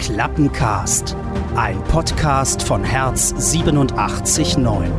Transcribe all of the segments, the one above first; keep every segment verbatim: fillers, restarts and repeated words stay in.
Klappencast, ein Podcast von Herz siebenundachtzig Komma neun.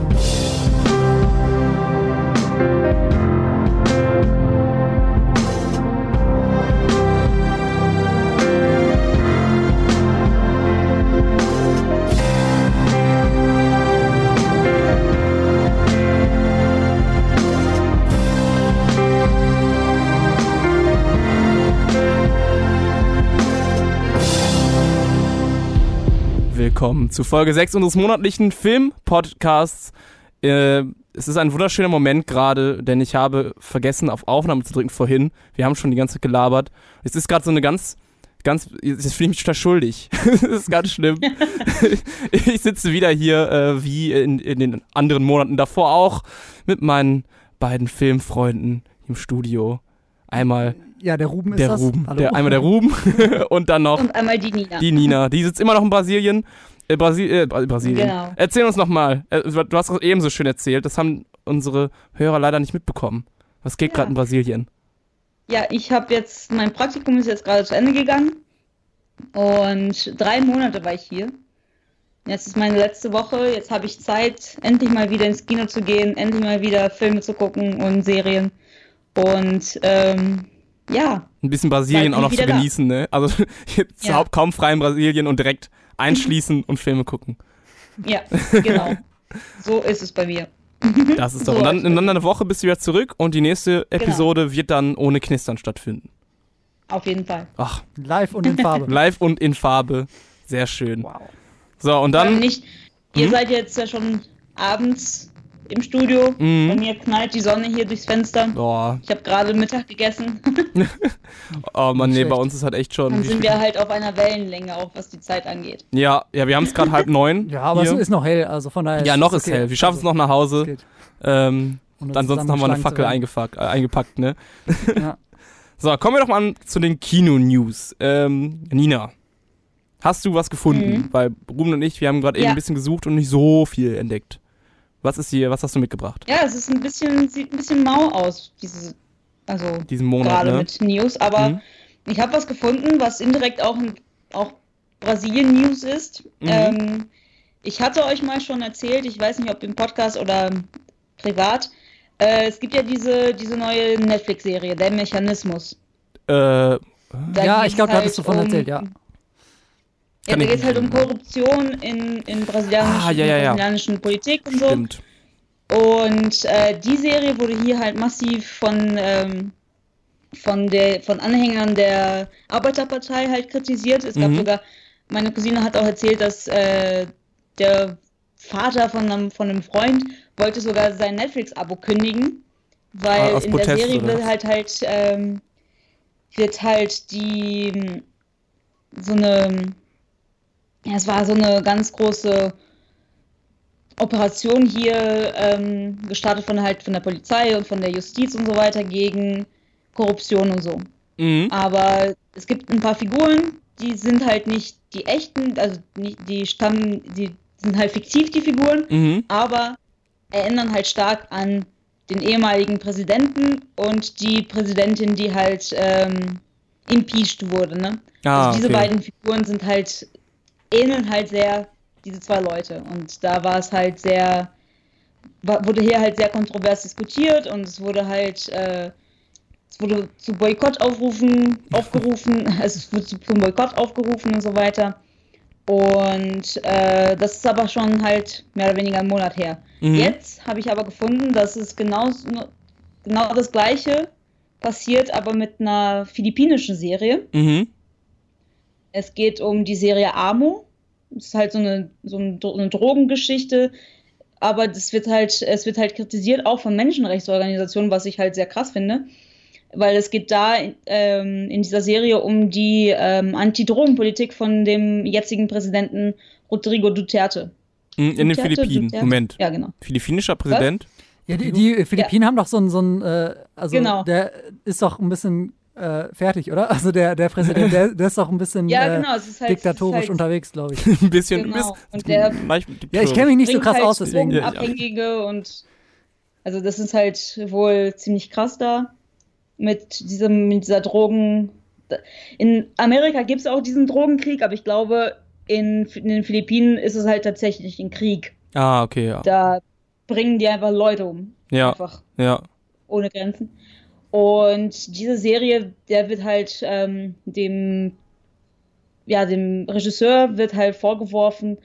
Willkommen zu Folge sechs unseres monatlichen Film-Podcasts. Äh, es ist ein wunderschöner Moment gerade, denn ich habe vergessen, auf Aufnahme zu drücken vorhin. Wir haben schon die ganze Zeit gelabert. Es ist gerade so eine ganz, ganz, jetzt fühle ich mich total schuldig. Das ist ganz schlimm. Ich sitze wieder hier, äh, wie in, in den anderen Monaten davor auch, mit meinen beiden Filmfreunden im Studio. Einmal Ja, der Ruben ist der das. Ruben. Hallo. Der, einmal der Ruben und dann noch Und einmal die Nina. die Nina. Die sitzt immer noch in Brasilien. Äh, Brasil äh, Brasilien. Genau. Erzähl uns nochmal. Äh, du hast es eben so schön erzählt. Das haben unsere Hörer leider nicht mitbekommen. Was geht Ja. gerade in Brasilien? Ja, ich habe jetzt, mein Praktikum ist jetzt gerade zu Ende gegangen und drei Monate war ich hier. Jetzt ist meine letzte Woche, jetzt habe ich Zeit, endlich mal wieder ins Kino zu gehen, endlich mal wieder Filme zu gucken und Serien. Und ähm, ja. Ein bisschen Brasilien Bald auch noch bin zu ich wieder genießen, ne? Also jetzt Ja. überhaupt kaum frei in Brasilien und direkt einschließen und Filme gucken. Ja, genau. So ist es bei mir. Das ist doch. So Und dann ist in es. einer Woche bist du wieder zurück und die nächste Episode wird dann ohne Knistern stattfinden. Auf jeden Fall. Ach, Live und in Farbe. live und in Farbe. Sehr schön. Wow. So, und Dann dann. nicht, ihr Hm? seid jetzt ja schon abends im Studio. Mhm. Bei mir knallt die Sonne hier durchs Fenster. Oh, Ich habe gerade Mittag gegessen. oh Mann, Nicht nee, bei schlecht. uns ist halt echt schon. Dann wie sind spät- wir halt auf einer Wellenlänge, auch was die Zeit angeht. Ja, ja, wir haben es gerade halb neun. Ja, aber hier. es ist noch hell, also von daher. Ja, noch ist okay. hell. Wir schaffen es Also, noch nach Hause. es geht. Ähm, Ohne ansonsten haben wir eine zusammengeschlagen Fackel zu werden. eingepack, äh, eingepackt, ne? Ja. So, kommen wir doch mal an zu den Kino-News. Ähm, Nina, hast du was gefunden? Mhm. Weil Ruben und ich, wir haben gerade eben Ja. ein bisschen gesucht und nicht so viel entdeckt. Was ist hier, was hast du mitgebracht? Ja, es ist ein bisschen, sieht ein bisschen mau aus, diese, also Diesen Monat, gerade ne? mit News, aber Mhm. ich habe was gefunden, was indirekt auch, auch Brasilien-News ist. Mhm. Ähm, ich hatte euch mal schon erzählt, ich weiß nicht, ob im Podcast oder privat, äh, es gibt ja diese, diese neue Netflix-Serie, Der Mechanismus. Äh, Da Ja, geht's ich glaube, da hattest du halt von um- erzählt, ja. Ja, Kann da ich geht es halt um nicht- Korruption in, in brasilianischen, Ah, ja, ja, ja. brasilianischen Politik und so. stimmt. Und äh, die Serie wurde hier halt massiv von, ähm, von, der, von Anhängern der Arbeiterpartei halt kritisiert. Es gab Mhm. sogar, meine Cousine hat auch erzählt, dass äh, der Vater von einem, von einem Freund wollte sogar sein Netflix-Abo kündigen, weil Ah, aus in Protest, der Serie oder wird was? halt halt, ähm, wird halt die so eine, ja, es war so eine ganz große Operation hier ähm, gestartet von halt von der Polizei und von der Justiz und so weiter gegen Korruption und so. Mhm. Aber es gibt ein paar Figuren, die sind halt nicht die echten, also nicht, die stammen, die sind halt fiktiv, die Figuren, Mhm. aber erinnern halt stark an den ehemaligen Präsidenten und die Präsidentin, die halt ähm, impeached wurde, ne? Ah, Also diese okay. beiden Figuren sind halt, ähneln halt sehr diese zwei Leute. Und da war es halt sehr, war, wurde hier halt sehr kontrovers diskutiert und es wurde halt, äh, es wurde zu Boykott aufrufen, aufgerufen, also es wurde zu, zum Boykott aufgerufen und so weiter. Und äh, das ist aber schon halt mehr oder weniger einen Monat her. Mhm. Jetzt habe ich aber gefunden, dass es genau, genau das Gleiche passiert, aber mit einer philippinischen Serie. Mhm. Es geht um die Serie Amo. Es ist halt so eine, so eine Drogengeschichte, aber das wird halt, es wird halt kritisiert, auch von Menschenrechtsorganisationen, was ich halt sehr krass finde, weil es geht da ähm, in dieser Serie um die ähm, Anti-Drogen-Politik von dem jetzigen Präsidenten Rodrigo Duterte. Mhm, In den Duterte, Philippinen. Duterte? Moment. Ja, genau. Philippinischer Präsident? Ja, die, die Philippinen haben doch so ein, so ein äh, also Genau. der ist doch ein bisschen äh, fertig, oder? Also der, der Präsident, der, der ist doch ein bisschen Ja, äh, genau, es ist halt, diktatorisch es ist halt unterwegs, glaube ich. Ein bisschen. Genau. Ein bisschen Und der- leicht Ja, ich kenne mich nicht so bringt krass halt aus, deswegen. Ja, ja. Drogenabhängige und also das ist halt wohl ziemlich krass da mit diesem, mit dieser Drogen, in Amerika gibt es auch diesen Drogenkrieg, aber ich glaube, in, in den Philippinen ist es halt tatsächlich ein Krieg. Ah, okay, ja. Da bringen die einfach Leute um. Ja, einfach. ja. Ohne Grenzen. Und diese Serie, der wird halt ähm, dem, ja, dem Regisseur wird halt vorgeworfen,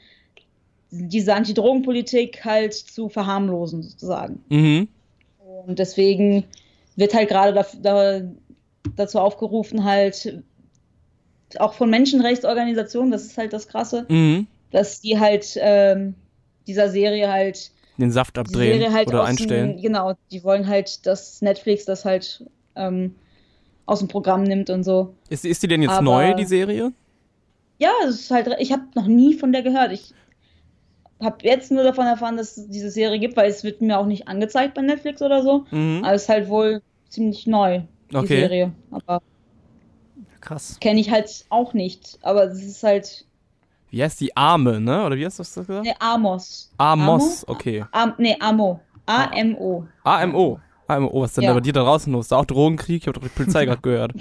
diese Antidrogenpolitik halt zu verharmlosen, sozusagen. Mhm. Und deswegen wird halt gerade da, da, dazu aufgerufen, halt auch von Menschenrechtsorganisationen, das ist halt das Krasse, Mhm. dass die halt ähm, dieser Serie halt Den Saft die abdrehen Serie halt oder aus einstellen. Dem, genau, die wollen halt, dass Netflix das halt ähm, aus dem Programm nimmt und so. Ist, ist die denn jetzt Aber- neu, die Serie? Ja, es ist halt, ich habe noch nie von der gehört. Ich habe jetzt nur davon erfahren, dass es diese Serie gibt, weil es wird mir auch nicht angezeigt bei Netflix oder so. Mhm. Aber es ist halt wohl ziemlich neu, die Okay. Serie. Aber Krass. kenne ich halt auch nicht. Aber es ist halt, Wie heißt die? Arme, ne? Oder wie hast du das gesagt? ne, Amos. Amos, okay. Am, ne, Amo. A M O. A M O. A M O, was ist denn Ja. da bei dir da draußen los? Da auch Drogenkrieg? Ich habe doch die Polizei gerade gehört.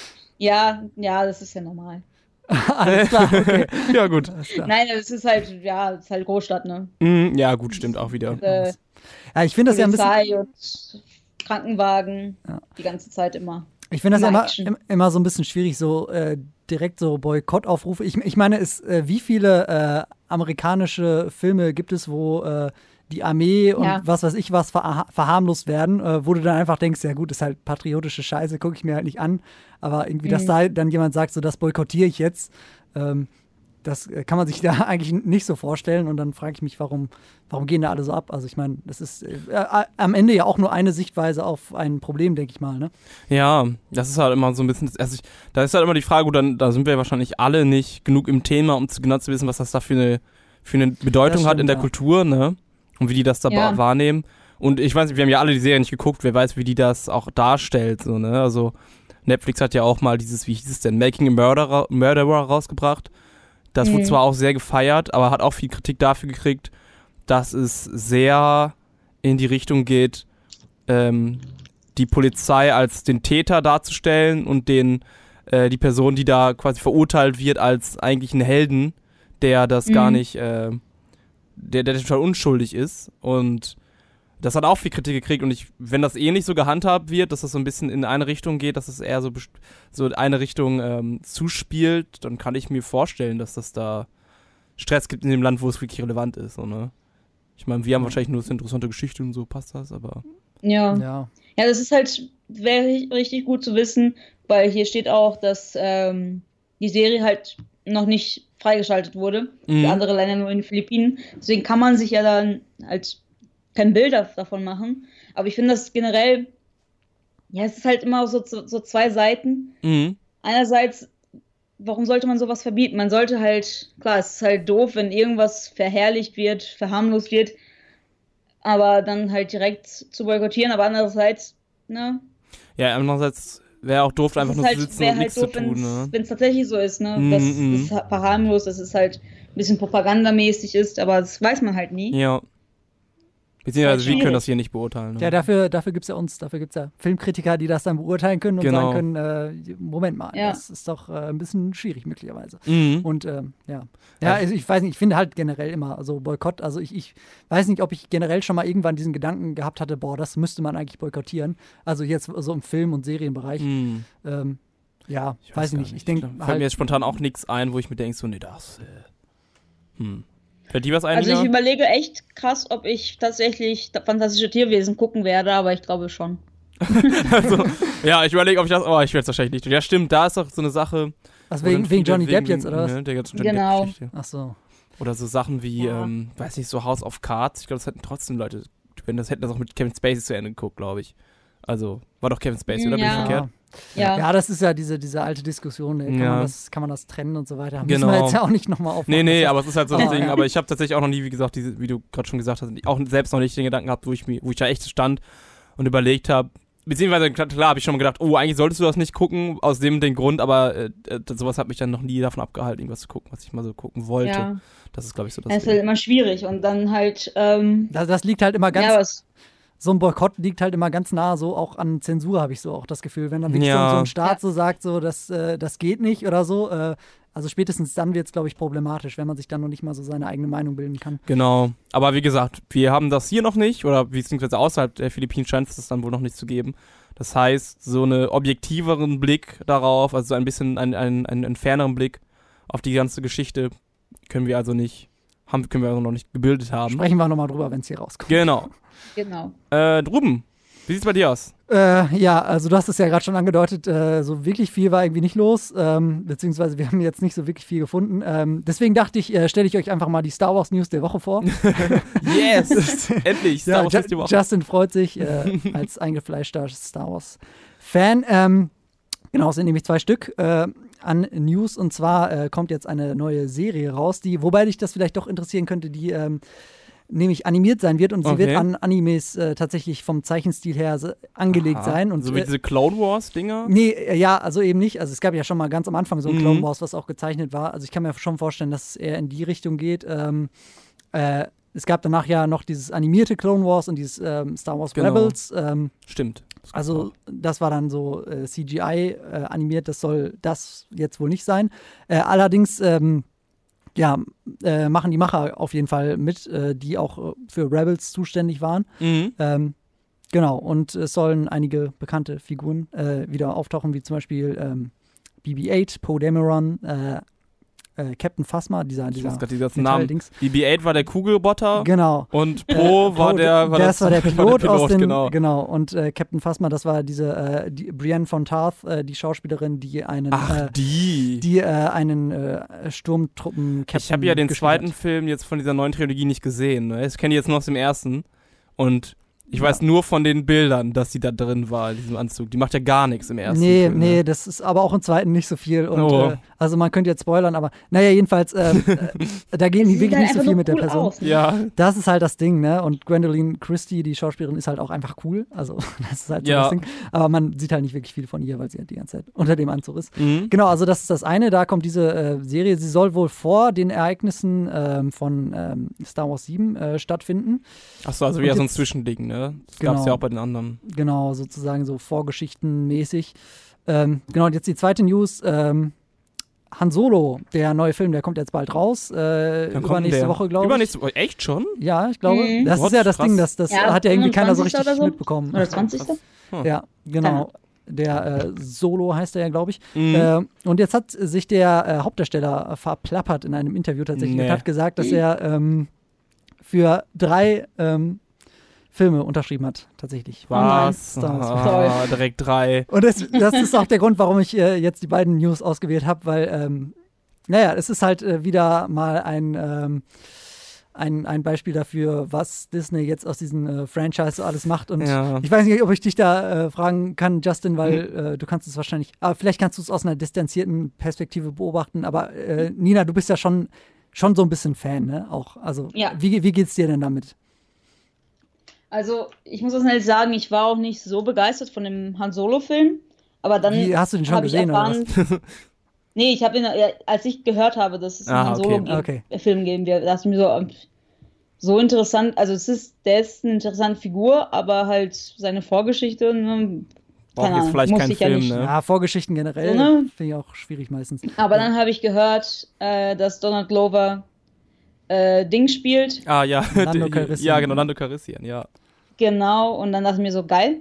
Ja, ja, das ist ja normal. Alles klar, okay. Ja, gut. Alles klar. Nein, es ist halt, ja, es ist halt Großstadt, ne? Mhm, ja, gut, stimmt auch wieder. Äh, Ja, ich finde das ja ein bisschen. Polizei und Krankenwagen Ja. die ganze Zeit immer. Ich finde das ja Immer immer, Action. im- immer so ein bisschen schwierig, so äh, direkt so Boykottaufrufe. Ich, ich meine, es, äh, wie viele äh, amerikanische Filme gibt es, wo äh, die Armee und Ja. was weiß ich was verha verharmlost werden, äh, wo du dann einfach denkst, ja gut, ist halt patriotische Scheiße, gucke ich mir halt nicht an. Aber irgendwie, dass Mhm. da dann jemand sagt, so das boykottiere ich jetzt, ähm, das äh, kann man sich da eigentlich nicht so vorstellen. Und dann frage ich mich, warum, warum gehen da alle so ab? Also ich meine, das ist äh, äh, am Ende ja auch nur eine Sichtweise auf ein Problem, denke ich mal, ne? Ja, das ist halt immer so ein bisschen, also ich, da ist halt immer die Frage, gut, dann, da sind wir wahrscheinlich alle nicht genug im Thema, um zu, genau zu wissen, was das da für eine, für eine Bedeutung Das hat in stimmt, der ja. Kultur, ne? Und wie die das da Ja. wahrnehmen. Und ich weiß nicht, wir haben ja alle die Serie nicht geguckt, wer weiß, wie die das auch darstellt, so, ne? Also Netflix hat ja auch mal dieses, wie hieß es denn, Making a Murderer, Murderer rausgebracht. Das wurde Mhm. zwar auch sehr gefeiert, aber hat auch viel Kritik dafür gekriegt, dass es sehr in die Richtung geht, ähm, die Polizei als den Täter darzustellen und den äh, die Person, die da quasi verurteilt wird, als eigentlich einen Helden, der das gar Mhm. nicht, äh, der, der total unschuldig ist. Und das hat auch viel Kritik gekriegt. Und ich, wenn das eh nicht so gehandhabt wird, dass das so ein bisschen in eine Richtung geht, dass es eher so, best- so in eine Richtung ähm, zuspielt, dann kann ich mir vorstellen, dass das da Stress gibt in dem Land, wo es wirklich relevant ist. So, ne? Ich meine, wir haben wahrscheinlich nur eine interessante Geschichte und so passt das, aber. Ja. Ja. Ja, das ist halt, wäre richtig gut zu wissen, weil hier steht auch, dass ähm, die Serie halt noch nicht freigeschaltet wurde. Mhm. Für andere Länder nur in den Philippinen. Deswegen kann man sich ja dann halt kein Bild davon machen. Aber ich finde das generell, ja, es ist halt immer so, so, so zwei Seiten. Mhm. Einerseits, warum sollte man sowas verbieten? Man sollte halt, klar, es ist halt doof, wenn irgendwas verherrlicht wird, verharmlost wird, aber dann halt direkt zu boykottieren, aber andererseits, ne? Ja, andererseits wäre auch doof, einfach es nur ist zu halt, sitzen wäre und halt nichts doof, zu tun. Ne? wenn es tatsächlich so ist, ne? Mhm, Dass mhm. es verharmlost, dass es halt ein bisschen propagandamäßig ist, aber das weiß man halt nie. Ja. Beziehungsweise Ist wir halt können schwierig. das hier nicht beurteilen. Ne? Ja, dafür, dafür gibt es ja uns, dafür gibt es ja Filmkritiker, die das dann beurteilen können und Genau. sagen können, äh, Moment mal, Ja. das ist doch äh, ein bisschen schwierig möglicherweise. Mhm. Und ähm, ja, ja, also ich weiß nicht, ich finde halt generell immer so Boykott, also ich, ich weiß nicht, ob ich generell schon mal irgendwann diesen Gedanken gehabt hatte, boah, das müsste man eigentlich boykottieren. Also jetzt so im Film- und Serienbereich. Mhm. Ähm, ja, Ich weiß, ich gar nicht. Ich denke Fällt mir halt, jetzt spontan auch nichts ein, wo ich mir denke, so, nee, das. Äh, hm. Fällt dir was ein? Also ich Lina? überlege echt krass, ob ich tatsächlich fantastische Tierwesen gucken werde, aber ich glaube schon. also, ja, ich überlege, ob ich das. Oh, ich werde es wahrscheinlich nicht. Ja, stimmt, da ist doch so eine Sache. also wo wegen, dann wegen viele Johnny Depp jetzt, oder was? Ne, der ganzen Johnny Genau. Depp-Geschichte. Ach so. Oder so Sachen wie, Ja. ähm, weiß nicht, so House of Cards. Ich glaube, das hätten trotzdem Leute, wenn das hätten das auch mit Kevin Spacey zu Ende geguckt, glaube ich. Also, war doch Kevin Spacey, oder? Bin ich Ja. verkehrt? Ja. Ja, das ist ja diese, diese alte Diskussion, ne? kann, Ja. man das, kann man das trennen und so weiter. Müssen Genau. wir jetzt ja auch nicht nochmal aufmachen. Nee, nee, Das- aber es ist halt so das Aber- Ding. Aber ich habe tatsächlich auch noch nie, wie gesagt, diese, wie du gerade schon gesagt hast, auch selbst noch nicht den Gedanken gehabt, wo ich, mir, wo ich da echt stand und überlegt habe. Beziehungsweise, klar, klar habe ich schon mal gedacht, oh, eigentlich solltest du das nicht gucken, aus dem den Grund, aber äh, äh, sowas hat mich dann noch nie davon abgehalten, irgendwas zu gucken, was ich mal so gucken wollte. Ja. Das ist, glaube ich, so das Das ist Ding. halt immer schwierig und dann halt, ähm, Das, das liegt halt immer ganz, ja, was, so ein Boykott liegt halt immer ganz nah so auch an Zensur, habe ich so auch das Gefühl. Wenn dann wirklich Ja. so, so ein Staat Ja. so sagt, so, das, äh, das geht nicht oder so, äh, also spätestens dann wird es, glaube ich, problematisch, wenn man sich dann noch nicht mal so seine eigene Meinung bilden kann. Genau. Aber wie gesagt, wir haben das hier noch nicht, oder beziehungsweise außerhalb der Philippinen scheint es das dann wohl noch nicht zu geben. Das heißt, so einen objektiveren Blick darauf, also so ein bisschen einen, einen, einen, einen ferneren Blick auf die ganze Geschichte können wir also nicht, haben, können wir also noch nicht gebildet haben. Sprechen wir nochmal drüber, wenn es hier rauskommt. Genau. Genau. Äh, Ruben, wie sieht's bei dir aus? Äh, ja, also du hast es ja gerade schon angedeutet, äh, so wirklich viel war irgendwie nicht los, ähm, beziehungsweise wir haben jetzt nicht so wirklich viel gefunden. Ähm, deswegen dachte ich, äh, stelle ich euch einfach mal die Star Wars News der Woche vor. Yes! Endlich! Star Ja, Wars Ju- ist die Woche. Justin freut sich äh, als eingefleischter Star Wars-Fan. Ähm, genau, es sind nämlich zwei Stück äh, an News, und zwar äh, kommt jetzt eine neue Serie raus, die, wobei dich das vielleicht doch interessieren könnte, die ähm, nämlich animiert sein wird, und sie Okay. wird an Animes äh, tatsächlich vom Zeichenstil her se- angelegt Aha. sein. Und, So wie äh, diese Clone Wars-Dinger? Nee, äh, ja, also eben nicht. Also es gab ja schon mal ganz am Anfang so ein Mhm. Clone Wars, was auch gezeichnet war. Also ich kann mir schon vorstellen, dass es eher in die Richtung geht. Ähm, äh, es gab danach ja noch dieses animierte Clone Wars und dieses ähm, Star Wars Genau. Rebels. Ähm, Stimmt. Das gibt's also auch. das war dann so äh, C G I äh, animiert. Das soll das jetzt wohl nicht sein. Äh, allerdings ähm, ja, äh, machen die Macher auf jeden Fall mit, äh, die auch äh, für Rebels zuständig waren. Mhm. Ähm, genau, und es sollen einige bekannte Figuren äh, wieder auftauchen, wie zum Beispiel ähm, B B acht, Poe Dameron, äh, äh, Captain Phasma, dieser, Ich dieser weiß gerade die ganzen Namen. Metalldings. B B acht war der Kugelroboter Genau. und Pro Äh, war Poe, der war das, war der Pilot, aus den, genau. genau. Und äh, Captain Phasma, das war diese äh, die Brienne von Tarth, äh, die Schauspielerin, die einen Ach, äh, die. die äh, einen äh, Sturmtruppen-Captain Ich habe ja den gespielt zweiten hat. Film jetzt von dieser neuen Trilogie nicht gesehen. Ne? Ich kenne die jetzt nur aus dem ersten. Und ich Ja. weiß nur von den Bildern, dass sie da drin war, in diesem Anzug. Die macht ja gar nichts im ersten Nee, Film. nee, Ne? das ist aber auch im zweiten nicht so viel. Und, Oh. äh, also man könnte jetzt spoilern, aber naja, jedenfalls, äh, äh, da gehen die Sieht wirklich halt nicht so einfach viel nur mit der cool Person. aus, ne? Ja, Das ist halt das Ding, ne? Und Gwendoline Christie, die Schauspielerin, ist halt auch einfach cool. Also das ist halt so Ja. das Ding. Aber man sieht halt nicht wirklich viel von ihr, weil sie halt die ganze Zeit unter dem Anzug ist. mhm. Genau, also das ist das eine. Da kommt diese äh, Serie. Sie soll wohl vor den Ereignissen ähm, von ähm, Star Wars sieben äh, stattfinden. Achso, also Und wieder so ein jetzt- Zwischending, ne? Das gab's Genau. ja auch bei den anderen. Genau, sozusagen so vorgeschichtenmäßig. Ähm, genau, und jetzt die zweite News. Ähm, Han Solo, der neue Film, der kommt jetzt bald raus. Äh, Dann kommt übernächste der. Woche, glaube ich. Übernächste Woche, echt schon? Ja, ich glaube. Mhm. Das Gott, ist ja das krass. Ding, das, das Ja, hat ja irgendwie keiner so richtig fünfundzwanzigsten oder so. mitbekommen. Oder zwanzigste Ja, genau. Der äh, Solo heißt er ja, glaube ich. Mhm. Äh, und jetzt hat sich der äh, Hauptdarsteller äh, verplappert in einem Interview tatsächlich Nee. und hat gesagt, dass er ähm, für drei ähm, Filme unterschrieben hat, tatsächlich. Was? Star Wars. Ah, direkt drei. Und das, das ist auch der Grund, warum ich äh, jetzt die beiden News ausgewählt habe, weil, ähm, naja, es ist halt äh, wieder mal ein, ähm, ein, ein Beispiel dafür, was Disney jetzt aus diesem äh, Franchise so alles macht. Und Ja. ich weiß nicht, ob ich dich da äh, fragen kann, Justin, weil äh, du kannst es wahrscheinlich, aber vielleicht kannst du es aus einer distanzierten Perspektive beobachten. Aber äh, Nina, du bist ja schon, schon so ein bisschen Fan, ne? Auch, also, Ja. wie, wie geht's dir denn damit? Also, ich muss das halt sagen, ich war auch nicht so begeistert von dem Han Solo-Film. Aber dann Wie, hast du den schon habe ich gesehen, oder erfahren. Nee, ich habe ihn, ja, als ich gehört habe, dass es einen Ah, Han okay. Solo-Film Okay. geben wird, dachte ich mir so, ähm, so interessant. Also, es ist, der ist eine interessante Figur, aber halt seine Vorgeschichte, ne, Braucht keine jetzt Ahnung, vielleicht muss keinen ich ja Film, nicht. ne? Ja, Vorgeschichten generell So, ne? finde ich auch schwierig meistens. Aber dann habe ich gehört, äh, dass Donald Glover äh, Ding spielt. Ah, ja. Lando Die- Calrissian. Ja, genau, Lando Calrissian, ja. Genau, und dann dachte ich mir so, geil.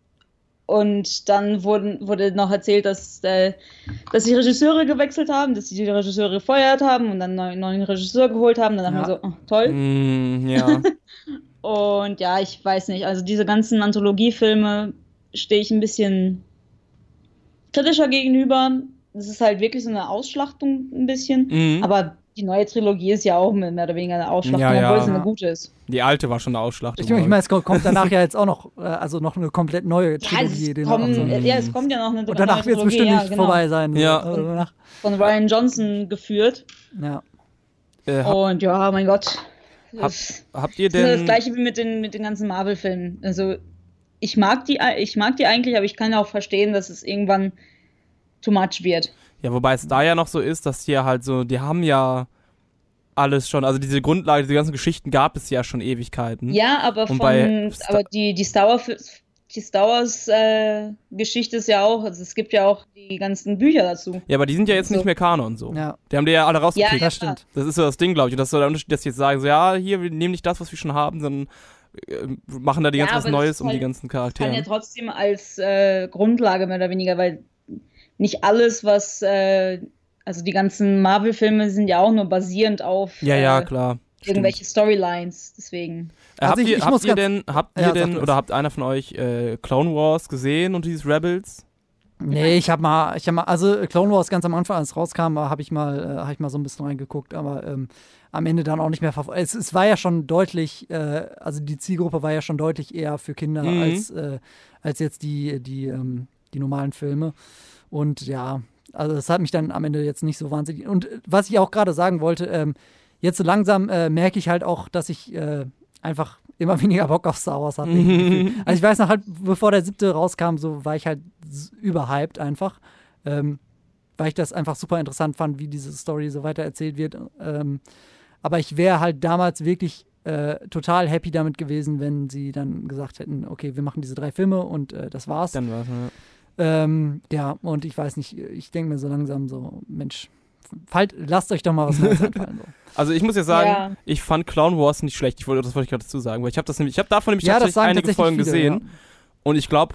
Und dann wurden, wurde noch erzählt, dass, äh, dass die Regisseure gewechselt haben, dass sie die Regisseure gefeuert haben und dann einen neuen Regisseur geholt haben. Dann dachte Ja. ich mir so, oh, toll. Mm, ja. Und ja, ich weiß nicht, also diese ganzen Anthologiefilme stehe ich ein bisschen kritischer gegenüber. Das ist halt wirklich so eine Ausschlachtung ein bisschen. Mhm. Aber die neue Trilogie ist ja auch mehr oder weniger eine Ausschlachtung, Ja, ja. obwohl es eine gute ist. Die alte war schon eine Ausschlachtung. Ich, ich meine, es kommt kommt danach ja jetzt auch noch, äh, also noch eine komplett neue Ja, Trilogie. es, den kommen, wir auch so- ja, es kommt ja noch eine und danach neue wird es Trilogie, bestimmt ja, nicht genau. vorbei sein. So. Ja. Also danach, Von Ryan Johnson geführt. ja. äh, hab, Und ja, mein Gott. Hab- Das habt ihr ist das denn... gleiche wie mit den, mit den ganzen Marvel-Filmen. Also ich mag die, ich mag die eigentlich, aber ich kann auch verstehen, dass es irgendwann too much wird. Ja, wobei es da ja noch so ist, dass hier halt so, die haben ja alles schon. Also diese Grundlage, diese ganzen Geschichten gab es ja schon Ewigkeiten. Ja, aber, Und von, bei Star- aber die, die Star Wars, die Star Wars äh, Geschichte ist ja auch, also es gibt ja auch die ganzen Bücher dazu. Ja, aber die sind ja jetzt So. nicht mehr Kanon so. Ja, Die haben die ja alle rausgekriegt. Ja, ja. das stimmt. Das ist so das Ding, glaube ich. Und das ist so der Unterschied, dass sie jetzt sagen, so, ja, hier, wir nehmen nicht das, was wir schon haben, sondern äh, machen da die Ja, ganz was aber das Neues ist um die halt- ganzen Kann ja Charaktere. trotzdem als äh, Grundlage mehr oder weniger, weil nicht alles, was, äh, also die ganzen Marvel-Filme sind ja auch nur basierend auf Ja, ja, äh, klar. irgendwelche Storylines, deswegen. Äh, Also habt ich- ihr, ich habt muss ihr ganz- denn, habt Ja, ihr sag denn du oder es. habt einer von euch äh, Clone Wars gesehen und dieses Rebels? Nee, ich habe mal, ich habe mal, also Clone Wars ganz am Anfang, als es rauskam, habe ich mal, äh, habe ich mal so ein bisschen reingeguckt, aber ähm, am Ende dann auch nicht mehr verfolgt. Es, es war ja schon deutlich, äh, also die Zielgruppe war ja schon deutlich eher für Kinder Mhm. als, äh, als jetzt die, die, ähm, die normalen Filme. Und ja, also das hat mich dann am Ende jetzt nicht so wahnsinnig. Und äh, was ich auch gerade sagen wollte, ähm, jetzt so langsam äh, merke ich halt auch, dass ich äh, einfach immer weniger Bock auf Star Wars habe. Also ich weiß noch halt, bevor der siebte rauskam, so war ich halt s- überhyped einfach, ähm, weil ich das einfach super interessant fand, wie diese Story so weiter erzählt wird. Ähm, aber ich wäre halt damals wirklich äh, total happy damit gewesen, wenn sie dann gesagt hätten, okay, wir machen diese drei Filme und äh, das war's. Dann war's, ja. Ähm, ja, und ich weiß nicht, ich denke mir so langsam so, Mensch, fallt, lasst euch doch mal was Neues einfallen. So. Also ich muss ja sagen, Ja. ich fand Clone Wars nicht schlecht. Ich wollte, das wollte ich gerade dazu sagen, weil ich habe das nämlich, ich habe davon nämlich Ja, das tatsächlich sagen einige tatsächlich Folgen viele, gesehen und ich glaube,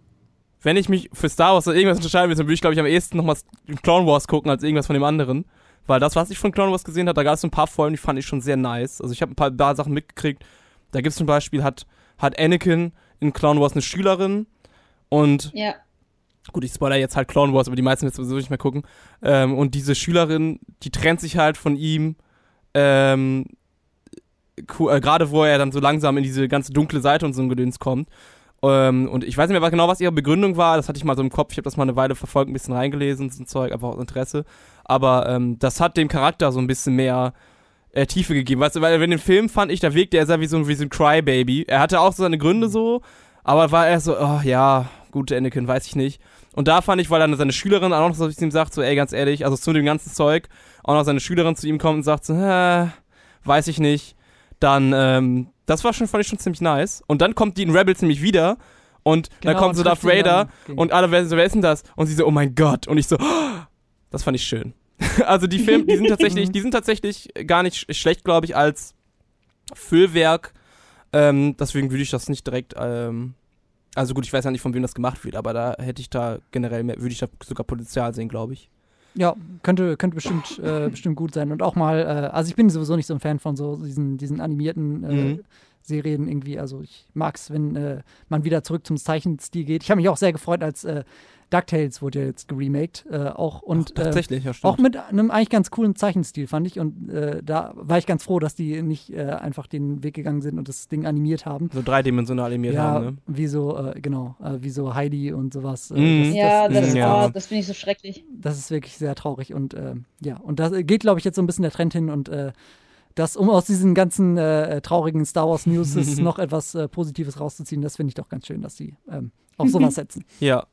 wenn ich mich für Star Wars oder irgendwas unterscheiden will, dann würde ich, glaube ich, am ehesten nochmal Clone Wars gucken als irgendwas von dem anderen. Weil das, was ich von Clone Wars gesehen habe, da gab es so ein paar Folgen, die fand ich schon sehr nice. Also ich habe ein paar, paar Sachen mitgekriegt. Da gibt es zum Beispiel, hat, hat Anakin in Clone Wars eine Schülerin und Ja. gut, ich spoiler jetzt halt Clone Wars, aber die meisten jetzt sowieso nicht mehr gucken. Ähm, und diese Schülerin, die trennt sich halt von ihm, ähm, ku- äh, gerade wo er dann so langsam in diese ganze dunkle Seite und so ein Gedöns kommt. Ähm, und ich weiß nicht mehr genau, was ihre Begründung war, das hatte ich mal so im Kopf, ich habe das mal eine Weile verfolgt, ein bisschen reingelesen, so ein Zeug, einfach aus Interesse. Aber ähm, das hat dem Charakter so ein bisschen mehr äh, Tiefe gegeben. Weißt du, weil in dem Film fand ich, da wirkte er sehr wie so ein, wie so ein Crybaby. Er hatte auch so seine Gründe so, aber war er so, oh ja, gut, Anakin, weiß ich nicht. Und da fand ich, weil dann seine Schülerin auch noch so zu ihm sagt, so, ey, ganz ehrlich, also zu dem ganzen Zeug, auch noch seine Schülerin zu ihm kommt und sagt so, äh, weiß ich nicht. Dann, ähm, das war schon, fand ich schon ziemlich nice. Und dann kommt die in Rebels nämlich wieder und dann Genau, kommt so und Darth trifft ihn Vader dann gegen- und alle werden so, wer ist denn das? Und sie so, oh mein Gott. Und ich so, oh, das fand ich schön. Also die Filme, die sind tatsächlich, die sind tatsächlich gar nicht sch- schlecht, glaube ich, als Füllwerk. Ähm, deswegen würde ich das nicht direkt, ähm, also gut, ich weiß ja nicht, von wem das gemacht wird, aber da hätte ich da generell mehr, würde ich da sogar Potenzial sehen, glaube ich. Ja, könnte, könnte bestimmt, äh, bestimmt gut sein. Und auch mal, äh, also ich bin sowieso nicht so ein Fan von so diesen, diesen animierten äh, Mhm. Serien irgendwie. Also ich mag es, wenn äh, man wieder zurück zum Zeichenstil geht. Ich habe mich auch sehr gefreut, als äh, DuckTales wurde ja jetzt geremaked. Äh, auch und Ach, tatsächlich, ja, äh, stimmt. auch mit einem eigentlich ganz coolen Zeichenstil, fand ich. Und äh, da war ich ganz froh, dass die nicht äh, einfach den Weg gegangen sind und das Ding animiert haben. So dreidimensional animiert ja, haben, ne? wie so, äh, genau, äh, wie so Heidi und sowas. Äh, Mhm. das, Ja, das, das, ist, ja. Oh, das finde ich so schrecklich. das ist wirklich sehr traurig und äh, ja, und da geht, glaube ich, jetzt so ein bisschen der Trend hin und äh, das, um aus diesen ganzen äh, traurigen Star Wars News noch etwas äh, Positives rauszuziehen, das finde ich doch ganz schön, dass die ähm, auf sowas setzen. Ja.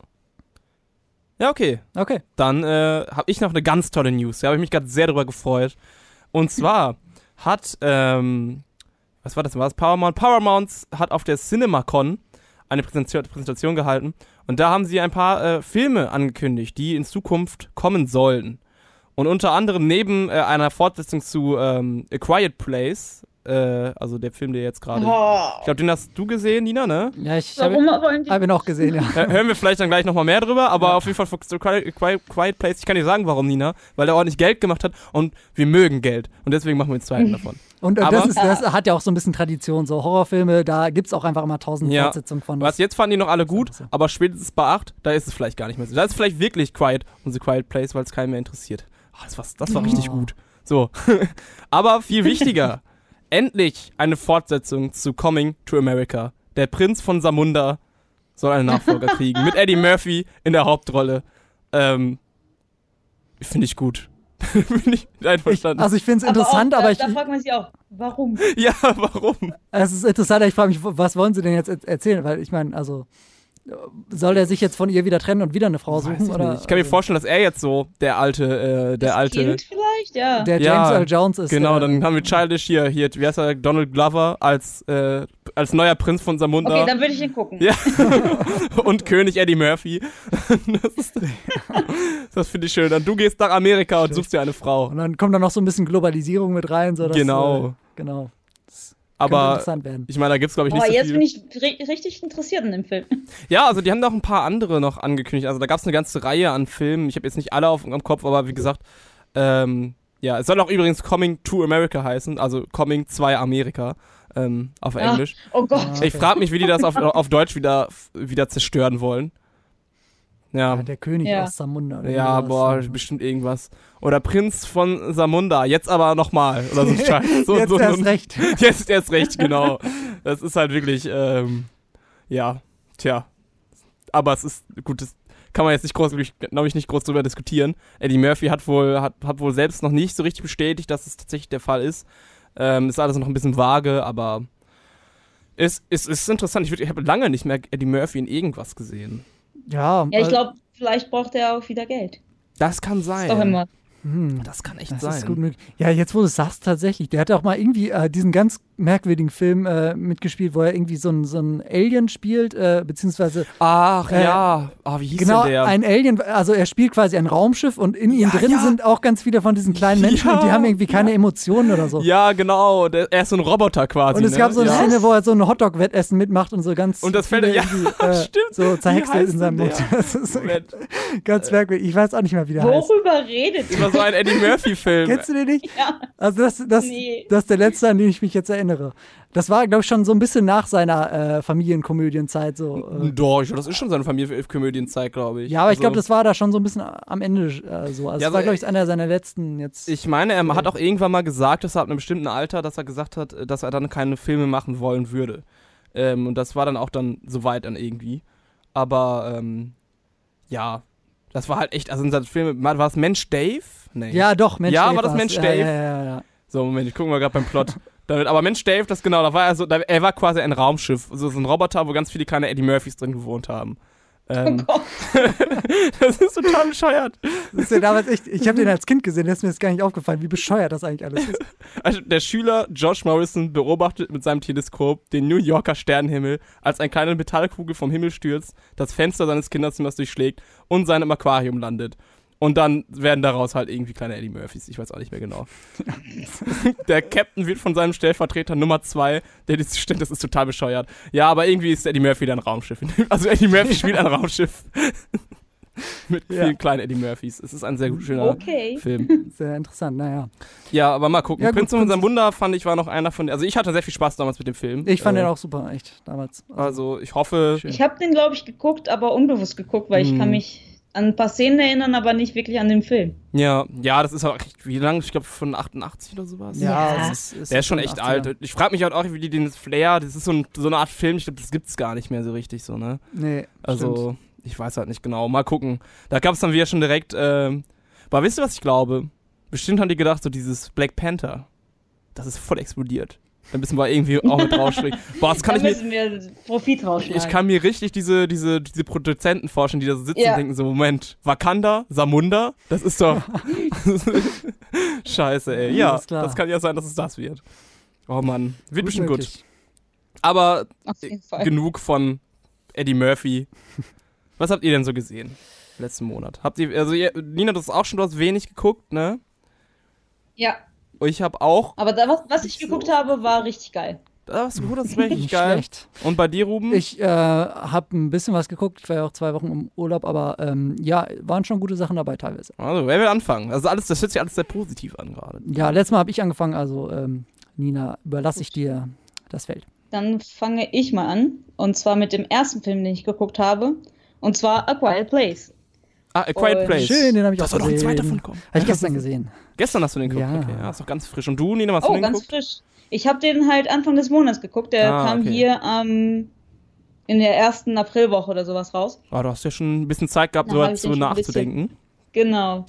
Ja, okay. Okay. Dann äh, habe ich noch eine ganz tolle News. Da habe ich mich gerade sehr drüber gefreut. Und zwar hat, ähm, was war das? War das Paramount? Paramount hat auf der CinemaCon eine Präsentation, Präsentation gehalten. Und da haben sie ein paar äh, Filme angekündigt, die in Zukunft kommen sollen. Und unter anderem neben äh, einer Fortsetzung zu ähm, A Quiet Place, äh, also der Film, der jetzt gerade... Oh. Ich glaube, den hast du gesehen, Nina, ne? Ja, ich habe Warum wollen die? hab ihn auch gesehen, ja. Äh, hören wir vielleicht dann gleich nochmal mehr drüber, aber Ja. auf jeden Fall für Quiet, Quiet, Quiet Place, ich kann dir sagen, warum, Nina, weil der ordentlich Geld gemacht hat und wir mögen Geld und deswegen machen wir den zweiten davon. Und äh, Aber- das, ist, das hat ja auch so ein bisschen Tradition, so Horrorfilme, da gibt es auch einfach immer tausend Ja. Fortsetzungen von. Was jetzt fanden die noch alle ist gut, einfach so. aber spätestens bei acht, da ist es vielleicht gar nicht mehr so. Da ist vielleicht wirklich Quiet und The Quiet Place, weil es keinen mehr interessiert. Ach, das war, das war richtig Oh. gut. So. Aber viel wichtiger, endlich eine Fortsetzung zu Coming to America. Der Prinz von Samunda soll einen Nachfolger kriegen, mit Eddie Murphy in der Hauptrolle. Ähm, finde ich gut. Bin ich ich, einverstanden. also ich finde es Aber interessant, auch, aber da, ich, da fragt man sich auch, warum? ja, warum? es ist interessant, ich frage mich, was wollen sie denn jetzt er- erzählen? Weil ich meine, also soll er sich jetzt von ihr wieder trennen und wieder eine Frau Weiß suchen? ich, Oder? nicht. Ich kann mir also, vorstellen, dass er jetzt so der alte, äh, der Das alte. Kind vielleicht? echt? Ja. Der Ja, James Earl Jones ist. Genau, äh, dann haben wir Childish hier, hier, wie heißt er, Donald Glover als, äh, als neuer Prinz von Zamunda. Okay, dann würde ich ihn gucken. Ja. Und König Eddie Murphy. Das, ist- das finde ich schön. Dann du gehst nach Amerika und suchst dir eine Frau. Und dann kommt da noch so ein bisschen Globalisierung mit rein. So dass, Genau. Äh, genau. Das könnte Aber interessant werden. ich meine, da gibt's glaube ich nicht Oh, so jetzt viel. bin ich ri- richtig interessiert in dem Film. Ja, also die haben noch ein paar andere noch angekündigt. Also da gab's eine ganze Reihe an Filmen. Ich habe jetzt nicht alle auf dem Kopf, aber wie gesagt, ähm, ja, es soll auch übrigens Coming to America heißen, also Coming zwei Amerika ähm, auf Ah, Englisch. Oh Gott. Ah. Ich frage mich, wie die das auf, auf Deutsch wieder, wieder zerstören wollen. Ja, Ja, der König Ja. aus Samunda. oder ja, sowas. boah, bestimmt irgendwas. Oder Prinz von Samunda, jetzt aber nochmal. Oder so ein Scheiß. So, Jetzt so, erst so, recht. Jetzt erst recht, genau. Das ist halt wirklich, ähm, ja, tja. Aber es ist, gut, das kann man jetzt nicht groß, glaube ich, nicht groß drüber diskutieren. Eddie Murphy hat wohl, hat, hat wohl selbst noch nicht so richtig bestätigt, dass es tatsächlich der Fall ist. Ähm, ist alles noch ein bisschen vage, aber es, es, es ist interessant. Ich, würd- ich habe lange nicht mehr Eddie Murphy in irgendwas gesehen. Ja, Ja, ich äh, glaube, vielleicht braucht er auch wieder Geld. Das kann Ist sein. doch immer. hm, Das kann echt das sein. ist gut möglich. Ja, jetzt wo du es sagst, tatsächlich. Der hat auch mal irgendwie äh, diesen ganz merkwürdigen Film äh, mitgespielt, wo er irgendwie so ein, so ein Alien spielt, äh, beziehungsweise Ach Äh, ja, ah, wie hieß genau denn der? ein Alien, also er spielt quasi ein Raumschiff und in ihm Ja, drin ja. sind auch ganz viele von diesen kleinen Menschen Ja, und die haben irgendwie keine Emotionen oder so. Ja, genau. Der, er ist so ein Roboter quasi. Und es ne? gab so eine ja. Szene, wo er so ein Hotdog-Wettessen mitmacht und so ganz Und das fällt- viele ja, irgendwie, äh, stimmt. so zerhäckselt heißt in seinem denn Mund. der? Das ist so Moment. ganz merkwürdig. Ich weiß auch nicht mehr, wie der heißt. Worüber redet ihr? Über so ein Eddie Murphy-Film. Kennst du den nicht? Ja. Also das, das, Nee. das ist der letzte, an den ich mich jetzt erinnere. Das war, glaube ich, schon so ein bisschen nach seiner äh, Familienkomödienzeit. So, äh. Doch, das ist schon seine Familienkomödienzeit, glaube ich. Ja, aber ich Also, glaube, das war da schon so ein bisschen am Ende äh, so. Also Ja, das also, war, glaube ich, einer seiner letzten jetzt. Ich meine, er hat auch irgendwann mal gesagt, dass er ab einem bestimmten Alter, dass er gesagt hat, dass er dann keine Filme machen wollen würde. Ähm, und das war dann auch dann soweit dann irgendwie. Aber, ähm, ja, das war halt echt, also in seinen Filmen, war es Mensch Dave? Nee. ja, doch, Mensch Ja, Dave war das war's. Mensch ja, Dave? Ja, ja, ja. So, Moment, ich gucke mal gerade beim Plot. Damit, aber Mensch Dave, das genau, da war er so, da, er war quasi ein Raumschiff, so, so ein Roboter, wo ganz viele kleine Eddie Murphys drin gewohnt haben. Ähm, Oh Gott. das ist total bescheuert. Das ist ja damals echt, ich habe den als Kind gesehen, der ist mir jetzt gar nicht aufgefallen, wie bescheuert das eigentlich alles ist. Also der Schüler Josh Morrison beobachtet mit seinem Teleskop den New Yorker Sternenhimmel, als eine kleine Metallkugel vom Himmel stürzt, das Fenster seines Kinderzimmers durchschlägt und seinem Aquarium landet. Und dann werden daraus halt irgendwie kleine Eddie Murphys. Ich weiß auch nicht mehr genau. Der Captain wird von seinem Stellvertreter Nummer zwei, der dieses stimmt, das ist total bescheuert. Ja, aber irgendwie ist Eddie Murphy dann ein Raumschiff. Also Eddie Murphy spielt ein Raumschiff. Mit Ja. vielen kleinen Eddie Murphys. Es ist ein sehr gut, schöner Okay. Film. Sehr interessant, naja. Ja, aber mal gucken. Ja, gut, Prinz von Prinz- unserem Wunder fand ich war noch einer von. Also ich hatte sehr viel Spaß damals mit dem Film. Ich fand äh, den auch super, echt, damals. Also ich hoffe. Schön. Ich habe den, glaube ich, geguckt, aber unbewusst geguckt, weil ich Hm. kann mich an ein paar Szenen erinnern, aber nicht wirklich an den Film. Ja, ja, das ist auch echt, wie lange? Ich glaube von achtundachtzig oder sowas. Ja, Ja. es ist, Der ist schon echt achtziger. alt. Ich frage mich halt auch, wie die den Flair, das ist so, ein, so eine Art Film, ich glaube, das gibt's gar nicht mehr so richtig so, ne? Nee, Also, stimmt. ich weiß halt nicht genau. Mal gucken. Da gab es dann wieder schon direkt, ähm, aber wisst ihr, was ich glaube? Bestimmt haben die gedacht, so dieses Black Panther, das ist voll explodiert. Da müssen wir irgendwie auch mit rausspringen. Boah, das kann da ich mir, müssen wir Profit rausschlagen. ich kann mir richtig diese, diese, diese Produzenten vorstellen, die da so sitzen Ja. und denken so, Moment, Wakanda, Samunda, das ist doch scheiße, ey. Ja, Alles klar. das kann ja sein, dass es das wird. Oh Mann, wird Gut bestimmt gut. möglich. Aber Auf jeden Fall. genug von Eddie Murphy. Was habt ihr denn so gesehen letzten Monat? Habt ihr, also ihr, Nina, das ist auch schon, du hast wenig geguckt, ne? Ja, Und ich habe auch, aber da, was, was ich geguckt habe, war richtig geil. das ist gut, das ist wirklich Nicht geil. schlecht. Und bei dir, Ruben? Ich äh, habe ein bisschen was geguckt, ich war ja auch zwei Wochen im Urlaub, aber ähm, ja, waren schon gute Sachen dabei teilweise. Also, wer will anfangen? Also alles, das hört sich alles sehr positiv an gerade. Ja, letztes Mal habe ich angefangen, also ähm, Nina, überlasse ich dir das Feld. Dann fange ich mal an. Und zwar mit dem ersten Film, den ich geguckt habe. Und zwar A Quiet Place. Ah, A Quiet Und- Place. Schön, den habe ich Da auch soll doch ein gesehen. zweiter von kommen. Habe ich gestern gesehen. Gestern hast du den geguckt? Ja. Okay, ja, ist doch ganz frisch. Und du, Nina, hast du Oh, den ganz geguckt? frisch. Ich habe den halt Anfang des Monats geguckt. Der Ah, kam okay. hier ähm, in der ersten Aprilwoche oder sowas raus. Ah, du hast ja schon ein bisschen Zeit gehabt, Da so hab ich zu den schon ein nachzudenken. Genau.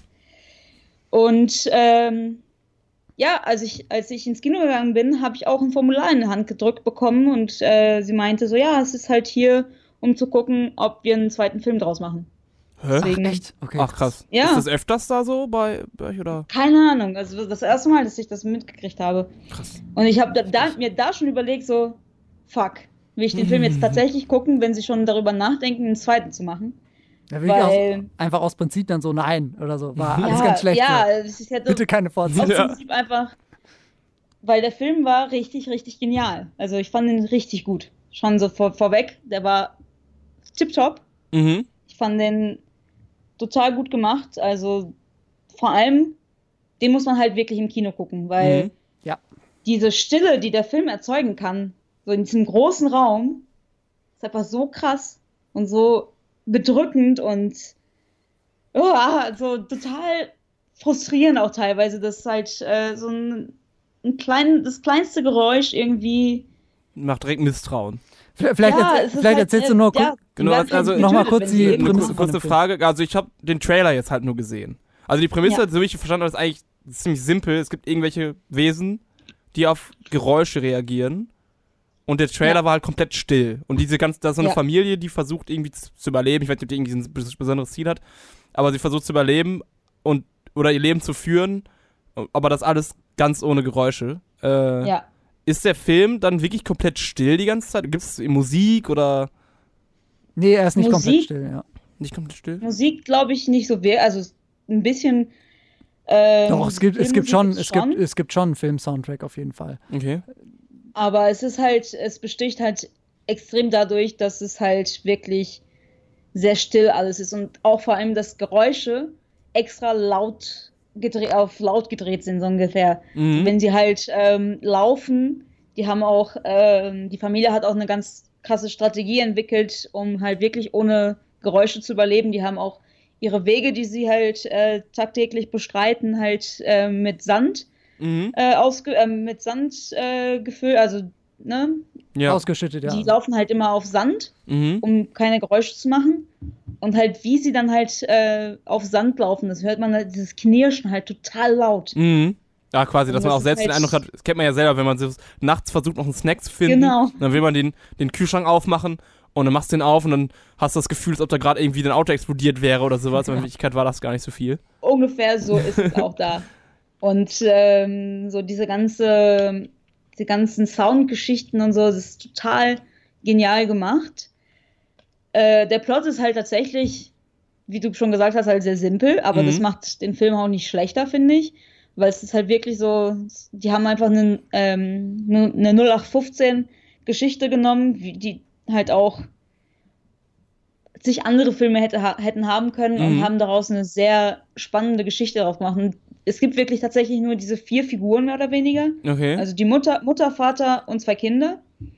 Und ähm, ja, als ich, als ich ins Kino gegangen bin, habe ich auch ein Formular in die Hand gedrückt bekommen und äh, sie meinte so, ja, es ist halt hier, um zu gucken, ob wir einen zweiten Film draus machen. Hä? Deswegen, Echt? Okay. Ach krass. Ja. Ist das öfters da so bei, bei euch oder? Keine Ahnung. Also das erste Mal, dass ich das mitgekriegt habe. Krass. Und ich habe da, da, mir da schon überlegt, so, fuck, will ich den Film jetzt tatsächlich gucken, wenn sie schon darüber nachdenken, einen zweiten zu machen? Ja, wirklich Weil- aus, einfach aus Prinzip dann so nein oder so. War alles ja, ganz schlecht. Ja, so. es ist ja Bitte keine aus Fortsetzung. Ja. Prinzip einfach, weil der Film war richtig, richtig genial. Also ich fand ihn richtig gut. Schon so vor, vorweg, der war tipptopp. Mhm. Ich fand den total gut gemacht. Also vor allem, den muss man halt wirklich im Kino gucken, weil Mhm. Ja. diese Stille, die der Film erzeugen kann, so in diesem großen Raum, ist einfach so krass und so bedrückend und oh, so total frustrierend auch teilweise, dass halt äh, so ein, ein klein, das kleinste Geräusch irgendwie. Macht direkt Misstrauen. Vielleicht, Ja, erzähl, es ist vielleicht halt, erzählst du äh, nur ja, kurz. Genau, die werden halt also- getötet, noch mal kurz wenn die sie Eine Prämisse irgendwas kurze, von kurze dem Film. Frage. Also ich habe den Trailer jetzt halt nur gesehen. Also die Prämisse, Ja. so wie ich verstanden habe, ist eigentlich ziemlich simpel. Es gibt irgendwelche Wesen, die auf Geräusche reagieren. Und der Trailer Ja. war halt komplett still. Und diese ganze, da ist so eine Ja. Familie, die versucht irgendwie zu, zu überleben. Ich weiß nicht, ob die irgendwie ein bes- besonderes Ziel hat. Aber sie versucht zu überleben und oder ihr Leben zu führen. Aber das alles ganz ohne Geräusche. Äh, Ja. Ist der Film dann wirklich komplett still die ganze Zeit? Gibt es Musik oder Nee, er ist nicht komplett Musik? still, ja. nicht komplett still? Musik glaube ich nicht so sehr, also ein bisschen. Ähm, Doch, es gibt, es gibt Filmmusik schon, ist es gibt, es gibt schon einen Film-Soundtrack auf jeden Fall. Okay. Aber es ist halt, es besticht halt extrem dadurch, dass es halt wirklich sehr still alles ist und auch vor allem, dass Geräusche extra laut gedreht, auf laut gedreht sind, so ungefähr. Mhm. Wenn sie halt ähm, laufen, die haben auch, ähm, die Familie hat auch eine ganz krasse Strategie entwickelt, um halt wirklich ohne Geräusche zu überleben. Die haben auch ihre Wege, die sie halt äh, tagtäglich bestreiten, halt äh, mit Sand Mhm. äh, ausge äh, mit Sand äh, gefüllt, also ne, Ja. Ausgeschüttet, ja. die laufen halt immer auf Sand, Mhm. um keine Geräusche zu machen. Und halt, wie sie dann halt äh, auf Sand laufen, das hört man halt, dieses Knirschen halt total laut. Mhm. Ja, quasi, dass Und man das auch ist selbst den halt- Eindruck hat, das kennt man ja selber, wenn man so nachts versucht, noch einen Snack zu finden. Genau. Dann will man den, den Kühlschrank aufmachen und dann machst du den auf und dann hast du das Gefühl, als ob da gerade irgendwie dein Auto explodiert wäre oder sowas. Aber in Wirklichkeit war das gar nicht so viel. Ungefähr so ist es auch da. Und ähm, so diese ganze, die ganzen Soundgeschichten und so, das ist total genial gemacht. Äh, der Plot ist halt tatsächlich, wie du schon gesagt hast, halt sehr simpel, aber Mhm. das macht den Film auch nicht schlechter, finde ich. Weil es ist halt wirklich so, die haben einfach eine, ähm, eine null acht fünfzehn Geschichte genommen, wie- die halt auch sich andere Filme hätte, ha- hätten haben können und Mhm. haben daraus eine sehr spannende Geschichte darauf gemacht. Und es gibt wirklich tatsächlich nur diese vier Figuren mehr oder weniger. Okay. Also die Mutter, Mutter, Vater und zwei Kinder.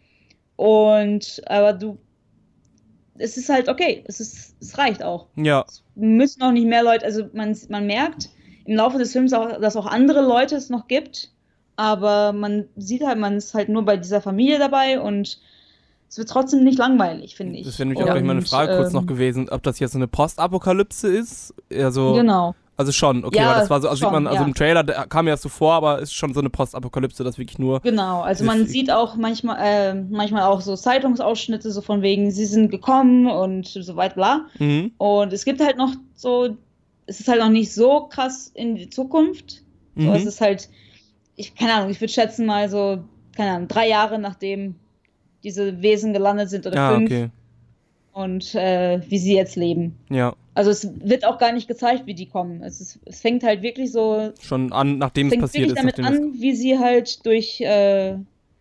Und aber du, es ist halt okay, es ist, es reicht auch. ja. Müssen auch nicht mehr Leute, also man, man merkt im Laufe des Films auch, dass auch andere Leute es noch gibt, aber man sieht halt, man ist halt nur bei dieser Familie dabei und es wird trotzdem nicht langweilig, finde ich. Das wäre nämlich auch gleich Und, meine Frage kurz ähm, noch gewesen, ob das jetzt so eine Postapokalypse ist. Also, Genau. also schon, okay, Ja, weil das war so, also sieht schon, man, also ja. im Trailer der kam ja so vor, aber ist schon so eine Postapokalypse, das wirklich nur. Genau, also man Das- sieht auch manchmal, äh, manchmal auch so Zeitungsausschnitte, so von wegen, sie sind gekommen und so weit, bla. Mhm. Und es gibt halt noch so, es ist halt noch nicht so krass in die Zukunft. So, Mhm. es ist halt, ich, keine Ahnung, ich würde schätzen mal so, keine Ahnung, drei Jahre nachdem diese Wesen gelandet sind oder Ja, fünf okay. und äh, wie sie jetzt leben. Ja. Also es wird auch gar nicht gezeigt, wie die kommen. Es, ist, es fängt halt wirklich so, Schon an, nachdem es fängt passiert wirklich ist, damit nachdem an, wie sie halt durch, äh,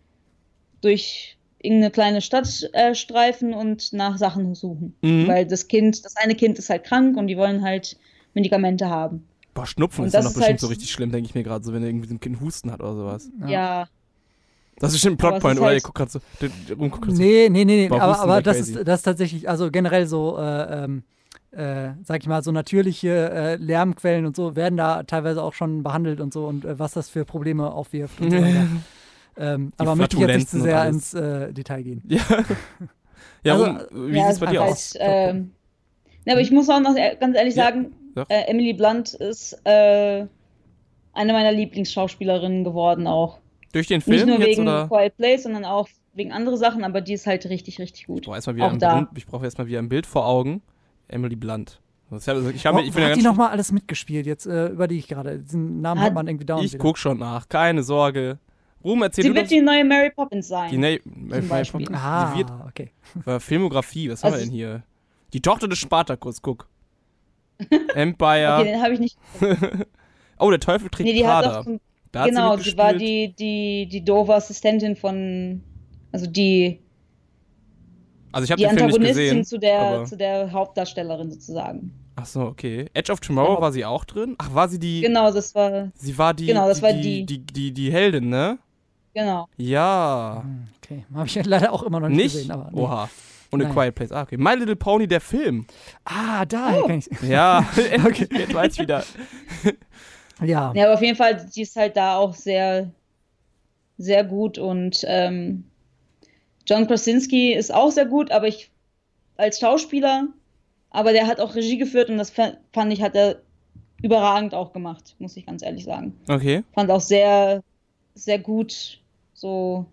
durch irgendeine kleine Stadt äh, streifen und nach Sachen suchen. Mhm. Weil das Kind, das eine Kind ist halt krank und die wollen halt Medikamente haben. es. Boah, Schnupfen Und ist ja das noch ist bestimmt halt- so richtig schlimm, denke ich mir gerade, so wenn irgendwie so ein Kind Husten hat oder sowas. Ja. Ja, Das ist bestimmt ein Aber es Plotpoint, ist oder? halt- Ihr guckt gerade so, der, der Rum guckt grad so. Nee, nee, nee, nee. War aber, Husten aber wäre das crazy. ist, das ist tatsächlich, also generell so, äh, ähm, äh, sag ich mal, so natürliche äh, Lärmquellen und so werden da teilweise auch schon behandelt und so und äh, was das für Probleme aufwirft und so weiter. ähm, aber möchte ich jetzt nicht zu Flatulenzen und sehr alles. ins äh, Detail gehen. Ja. Ja, Also, Rum, wie ja, sieht's bei es dir ist aus? halt, ähm, ne, aber ich muss auch noch e- ganz ehrlich Ja, sagen, sag. äh, Emily Blunt ist äh, eine meiner Lieblingsschauspielerinnen geworden auch. Durch den Nicht Film nur jetzt wegen oder? Quiet Place, sondern auch wegen anderen Sachen, aber die ist halt richtig, richtig gut. Ich brauche erstmal wieder, auch ein da. Bild- ich brauche erstmal wieder ein Bild vor Augen. Emily Blunt. Ich, hab, ich, hab, Oh, ich bin wo ja hat ganz die nochmal alles mitgespielt? Jetzt äh, überlege ich gerade. Diesen Namen hat, Hat- man irgendwie dauernd Ich wieder. guck schon nach, keine Sorge. Ruhm, erzähl Sie du wird das. die neue Mary Poppins sein. Die ne Zum Beispiel. Ah, Die wird, okay. äh, Filmografie, was haben wir Also- denn hier? Die Tochter des Spartacus, guck. Empire. Okay, den habe ich nicht. Oh, der Teufel trägt Nee, die hat Prada. auch so, Da hat genau, sie sie war mitgespielt. die, die, die doofe Assistentin von, also die, Also ich habe die den Film nicht Antagonistin gesehen. zu der, aber- zu der Hauptdarstellerin sozusagen. Ach so, okay. Edge of Tomorrow Ja. war sie auch drin? Ach, war sie die. Genau, das war, Sie war die. Genau, das die, war die, die. die, die, die Heldin, ne? genau. Ja. Hm, Okay, habe ich leider auch immer noch nicht, Nicht? gesehen. Aber, nee. Oha. Und A Nein. Quiet Place. Ah, okay. My Little Pony, der Film. Ah, da Oh. kann ich. Ja, okay. Jetzt weiß ich wieder. Ja. Ja, aber auf jeden Fall, die ist halt da auch sehr, sehr gut und ähm, John Krasinski ist auch sehr gut, aber ich als Schauspieler, aber der hat auch Regie geführt und das fa- fand ich, hat er überragend auch gemacht, muss ich ganz ehrlich sagen. Okay. Fand auch sehr, sehr gut so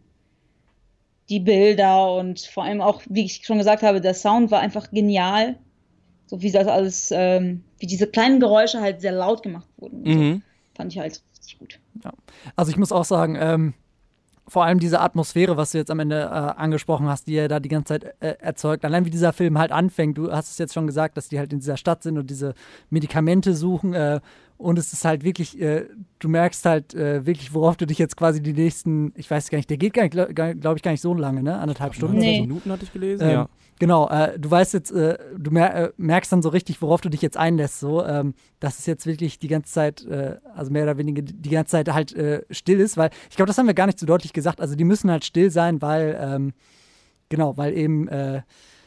die Bilder und vor allem auch, wie ich schon gesagt habe, der Sound war einfach genial. So wie das alles, ähm, wie diese kleinen Geräusche halt sehr laut gemacht wurden. und So. Mhm. Fand ich halt richtig gut. Also ich muss auch sagen, ähm, vor allem diese Atmosphäre, was du jetzt am Ende äh, angesprochen hast, die er da die ganze Zeit äh, erzeugt. Allein wie dieser Film halt anfängt, du hast es jetzt schon gesagt, dass die halt in dieser Stadt sind und diese Medikamente suchen äh, und es ist halt wirklich, äh, du merkst halt äh, wirklich, worauf du dich jetzt quasi die nächsten, ich weiß gar nicht, der geht, glaube glaub ich, gar nicht so lange, ne? Anderthalb Stunden Nee. oder so. Minuten hatte ich gelesen, Ähm, ja. Genau, äh, du weißt jetzt, äh, du mer äh, merkst dann so richtig, worauf du dich jetzt einlässt, so, ähm, dass es jetzt wirklich die ganze Zeit, äh, also mehr oder weniger die ganze Zeit halt äh, still ist, weil ich glaube, das haben wir gar nicht so deutlich gesagt, also die müssen halt still sein, weil, ähm, genau, weil eben äh,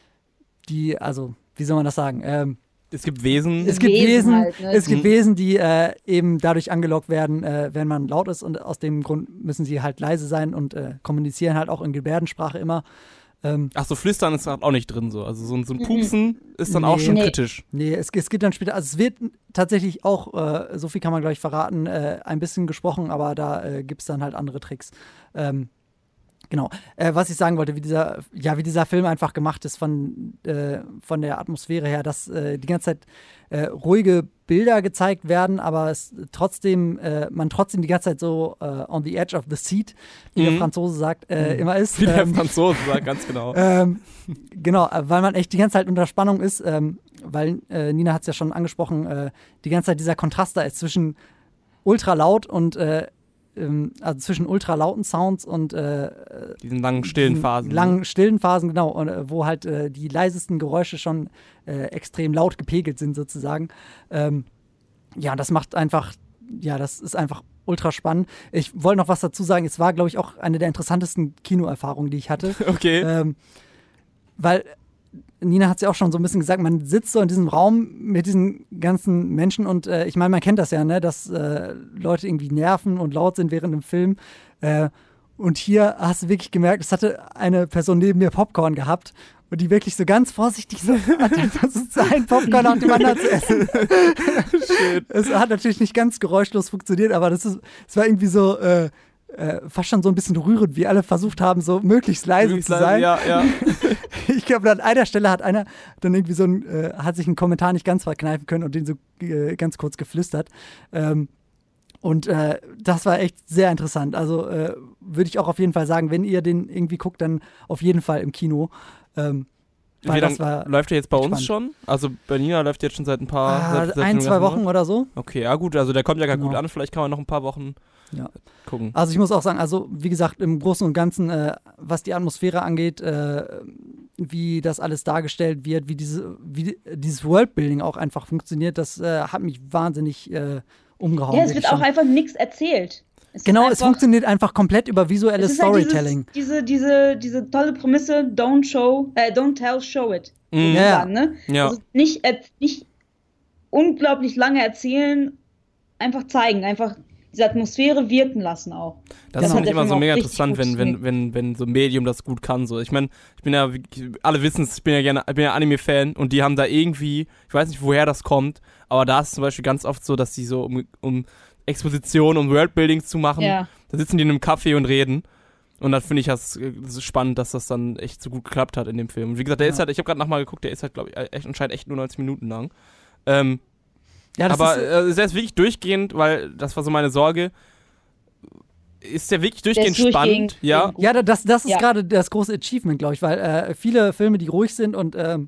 die, also, wie soll man das sagen, ähm, Es gibt Wesen. es gibt Wesen Wesen, halt, ne? es gibt Mhm. Wesen, die äh, eben dadurch angelockt werden, äh, wenn man laut ist und aus dem Grund müssen sie halt leise sein und äh, kommunizieren halt auch in Gebärdensprache immer. Ähm, Ach so, Flüstern ist auch nicht drin so. Also so ein, so ein Pupsen ist dann auch Nee. schon Nee. kritisch. Nee, es, es geht dann später, also es wird tatsächlich auch, äh, so viel kann man gleich verraten, äh, ein bisschen gesprochen, aber da äh, gibt es dann halt andere Tricks. Ähm, genau. Äh, was ich sagen wollte, wie dieser, ja, wie dieser Film einfach gemacht ist von, äh, von der Atmosphäre her, dass äh, die ganze Zeit äh, ruhige Bilder gezeigt werden, aber es trotzdem, äh, man trotzdem die ganze Zeit so äh, on the edge of the seat, wie Mhm. der Franzose sagt, äh, immer ist. Wie der Ähm, Franzose sagt, ganz genau. ähm, genau, äh, weil man echt die ganze Zeit unter Spannung ist, ähm, weil äh, Nina hat es ja schon angesprochen, äh, die ganze Zeit dieser Kontrast da ist zwischen ultra laut und äh, ähm, also zwischen ultra lauten Sounds und äh, Diesen langen, stillen diesen Phasen. langen stillen Phasen, genau, und, äh, wo halt äh, die leisesten Geräusche schon äh, extrem laut gepegelt sind sozusagen. Ähm, ja, das macht einfach, ja, das ist einfach ultra spannend. Ich wollte noch was dazu sagen, es war, glaube ich, auch eine der interessantesten Kinoerfahrungen, die ich hatte. Okay. Ähm, weil Nina hat es ja auch schon so ein bisschen gesagt, man sitzt so in diesem Raum mit diesen ganzen Menschen und äh, ich meine, man kennt das ja, ne, dass äh, Leute irgendwie nerven und laut sind während dem Film. Äh, und hier hast du wirklich gemerkt, es hatte eine Person neben mir Popcorn gehabt und die wirklich so ganz vorsichtig so versucht, ein Popcorn nach dem anderen zu essen. Es hat natürlich nicht ganz geräuschlos funktioniert, aber das ist, es war irgendwie so äh, äh, fast schon so ein bisschen rührend, wie alle versucht haben, so möglichst leise Möglichst zu sein. Ja, ja. Ich glaube, an einer Stelle hat einer dann irgendwie so ein, äh, hat sich einen Kommentar nicht ganz verkneifen können und den so äh, ganz kurz geflüstert. Ähm, und äh, das war echt sehr interessant. Also äh, würde ich auch auf jeden Fall sagen, wenn ihr den irgendwie guckt, dann auf jeden Fall im Kino. Ähm, weil Wie das lange war läuft der jetzt bei uns spannend. schon? Also bei Nina läuft jetzt schon seit ein paar ah, seit, seit ein, dem zwei ganzen Wochen Monat? oder so. Okay, ja gut, also der kommt ja gar Genau. gut an. Vielleicht kann man noch ein paar Wochen Ja. gucken. Also ich muss auch sagen, also wie gesagt, im Großen und Ganzen, äh, was die Atmosphäre angeht, äh, wie das alles dargestellt wird, wie, diese, wie dieses Worldbuilding auch einfach funktioniert, das äh, hat mich wahnsinnig äh, umgehauen. Ja, es wirklich wird auch schon. einfach nichts erzählt. Es ist Genau, es einfach- funktioniert einfach komplett über visuelles es ist halt Storytelling. dieses, diese, diese, diese tolle Prämisse, don't show, äh, don't tell, show it. Mhm. Ja. Sozusagen, ne? Ja. Also nicht, äh, nicht unglaublich lange erzählen, einfach zeigen, einfach diese Atmosphäre wirken lassen auch. Das Genau. finde ich hat der immer Film so auch mega richtig interessant, gut wenn, wenn, wenn, wenn so ein Medium das gut kann. So. Ich meine, ich bin ja, wie- alle wissen es, ich bin ja gerne, ich bin ja Anime-Fan und die haben da irgendwie, ich weiß nicht, woher das kommt, aber da ist es zum Beispiel ganz oft so, dass die so, um, um Exposition, um Worldbuilding zu machen, Ja. da sitzen die in einem Café und reden. Und dann finde ich das, äh, das ist spannend, dass das dann echt so gut geklappt hat in dem Film. Und wie gesagt, der Ja. ist halt, ich habe gerade nochmal geguckt, der ist halt, glaube ich, echt, anscheinend echt nur neunzig Minuten lang. Ähm, Ja, das aber ist, äh, der ist wirklich durchgehend, weil das war so meine Sorge. Ist der wirklich Der durchgehend ist spannend? durchgehend Ja. gut. ja, da- das, das ist Ja. gerade das große Achievement, glaube ich, weil äh, viele Filme, die ruhig sind und ähm,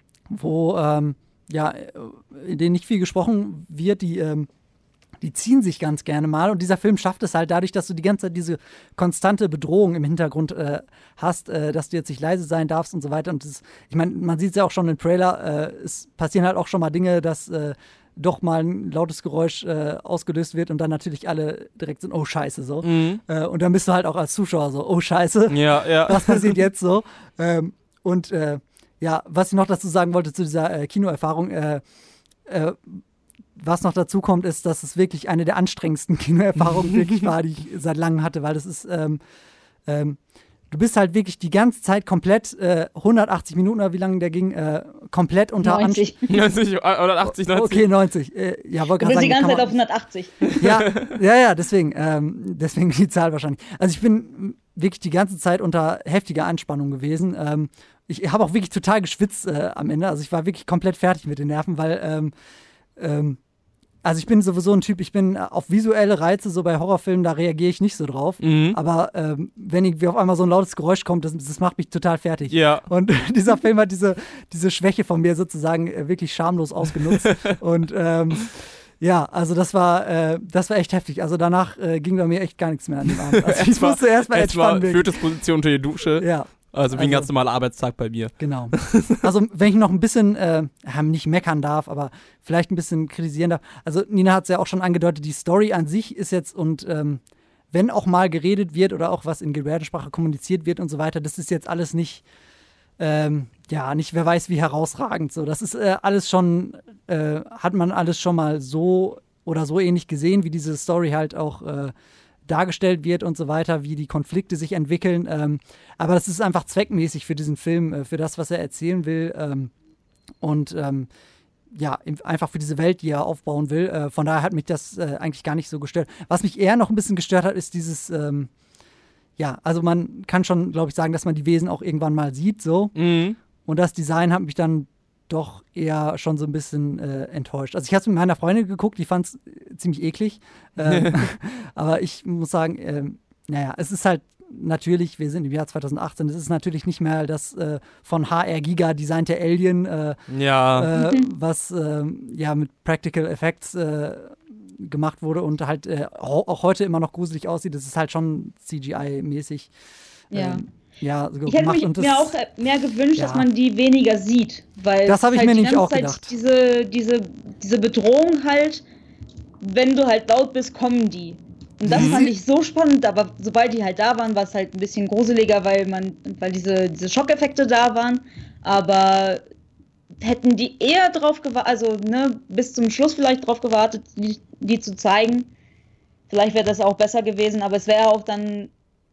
wo ähm, ja, äh, in denen nicht viel gesprochen wird, die, ähm, die ziehen sich ganz gerne mal. Und dieser Film schafft es halt dadurch, dass du die ganze Zeit diese konstante Bedrohung im Hintergrund äh, hast, äh, dass du jetzt nicht leise sein darfst und so weiter. Und das, ich meine, man sieht es ja auch schon im Trailer, äh, es passieren halt auch schon mal Dinge, dass äh, doch mal ein lautes Geräusch äh, ausgelöst wird und dann natürlich alle direkt sind, oh Scheiße, so. Mhm. Äh, und dann bist du halt auch als Zuschauer so, oh Scheiße, Ja, ja. was passiert jetzt so? Ähm, und äh, ja, was ich noch dazu sagen wollte zu dieser äh, Kinoerfahrung, äh, äh, was noch dazu kommt, ist, dass es wirklich eine der anstrengendsten Kinoerfahrungen wirklich war, die ich seit langem hatte, weil das ist, ähm, ähm, du bist halt wirklich die ganze Zeit komplett, äh, hundertachtzig Minuten oder wie lange der ging, äh, komplett unter neunzig. neunzig oder achtzig, neunzig. Okay, neunzig. Äh, ja, wollte Du gerade bist die sagen, ganze kann Zeit man- auf hundertachtzig. ja, ja, ja, deswegen, ähm, deswegen die Zahl wahrscheinlich. Also ich bin wirklich die ganze Zeit unter heftiger Anspannung gewesen. Ähm, ich habe auch wirklich total geschwitzt äh, am Ende. Also ich war wirklich komplett fertig mit den Nerven, weil ähm, ähm, also ich bin sowieso ein Typ, ich bin auf visuelle Reize, so bei Horrorfilmen, da reagiere ich nicht so drauf. Mhm. Aber ähm, wenn ich, wie auf einmal so ein lautes Geräusch kommt, das, das macht mich total fertig. Ja. Und dieser Film hat diese, diese Schwäche von mir sozusagen äh, wirklich schamlos ausgenutzt. Und ähm, ja, also das war, äh, das war echt heftig. Also danach äh, ging bei mir echt gar nichts mehr an dem Abend. Also ich musste erstmal Erstmal entspannen. Fötusposition unter die Dusche. Ja, Also wie ein Also- ganz normaler Arbeitstag bei mir. genau. Also wenn ich noch ein bisschen, äh, nicht meckern darf, aber vielleicht ein bisschen kritisieren darf. Also Nina hat es ja auch schon angedeutet, die Story an sich ist jetzt und ähm, wenn auch mal geredet wird oder auch was in Gebärdensprache kommuniziert wird und so weiter, das ist jetzt alles nicht, ähm, ja, nicht wer weiß wie herausragend. So, das ist äh, alles schon, äh, hat man alles schon mal so oder so ähnlich gesehen, wie diese Story halt auch äh, dargestellt wird und so weiter, wie die Konflikte sich entwickeln. Ähm, aber das ist einfach zweckmäßig für diesen Film, äh, für das, was er erzählen will. Ähm, und ähm, ja, im- einfach für diese Welt, die er aufbauen will. Äh, von daher hat mich das äh, eigentlich gar nicht so gestört. Was mich eher noch ein bisschen gestört hat, ist dieses, ähm, ja, also man kann schon, glaube ich, sagen, dass man die Wesen auch irgendwann mal sieht, so. Mhm. Und das Design hat mich dann doch eher schon so ein bisschen äh, enttäuscht. Also ich habe es mit meiner Freundin geguckt, die fand es ziemlich eklig. Ähm, aber ich muss sagen, ähm, naja, es ist halt natürlich, wir sind im Jahr zwanzig achtzehn, es ist natürlich nicht mehr das äh, von H R Giga designte Alien, äh, Ja. äh, was ähm, ja mit Practical Effects äh, gemacht wurde und halt äh, auch auch heute immer noch gruselig aussieht. Das ist halt schon C G I-mäßig. Ja. Ähm, ja, so Ich hätte gemacht. mich und das, mir auch mehr gewünscht, ja. dass man die weniger sieht. Weil Das habe ich halt mir die nämlich ganze auch Zeit gedacht. Diese, diese, diese Bedrohung halt, wenn du halt laut bist, kommen die. Und das Mhm. fand ich so spannend, aber sobald die halt da waren, war es halt ein bisschen gruseliger, weil man, weil diese, diese Schockeffekte da waren. Aber hätten die eher drauf gewartet, also ne, bis zum Schluss vielleicht drauf gewartet, die, die zu zeigen, vielleicht wäre das auch besser gewesen, aber es wäre auch dann,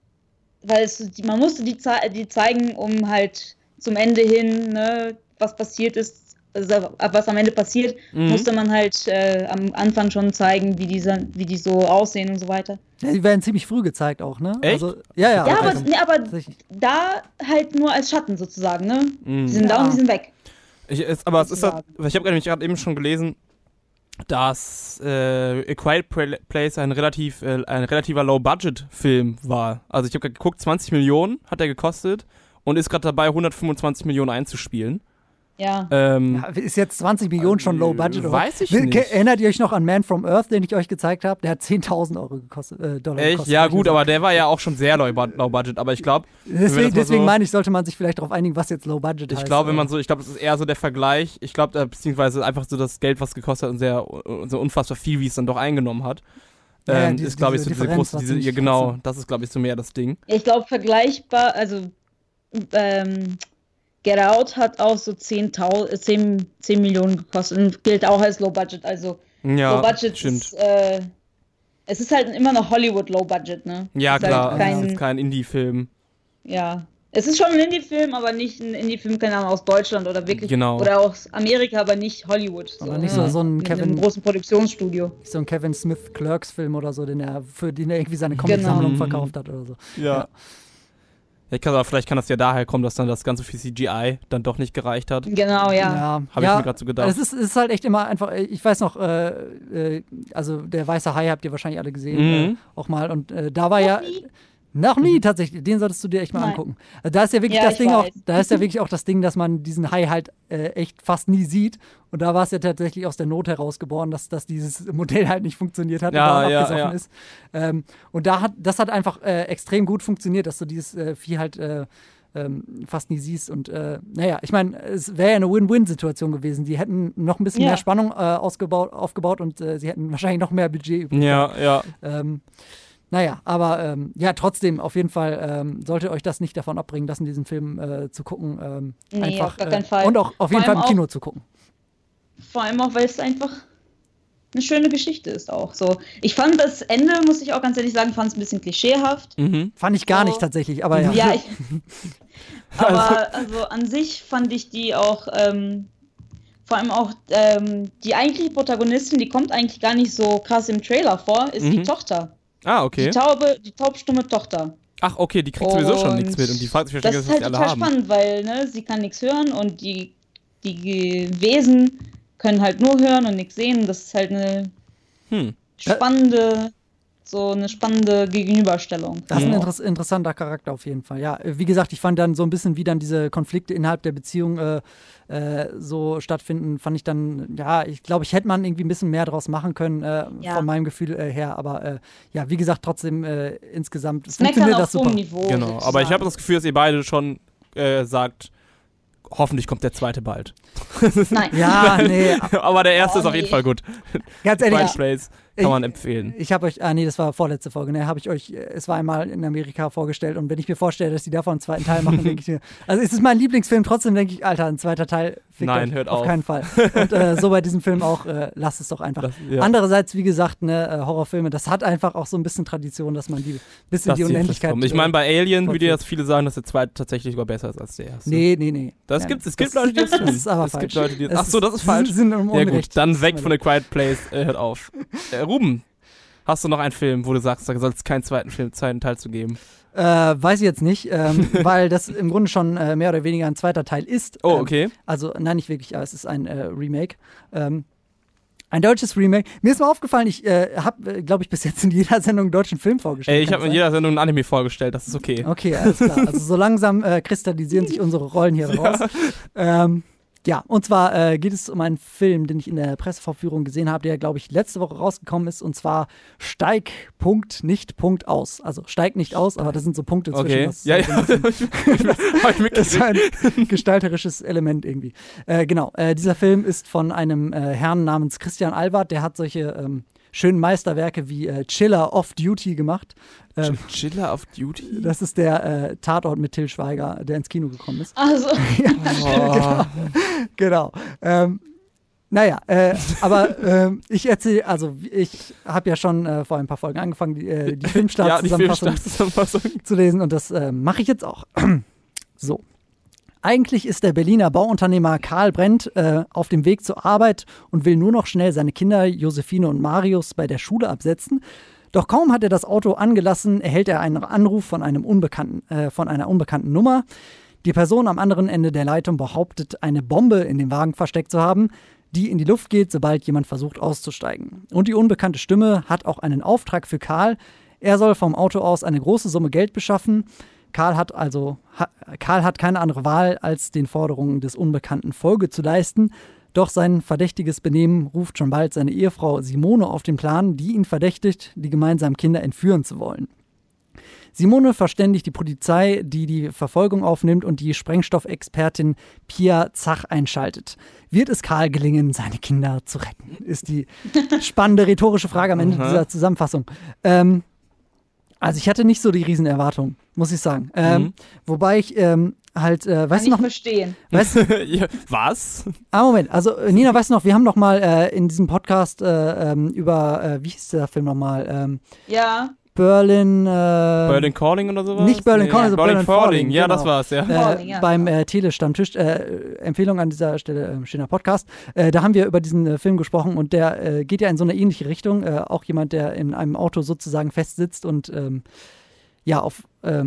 weil es, die, man musste die, zei- die zeigen, um halt zum Ende hin, ne, was passiert ist, also was am Ende passiert, Mhm. musste man halt äh, am Anfang schon zeigen, wie, diese, wie die so aussehen und so weiter. Ja, die werden ziemlich früh gezeigt auch, ne? Echt? Also, ja, ja. Ja, aber, also, nee, aber tatsächlich. da halt nur als Schatten sozusagen, ne? Mhm. Die sind da Ja. und die sind weg. Ich, es, aber es ist halt, Sozusagen. ich habe nämlich gerade eben schon gelesen, dass äh, A Quiet Place ein relativ äh, ein relativer Low-Budget-Film war. Also ich habe geguckt, zwanzig Millionen hat er gekostet und ist gerade dabei, hundertfünfundzwanzig Millionen einzuspielen. Ja. Ähm, Ja, ist jetzt zwanzig Millionen schon Low Budget? Oder? Weiß ich Will- nicht. ke- Erinnert ihr euch noch an Man from Earth, den ich euch gezeigt habe? Der hat zehntausend Euro gekostet, äh, Dollar Echt? gekostet. Ja gut, aber der war ja auch schon sehr low, low Budget. Aber ich glaube, Deswegen, mal deswegen so- meine ich, sollte man sich vielleicht darauf einigen, was jetzt Low Budget heißt. ich glaube, wenn man äh, so, ich glaube, das ist eher so der Vergleich. Ich glaube, äh, beziehungsweise einfach so das Geld, was gekostet hat und sehr äh, so unfassbar viel, wie es dann doch eingenommen hat. Ja, ja, Ähm, diese- ist glaube ich so diese diese Differenz große, war diese, ziemlich ja, genau, krass. das ist glaube ich so mehr das Ding. Ich glaube, vergleichbar, also ähm, Get Out hat auch so zehntausend, zehn, zehn Millionen gekostet und gilt auch als Low Budget. Also Ja, Low Budget stimmt. ist, äh, es ist halt immer noch Hollywood Low Budget, ne? Ja, ist halt klar, kein- das ist kein Indie-Film. Ja. Es ist schon ein Indie-Film, aber nicht ein Indie-Film, keine Ahnung, aus Deutschland oder wirklich. Genau. Oder aus Amerika, aber nicht Hollywood. Aber nicht so- ne? so ein Mit Kevin- einem großen Produktionsstudio. so ein Kevin Smith Clerks-Film oder so, den er, für den er irgendwie seine Comic-Sammlung Genau. verkauft hat oder so. Ja. Ich kann, aber vielleicht kann das ja daher kommen, dass dann das ganze für C G I dann doch nicht gereicht hat. Genau, ja. Ja, Habe ja, ich mir gerade so gedacht. Es ist, es ist halt echt immer einfach, ich weiß noch, äh, äh, also der Weiße Hai habt ihr wahrscheinlich alle gesehen, Mhm. äh, auch mal. Und äh, da war Noch ja. nie? Noch nie tatsächlich, den solltest du dir echt mal Nein. angucken. Also da ist ja wirklich Ja, das ich Ding auch, weiß. da ist ja wirklich auch das Ding, dass man diesen Hai halt äh, echt fast nie sieht. Und da war es ja tatsächlich aus der Not heraus geboren, dass, dass dieses Modell halt nicht funktioniert hat Ja, und da ja, abgesoffen ja. ist. Ähm, und da hat, das hat einfach äh, extrem gut funktioniert, dass du dieses äh, Vieh halt äh, ähm, fast nie siehst. Und äh, naja, ich meine, es wäre ja eine Win-Win-Situation gewesen. Die hätten noch ein bisschen Ja. mehr Spannung äh, ausgebaut, aufgebaut und äh, sie hätten wahrscheinlich noch mehr Budget übrig Ja, ja. ähm, naja, aber ähm, ja, trotzdem, auf jeden Fall ähm, sollte euch das nicht davon abbringen lassen, diesen Film äh, zu gucken. Ähm, Nee, einfach, auf gar keinen äh, Fall. Und auch auf jeden Vor Fall im allem Kino zu gucken. Vor allem auch, weil es einfach eine schöne Geschichte ist auch. So, ich fand das Ende, muss ich auch ganz ehrlich sagen, fand es ein bisschen klischeehaft. Mhm. Fand ich gar So. nicht tatsächlich, aber ja. Ja, ich, aber also an sich fand ich die auch, ähm, vor allem auch ähm, die eigentliche Protagonistin, die kommt eigentlich gar nicht so krass im Trailer vor, ist die Mhm. Tochter. Ah, okay. Die taube, die taubstumme Tochter. Ach, okay, die kriegt sowieso schon Und nichts mit und die fragt sich Das wahrscheinlich, ist was halt die alle total haben. spannend, weil ne, sie kann nichts hören und die, die Wesen können halt nur hören und nichts sehen. Das ist halt eine Hm. spannende, so eine spannende Gegenüberstellung. Das ist ein Mhm. interess interessanter Charakter auf jeden Fall. Ja, äh, wie gesagt, ich fand dann so ein bisschen, wie dann diese Konflikte innerhalb der Beziehung äh, äh, so stattfinden, fand ich dann, ja, ich glaube, ich hätte man irgendwie ein bisschen mehr draus machen können, äh, Ja. von meinem Gefühl äh, her. Aber äh, ja, wie gesagt, trotzdem äh, insgesamt Das meckern funktioniert auf das super. hohem Niveau. Genau, aber ich sozusagen. habe das Gefühl, dass ihr beide schon äh, sagt, hoffentlich kommt der zweite bald. Nein. Ja, nee, Aber der erste Oh, ist auf jeden nee. Fall gut. ganz ehrlich, Quiet Place kann Ich- man empfehlen. ich habe euch, ah nee, das war vorletzte Folge, ne, habe ich euch, äh, es war einmal in Amerika vorgestellt und wenn ich mir vorstelle, dass die davon einen zweiten Teil machen, denke ich mir, also es ist mein Lieblingsfilm, trotzdem denke ich, Alter, ein zweiter Teil, fickt Nein, euch, hört auf auf. keinen Fall. Und äh, so bei diesem Film auch, äh, lasst es doch einfach. Das, ja. Andererseits, wie gesagt, ne, äh, Horrorfilme, das hat einfach auch so ein bisschen Tradition, dass man die bis in Das die sieht Unendlichkeit. fest kommen. Ich meine, bei Alien würde fortführt. jetzt viele sagen, dass der zweite tatsächlich sogar besser ist als der erste. Nee, nee, nee. Das Nein, gibt, es gibt das- Leute, die das tun. Das ist aber es falsch. gibt Leute, die Es Ach so, das ist falsch. Sie sind im Ja Unrecht. gut, dann Das weg ist von der Quiet Place. Äh, hört auf. Äh, Ruben, hast du noch einen Film, wo du sagst, da soll es keinen zweiten Film, zweiten Teil zu geben? Äh, weiß ich jetzt nicht, ähm, weil das im Grunde schon äh, mehr oder weniger ein zweiter Teil ist. Oh, Ähm, okay. Also, nein, nicht wirklich, aber es ist ein äh, Remake. Ähm, ein deutsches Remake. Mir ist mal aufgefallen, ich äh, habe, äh, glaube ich, bis jetzt in jeder Sendung einen deutschen Film vorgestellt. Ey, ich Kann habe in das jeder Sendung ein Anime vorgestellt, das ist okay. sein? Okay, alles klar. Also so langsam äh, kristallisieren sich unsere Rollen hier raus. Ähm, ja, und zwar äh, geht es um einen Film, den ich in der Pressevorführung gesehen habe, der, glaube ich, letzte Woche rausgekommen ist, und zwar Steig, Punkt, nicht, Punkt, aus. Also steig nicht aus, aber das sind so Punkte zwischen. Okay. Das ist Ja, halt ja. so ein bisschen- Hab ich Das ist mitgekriegt. ein gestalterisches Element irgendwie. Äh, genau, äh, dieser Film ist von einem äh, Herrn namens Christian Albert, der hat solche ähm, schönen Meisterwerke wie äh, Chiller Off Duty gemacht. Ähm, Chiller of Duty? das ist der äh, Tatort mit Til Schweiger, der ins Kino gekommen ist. Also, Oh. Genau. Ähm, naja, äh, aber ähm, ich erzähle, also ich habe ja schon äh, vor ein paar Folgen angefangen, die, äh, die Ja, die Filmstartzusammenfassung Filmstartzusammenfassung. zu lesen, und das äh, mache ich jetzt auch. So. Eigentlich ist der Berliner Bauunternehmer Karl Brent äh, auf dem Weg zur Arbeit und will nur noch schnell seine Kinder Josephine und Marius bei der Schule absetzen. Doch kaum hat er das Auto angelassen, erhält er einen Anruf von, einem unbekannten, äh, von einer unbekannten Nummer. Die Person am anderen Ende der Leitung behauptet, eine Bombe in dem Wagen versteckt zu haben, die in die Luft geht, sobald jemand versucht auszusteigen. Und die unbekannte Stimme hat auch einen Auftrag für Karl. Er soll vom Auto aus eine große Summe Geld beschaffen. Karl hat also ha, Karl hat keine andere Wahl, als den Forderungen des Unbekannten Folge zu leisten. Doch sein verdächtiges Benehmen ruft schon bald seine Ehefrau Simone auf den Plan, die ihn verdächtigt, die gemeinsamen Kinder entführen zu wollen. Simone verständigt die Polizei, die die Verfolgung aufnimmt und die Sprengstoffexpertin Pia Zach einschaltet. Wird es Karl gelingen, seine Kinder zu retten? Ist die spannende rhetorische Frage am Ende Aha. dieser Zusammenfassung. Ähm, also ich hatte nicht so die Riesenerwartung, muss ich sagen. Ähm, Mhm. Wobei ich ähm, halt, äh, kann weißt du ich noch, verstehen. weißt, Ja, was? ah Moment, also äh, Nina, weißt du noch, wir haben noch mal äh, in diesem Podcast äh, ähm, über, äh, wie hieß der Film nochmal? Ähm, Ja, Berlin, äh, Berlin Calling oder sowas? nicht Berlin Calling, sondern Berlin Berlin Falling. Falling, Ja, genau. das war's, ja. äh, Falling, ja, beim genau. äh, Tele-Stammtisch, äh, Empfehlung an dieser Stelle, äh, schöner Podcast, äh, da haben wir über diesen äh, Film gesprochen, und der äh, geht ja in so eine ähnliche Richtung, äh, auch jemand, der in einem Auto sozusagen festsitzt und ähm, ja, auf, ähm,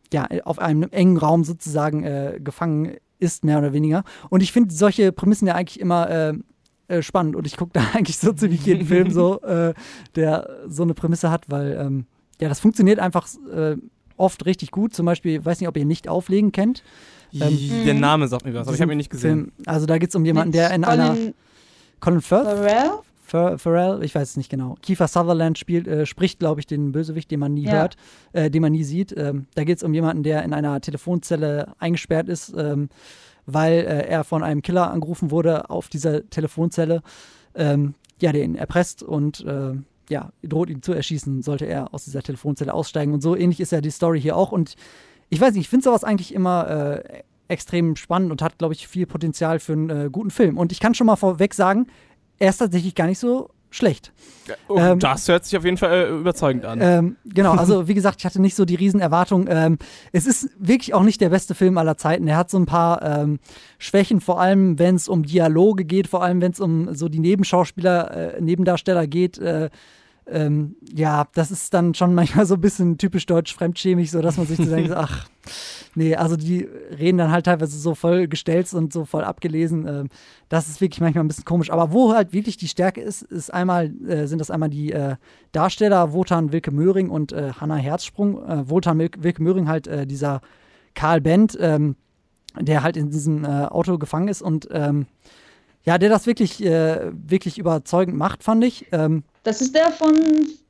ja, auf einem engen Raum sozusagen äh, gefangen ist, mehr oder weniger. Und ich finde solche Prämissen ja eigentlich immer äh, äh, spannend. Und ich gucke da eigentlich so ziemlich jeden Film so, äh, der so eine Prämisse hat, weil ähm, ja, das funktioniert einfach äh, oft richtig gut. Zum Beispiel, ich weiß nicht, ob ihr Nicht auflegen kennt. Ähm, Der Name sagt mir was, aber ich habe ihn nicht gesehen. Film, also da geht es um jemanden, der in einer Colin Firth? Farrell? Fer- Farrell, ich weiß es nicht genau. Kiefer Sutherland spielt, äh, spricht, glaube ich, den Bösewicht, den man nie Ja. hört, äh, den man nie sieht. Ähm, da geht es um jemanden, der in einer Telefonzelle eingesperrt ist, ähm, weil äh, er von einem Killer angerufen wurde auf dieser Telefonzelle, ähm, ja, der ihn erpresst und äh, ja, droht ihn zu erschießen, sollte er aus dieser Telefonzelle aussteigen. Und so ähnlich ist ja die Story hier auch. Und ich weiß nicht, ich finde sowas eigentlich immer äh, extrem spannend und hat, glaube ich, viel Potenzial für einen äh, guten Film. Und ich kann schon mal vorweg sagen, er ist tatsächlich gar nicht so schlecht. Oh, Ähm, das hört sich auf jeden Fall äh, überzeugend an. Ähm, genau, also wie gesagt, ich hatte nicht so die Riesenerwartung. Ähm, es ist wirklich auch nicht der beste Film aller Zeiten. Er hat so ein paar ähm, Schwächen, vor allem wenn es um Dialoge geht, vor allem wenn es um so die Nebenschauspieler, äh, Nebendarsteller geht. Äh, ähm, ja, das ist dann schon manchmal so ein bisschen typisch deutsch fremdschämig, so dass man sich so denkt, ach, nee, also die reden dann halt teilweise so voll gestellt und so voll abgelesen. Ähm, das ist wirklich manchmal ein bisschen komisch. Aber wo halt wirklich die Stärke ist, ist einmal, äh, sind das einmal die äh, Darsteller Wotan Wilke Möhring und äh, Hannah Herzsprung. Äh, Wotan Wil- Wilke Möhring halt äh, dieser Karl Bent, ähm, der halt in diesem äh, Auto gefangen ist und ähm, ja, der das wirklich, äh, wirklich überzeugend macht, fand ich. Ähm, Das ist der von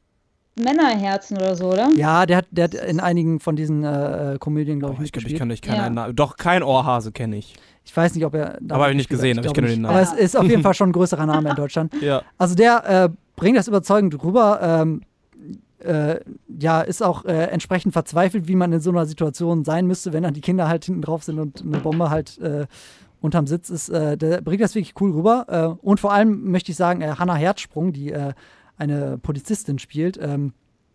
Männerherzen oder so, oder? ja, der hat, der hat in einigen von diesen äh, Komödien, glaube ich, Boah, ich glaube, ich mitgespielt. kann nicht keinen Ja. Namen. Doch, kein Ohrhase kenne ich. Ich weiß nicht, ob er. da Aber hab ich nicht mitgespielt gesehen, hat. aber ich glaube kenne den nicht. Namen. Aber es ist auf jeden Fall schon ein größerer Name in Deutschland. Ja. Also der äh, bringt das überzeugend rüber. Ähm, äh, ja, ist auch äh, entsprechend verzweifelt, wie man in so einer Situation sein müsste, wenn dann die Kinder halt hinten drauf sind und eine Bombe halt äh, unterm Sitz ist. Äh, der bringt das wirklich cool rüber. Äh, und vor allem möchte ich sagen, äh, Hannah Herzsprung, die äh, eine Polizistin spielt, ähm,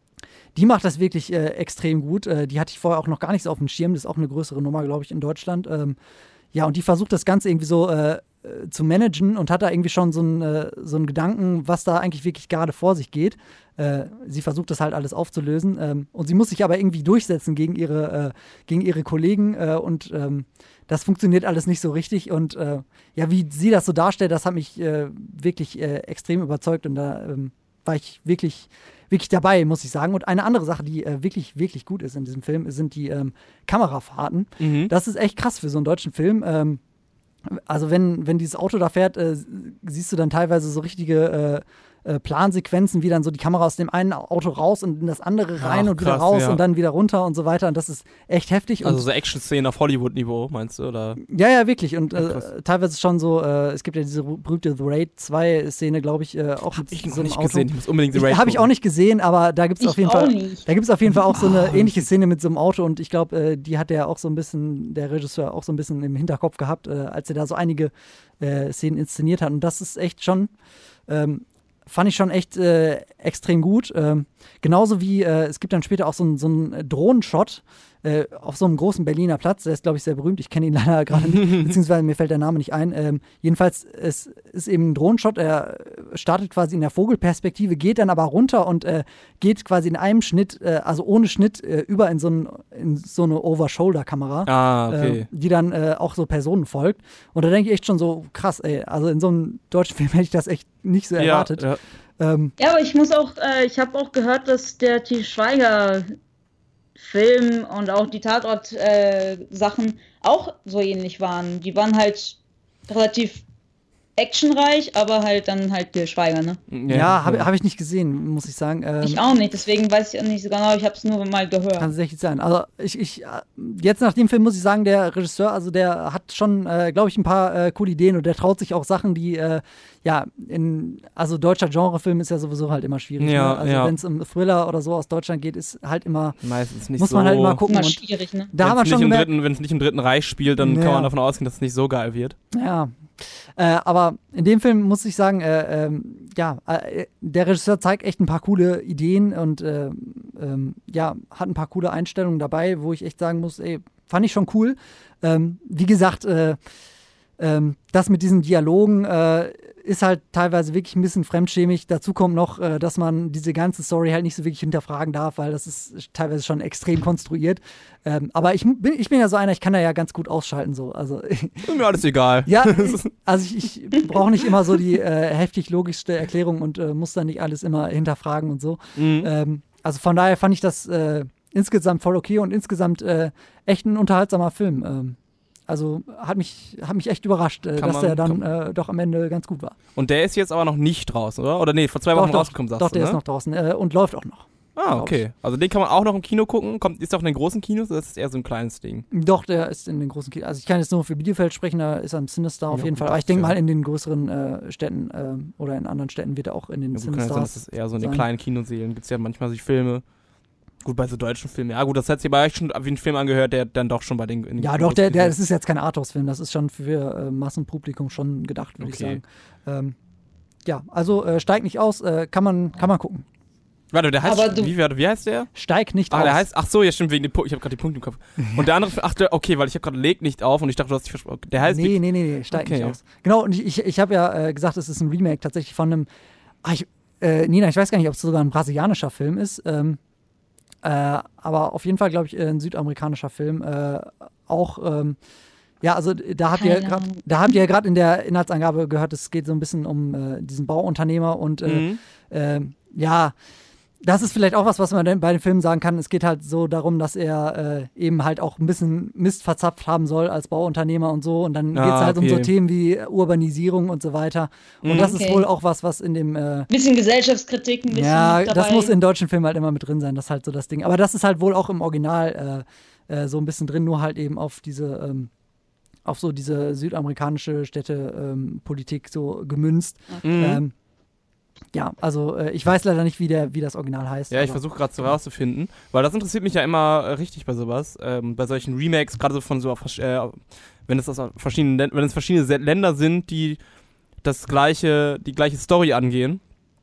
die macht das wirklich äh, extrem gut. Äh, die hatte ich vorher auch noch gar nicht so auf dem Schirm. Das ist auch eine größere Nummer, glaube ich, in Deutschland. Ähm, ja, und die versucht das Ganze irgendwie so äh, äh, zu managen und hat da irgendwie schon so einen äh, so einen Gedanken, was da eigentlich wirklich gerade vor sich geht. Äh, sie versucht das halt alles aufzulösen. Ähm, und sie muss sich aber irgendwie durchsetzen gegen ihre, äh, gegen ihre Kollegen. Äh, und ähm, das funktioniert alles nicht so richtig. Und äh, ja, wie sie das so darstellt, das hat mich äh, wirklich äh, extrem überzeugt. Und da ähm, war ich wirklich, wirklich dabei, muss ich sagen. Und eine andere Sache, die äh, wirklich, wirklich gut ist in diesem Film, sind die ähm, Kamerafahrten. Mhm. Das ist echt krass für so einen deutschen Film. Ähm, also wenn, wenn dieses Auto da fährt, äh, siehst du dann teilweise so richtige äh, äh, Plansequenzen, wie dann so die Kamera aus dem einen Auto raus und in das andere rein Ach, und wieder krass, raus ja. und dann wieder runter und so weiter. Und das ist echt heftig. Also und so Action-Szenen auf Hollywood-Niveau, meinst du? Oder? ja, ja, wirklich. Und Ja, krass. äh, teilweise schon so, äh, es gibt ja diese berühmte The Raid zwei Szene, glaube ich, äh, auch Hab mit ich noch so einem nicht Auto. gesehen. Ich muss unbedingt The Raid Habe ich auch gucken. nicht gesehen, aber da gibt es Ich auf jeden auch Fall. nicht. Da gibt es auf jeden Fall auch so eine Oh. ähnliche Szene mit so einem Auto und ich glaube, äh, die hat er auch so ein bisschen, der Regisseur auch so ein bisschen im Hinterkopf gehabt, äh, als er da so einige äh, Szenen inszeniert hat. Und das ist echt schon, ähm, fand ich schon echt äh, extrem gut. Ähm, genauso wie, äh, es gibt dann später auch so einen so einen Drohnenshot äh, auf so einem großen Berliner Platz. Der ist, glaube ich, sehr berühmt. Ich kenne ihn leider gerade nicht, beziehungsweise mir fällt der Name nicht ein. Ähm, jedenfalls, es ist eben ein Drohnenshot. Er startet quasi in der Vogelperspektive, geht dann aber runter und äh, geht quasi in einem Schnitt, äh, also ohne Schnitt, äh, über in so, ein, in so eine Over-Shoulder-Kamera. Ah, okay. äh, die dann äh, auch so Personen folgt. Und da denke ich echt schon so, krass, ey, also in so einem deutschen Film hätte ich das echt nicht so erwartet. Ja, ja. Ähm, Ja, aber ich muss auch, äh, ich habe auch gehört, dass der Til Schweiger Film und auch die Tatort-Sachen auch so ähnlich waren. Die waren halt relativ actionreich, aber halt dann halt Til Schweiger, ne? ja, habe hab ich nicht gesehen, muss ich sagen. Ähm, Ich auch nicht, deswegen weiß ich auch nicht so genau, ich habe es nur mal gehört. Kann tatsächlich sein. Also ich, ich, äh, jetzt nach dem Film muss ich sagen, der Regisseur, also der hat schon, äh, glaube ich, ein paar äh, coole Ideen und der traut sich auch Sachen, die, äh, ja, in, also deutscher Genrefilm ist ja sowieso halt immer schwierig. Ja, ne? Also ja. wenn es um Thriller oder so aus Deutschland geht, ist halt immer, Meistens nicht muss so. man halt immer gucken. Immer Und schwierig, ne? da haben wir Wenn's schon nicht im gemerkt, dritten, wenn es nicht im Dritten Reich spielt, dann Ja. kann man davon ausgehen, dass es nicht so geil wird. ja. Äh, aber in dem Film muss ich sagen, äh, ähm, ja, äh, der Regisseur zeigt echt ein paar coole Ideen und äh, ähm, ja, hat ein paar coole Einstellungen dabei, wo ich echt sagen muss, ey, fand ich schon cool. Ähm, wie gesagt, äh, ähm, das mit diesen Dialogen äh, ist halt teilweise wirklich ein bisschen fremdschämig. Dazu kommt noch, äh, dass man diese ganze Story halt nicht so wirklich hinterfragen darf, weil das ist teilweise schon extrem konstruiert. Ähm, aber ich bin, ich bin ja so einer, ich kann da ja ganz gut ausschalten. So. Also, ist mir alles egal. Ja, also ich, ich brauche nicht immer so die äh, heftig logischste Erklärung und äh, muss dann nicht alles immer hinterfragen und so. Mhm. Ähm, also von daher fand ich das äh, insgesamt voll okay und insgesamt äh, echt ein unterhaltsamer Film. Ähm, Also hat mich, hat mich echt überrascht, äh, dass man, der dann äh, doch am Ende ganz gut war. Und der ist jetzt aber noch nicht draußen, oder? Oder nee, vor zwei Wochen doch, rausgekommen, sagst doch, du, der ne? ist noch draußen äh, und läuft auch noch. Ah, okay. Also den kann man auch noch im Kino gucken. Kommt, ist auch in den großen Kinos oder ist das eher so ein kleines Ding? Doch, der ist in den großen Kinos. Also ich kann jetzt nur für Bielefeld sprechen, da ist er im Sinister auf ja, jeden gut, Fall. Aber ich denke ja. mal, in den größeren äh, Städten äh, oder in anderen Städten wird er auch in den ja, gut, Cinestars kann ja sein, dass das eher so in den sein. kleinen Kinosälen gibt es ja manchmal sich Filme. Gut, bei so deutschen Filmen. Ja gut, das hat sich aber echt schon wie ein Film angehört, der dann doch schon bei den... In den ja doch, der, der, das ist jetzt kein Arthouse-Film, das ist schon für äh, Massenpublikum schon gedacht, würde okay. ich sagen. Ähm, ja, also äh, steigt nicht aus, äh, kann, man, kann man gucken. Warte, der heißt, Aber wie, wie, wie heißt der? Steig nicht ah, aus. Der heißt, ach so, ja stimmt, wegen dem Punkt, ich habe gerade die Punkte im Kopf. Und der andere, ach der, okay, weil ich habe gerade Leg nicht auf und ich dachte, du hast dich versprochen. Der heißt... Nee, nee, nee, nee, steig okay, nicht ja. aus. Genau, und ich, ich, ich habe ja äh, gesagt, es ist ein Remake tatsächlich von einem, ah, ich, äh, Nina, ich weiß gar nicht, ob es sogar ein brasilianischer Film ist, ähm, Äh, aber auf jeden Fall, glaube ich, ein südamerikanischer Film. Äh, auch, ähm, ja, also da habt ihr grad, da habt ihr gerade in der Inhaltsangabe gehört, es geht so ein bisschen um äh, diesen Bauunternehmer und äh, Mhm. äh, ja, das ist vielleicht auch was, was man bei den Filmen sagen kann. Es geht halt so darum, dass er äh, eben halt auch ein bisschen Mist verzapft haben soll als Bauunternehmer und so. Und dann Ah, geht es halt okay. um so Themen wie Urbanisierung und so weiter. Und Mhm. das Okay. ist wohl auch was, was in dem äh, Bisschen Gesellschaftskritik, ein bisschen ja, dabei. das muss in deutschen Filmen halt immer mit drin sein, das ist halt so das Ding. Aber das ist halt wohl auch im Original äh, äh, so ein bisschen drin, nur halt eben auf diese, ähm, auf so diese südamerikanische Städtepolitik ähm, so gemünzt. Mhm. Ähm, ja, also äh, ich weiß leider nicht, wie, der, wie das Original heißt. Ja, ich aber- versuche gerade so rauszufinden, weil das interessiert mich ja immer äh, richtig bei sowas, ähm, bei solchen Remakes, gerade so von so, äh, wenn es aus verschiedenen, Län- wenn es verschiedene Se- Länder sind, die das gleiche, die gleiche Story angehen,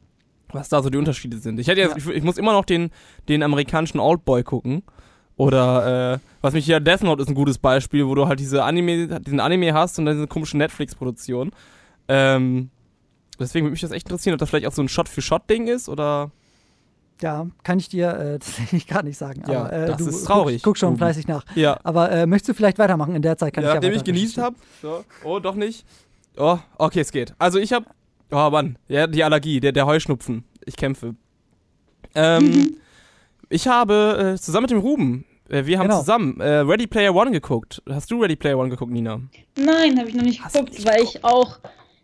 was da so die Unterschiede sind. Ich hätte jetzt, Ja. ich, ich muss immer noch den, den amerikanischen Oldboy gucken. Oder, äh, was mich hier, Death Note ist ein gutes Beispiel, wo du halt diese Anime, diesen Anime hast und dann diese komische Netflix-Produktion. Ähm, deswegen würde mich das echt interessieren, ob das vielleicht auch so ein Shot-für-Shot-Ding ist, oder... Ja, kann ich dir äh, tatsächlich gar nicht sagen. Ja, aber, äh, das du ist traurig. Guck, guck schon Ruben. fleißig nach. Ja. Aber äh, möchtest du vielleicht weitermachen? In der Zeit kann Ja, ich ja nachdem ich weiter genießt recherchieren. habe. So. Oh, doch nicht. Oh, okay, es geht. Also ich habe, oh Mann, ja, die Allergie, der, der Heuschnupfen. Ich kämpfe. Ähm, ich habe äh, zusammen mit dem Ruben, äh, wir haben Genau. zusammen äh, Ready Player One geguckt. Hast du Ready Player One geguckt, Nina? Nein, habe ich noch nicht Hast du geguckt, nicht weil ich auch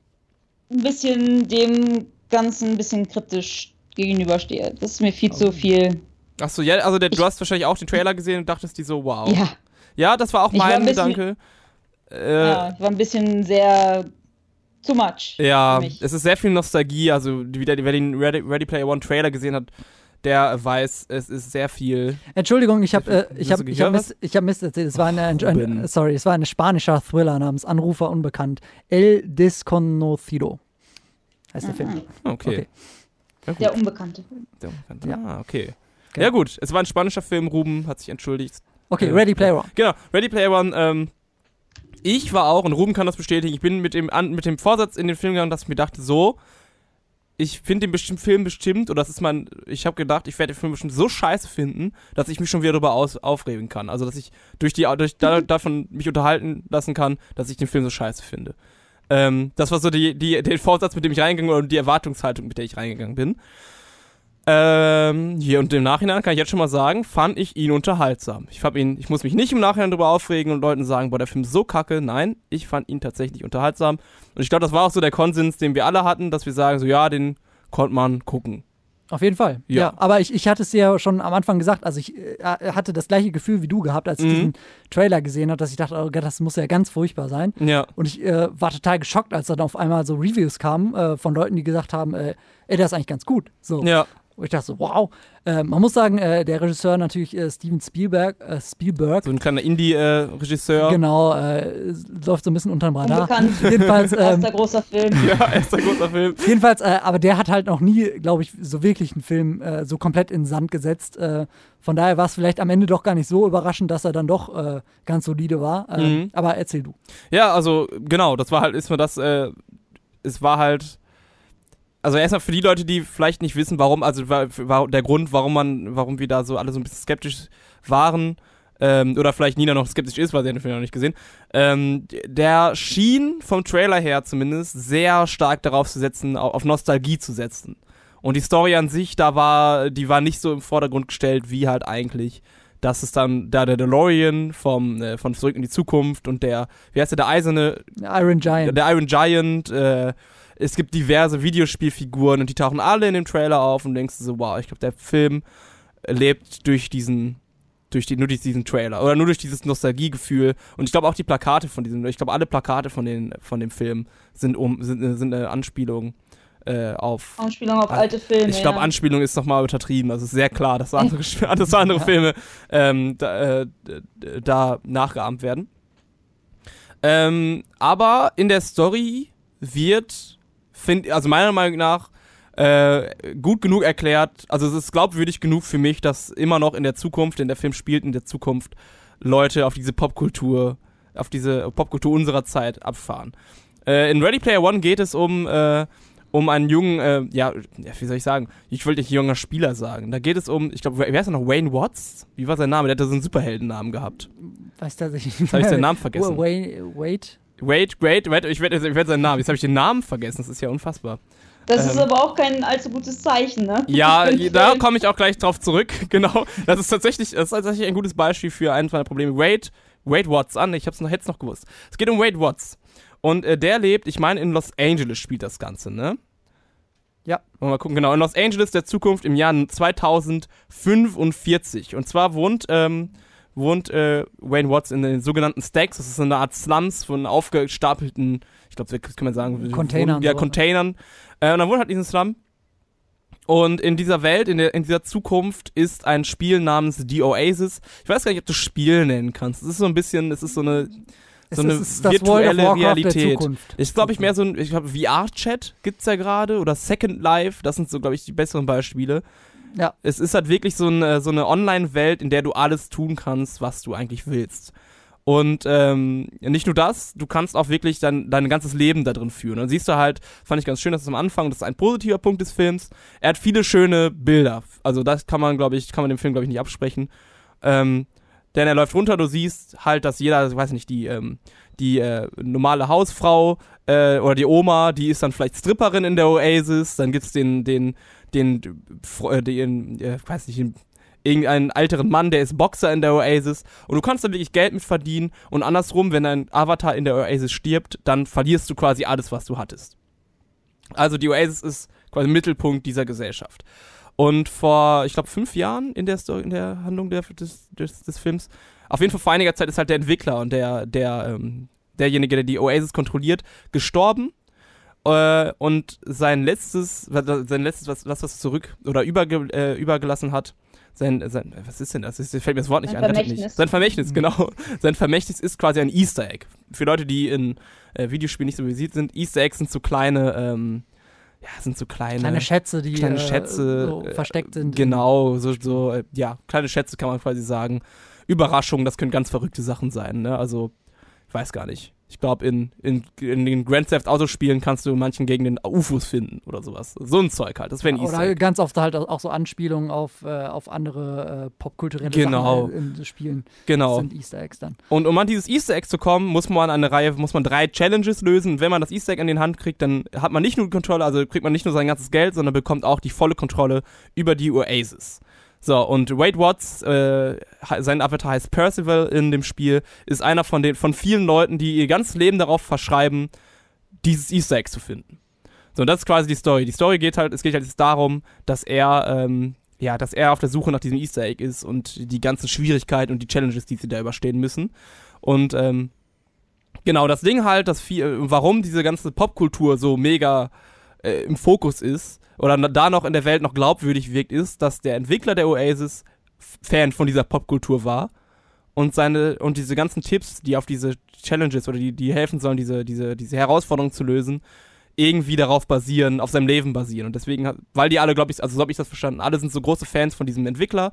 ein bisschen dem Ganzen ein bisschen kritisch gegenüberstehe. Das ist mir viel Oh. zu viel. Achso, ja, also der, du Ich- hast wahrscheinlich auch den Trailer gesehen und dachtest dir so, wow. Ja, Ja, das war auch Ich war mein ein bisschen- Gedanke. Äh, ja, war ein bisschen sehr too much. Ja, für mich. es ist sehr viel Nostalgie. Also, wer den Ready, Ready Player One Trailer gesehen hat, der weiß, es ist sehr viel. Entschuldigung, ich habe äh, ich Hast hab, du ich hab gehört, Mist, ich hab Mist erzählt. Es war eine, ein, Ruben. ein, sorry, es war ein spanischer Thriller namens Anrufer unbekannt. El Desconocido heißt der Film. Okay. Okay. Ja, gut. Der Unbekannte. Der Unbekannte. Ja. Ah, okay. Okay. Ja, gut. Es war ein spanischer Film. Ruben hat sich entschuldigt. Okay, Äh, Ready Player One. Genau, Ready Player One. Ähm, ich war auch, und Ruben kann das bestätigen, ich bin mit dem, an, mit dem Vorsatz in den Film gegangen, dass ich mir dachte, so, ich finde den bestimmt, Film bestimmt, oder das ist mein, ich habe gedacht, ich werde den Film bestimmt so scheiße finden, dass ich mich schon wieder darüber aus, aufregen kann. Also, dass ich durch die, durch, da, davon mich unterhalten lassen kann, dass ich den Film so scheiße finde. Ähm, das war so die, die, der Vorsatz, mit dem ich reingegangen bin, und die Erwartungshaltung, mit der ich reingegangen bin. Ähm, hier und im Nachhinein kann ich jetzt schon mal sagen, fand ich ihn unterhaltsam. Ich fand ihn, ich muss mich nicht im Nachhinein darüber aufregen und Leuten sagen, boah, der Film ist so kacke. Nein, ich fand ihn tatsächlich unterhaltsam. Und ich glaube, das war auch so der Konsens, den wir alle hatten, dass wir sagen, so ja, den konnte man gucken. Auf jeden Fall. Ja, Ja. aber ich, ich hatte es ja schon am Anfang gesagt, also ich äh, hatte das gleiche Gefühl wie du gehabt, als ich Mhm. diesen Trailer gesehen habe, dass ich dachte, oh Gott, das muss ja ganz furchtbar sein. Ja. Und ich äh, war total geschockt, als dann auf einmal so Reviews kamen äh, von Leuten, die gesagt haben, äh, ey, der ist eigentlich ganz gut. So. Ja. Und ich dachte so, wow. Äh, man muss sagen, äh, der Regisseur natürlich äh, Steven Spielberg, äh, Spielberg, So ein kleiner Indie-Regisseur. genau, äh, läuft so ein bisschen unterm Radar. Unbekannt. Jedenfalls, ähm, Erster großer Film. Ja, erster großer Film. Jedenfalls, äh, aber der hat halt noch nie, glaube ich, so wirklich einen Film äh, so komplett in den Sand gesetzt. Äh, von daher war es vielleicht am Ende doch gar nicht so überraschend, dass er dann doch äh, ganz solide war. Ähm, Mhm. Aber erzähl du. Ja, also genau, das war halt, ist mir das, äh, es war halt, also erstmal für die Leute, die vielleicht nicht wissen, warum, also war, war der Grund, warum man, warum wir da so alle so ein bisschen skeptisch waren, ähm, oder vielleicht Nina noch skeptisch ist, weil sie den Film noch nicht gesehen, ähm, der schien vom Trailer her zumindest sehr stark darauf zu setzen, auf Nostalgie zu setzen. Und die Story an sich, da war, die war nicht so im Vordergrund gestellt, wie halt eigentlich, dass es dann da der DeLorean vom, äh, von Zurück in die Zukunft und der, wie heißt der, der eiserne, Iron Giant. Der Iron Giant, äh, es gibt diverse Videospielfiguren und die tauchen alle in dem Trailer auf und denkst du so, wow, ich glaube, der Film lebt durch diesen, durch die, nur durch diesen Trailer oder nur durch dieses Nostalgiegefühl und ich glaube auch die Plakate von diesem, ich glaube alle Plakate von den, von dem Film sind um, sind, sind eine Anspielung äh, auf Anspielung auf alte Filme. Ich glaube, ja. Anspielung ist nochmal übertrieben. Also es ist sehr klar, dass andere, dass andere Filme ähm, da, äh, da nachgeahmt werden. Ähm, aber in der Story wird, find, also meiner Meinung nach, äh, gut genug erklärt, also es ist glaubwürdig genug für mich, dass immer noch in der Zukunft, denn der Film spielt in der Zukunft, Leute auf diese Popkultur, auf diese Popkultur unserer Zeit abfahren. Äh, in Ready Player One geht es um äh, um einen jungen, äh, ja, wie soll ich sagen, ich wollte nicht junger Spieler sagen. Da geht es um, ich glaube, wer ist er noch? Wayne Watts? Wie war sein Name? Der hatte so einen Superheldennamen gehabt. Weiß tatsächlich nicht. Jetzt habe ich seinen Namen vergessen. Wait, wait. Wait, wait, wait, ich werde ich werd seinen Namen, jetzt habe ich den Namen vergessen, das ist ja unfassbar. Das ähm, ist aber auch kein allzu gutes Zeichen, ne? Ja, da komme ich auch gleich drauf zurück, genau. Das ist tatsächlich, das ist tatsächlich ein gutes Beispiel für eines meiner Probleme. Wade, Wade Watts an, ich habe es noch, jetzt noch gewusst. Es geht um Wade Watts. Und äh, der lebt, ich meine, in Los Angeles spielt das Ganze, ne? Ja. Wollen wir mal gucken, genau. In Los Angeles der Zukunft im Jahr zweitausendfünfundvierzig. Und zwar wohnt, ähm, wohnt äh, Wayne Watts in den sogenannten Stacks. Das ist eine Art Slums von aufgestapelten, ich glaube, das kann man sagen, Containern. Ja, Containern. Äh, und dann wohnt halt in diesem Slum. Und in dieser Welt, in, der, in dieser Zukunft ist ein Spiel namens The Oasis. Ich weiß gar nicht, ob du Spiel nennen kannst. Es ist so ein bisschen, es ist so eine... So eine ist das virtuelle World of Warcraft Realität. Der Zukunft. Ich glaube, ich mehr so ein, ich glaube, V R-Chat gibt's ja gerade oder Second Life, das sind so, glaube ich, die besseren Beispiele. Ja. Es ist halt wirklich so eine, so eine Online-Welt, in der du alles tun kannst, was du eigentlich willst. Und ähm, nicht nur das, du kannst auch wirklich dein, dein ganzes Leben da drin führen. Und dann siehst du halt, fand ich ganz schön, dass es am Anfang, das ist ein positiver Punkt des Films, er hat viele schöne Bilder. Also das kann man, glaube ich, kann man dem Film, glaube ich, nicht absprechen. Ähm, Denn er läuft runter, du siehst halt, dass jeder, ich weiß nicht, die, ähm, die äh, normale Hausfrau äh, oder die Oma, die ist dann vielleicht Stripperin in der Oasis, dann gibt's den, den, den, den, den äh, weiß nicht, den, irgendeinen älteren Mann, der ist Boxer in der Oasis und du kannst da wirklich Geld mit verdienen und andersrum, wenn dein Avatar in der Oasis stirbt, dann verlierst du quasi alles, was du hattest. Also die Oasis ist quasi Mittelpunkt dieser Gesellschaft. Und vor, ich glaube, fünf Jahren in der Story, in der Handlung der, des, des, des Films, auf jeden Fall vor einiger Zeit ist halt der Entwickler und der, der, ähm, derjenige, der die Oasis kontrolliert, gestorben. Äh, und sein letztes, sein letztes, was, was was zurück oder überge, äh, übergelassen hat, sein, sein, was ist denn das? Das fällt mir das Wort nicht ein ein. Vermächtnis. Nicht. Sein Vermächtnis, genau. Sein Vermächtnis ist quasi ein Easter Egg. Für Leute, die in äh, Videospielen nicht so versiert sind, Easter Eggs sind so kleine, ähm, ja, sind so kleine... Kleine Schätze, die kleine äh, Schätze, so versteckt sind. Genau, so, so äh, ja, kleine Schätze kann man quasi sagen. Überraschungen, das können ganz verrückte Sachen sein, ne? Also, ich weiß gar nicht. Ich glaube, in, in, in den Grand Theft Auto Spielen kannst du in manchen Gegenden U F Os finden oder sowas. So ein Zeug halt, das wäre ein Easter Oder Egg. ganz oft halt auch so Anspielungen auf, äh, auf andere äh, popkulturelle Genau. Sachen in Spielen. Genau. Das sind Easter Eggs dann. Und um an dieses Easter Egg zu kommen, muss man eine Reihe, muss man drei Challenges lösen. Und wenn man das Easter Egg in den Hand kriegt, dann hat man nicht nur die Kontrolle, also kriegt man nicht nur sein ganzes Geld, sondern bekommt auch die volle Kontrolle über die Oasis. So, und Wade Watts, äh, sein Avatar heißt Percival in dem Spiel, ist einer von den von vielen Leuten, die ihr ganzes Leben darauf verschreiben, dieses Easter Egg zu finden. So, und das ist quasi die Story. Die Story geht halt, es geht halt jetzt darum, dass er, ähm, ja, dass er auf der Suche nach diesem Easter Egg ist und die ganzen Schwierigkeiten und die Challenges, die sie da überstehen müssen. Und, ähm, genau, das Ding halt, das viel, warum diese ganze Popkultur so mega äh, im Fokus ist, oder da noch in der Welt noch glaubwürdig wirkt, ist, dass der Entwickler der Oasis Fan von dieser Popkultur war und seine und diese ganzen Tipps, die auf diese Challenges oder die, die helfen sollen, diese, diese, diese Herausforderungen zu lösen, irgendwie darauf basieren, auf seinem Leben basieren. Und deswegen, weil die alle, glaube ich, also so habe ich das verstanden, alle sind so große Fans von diesem Entwickler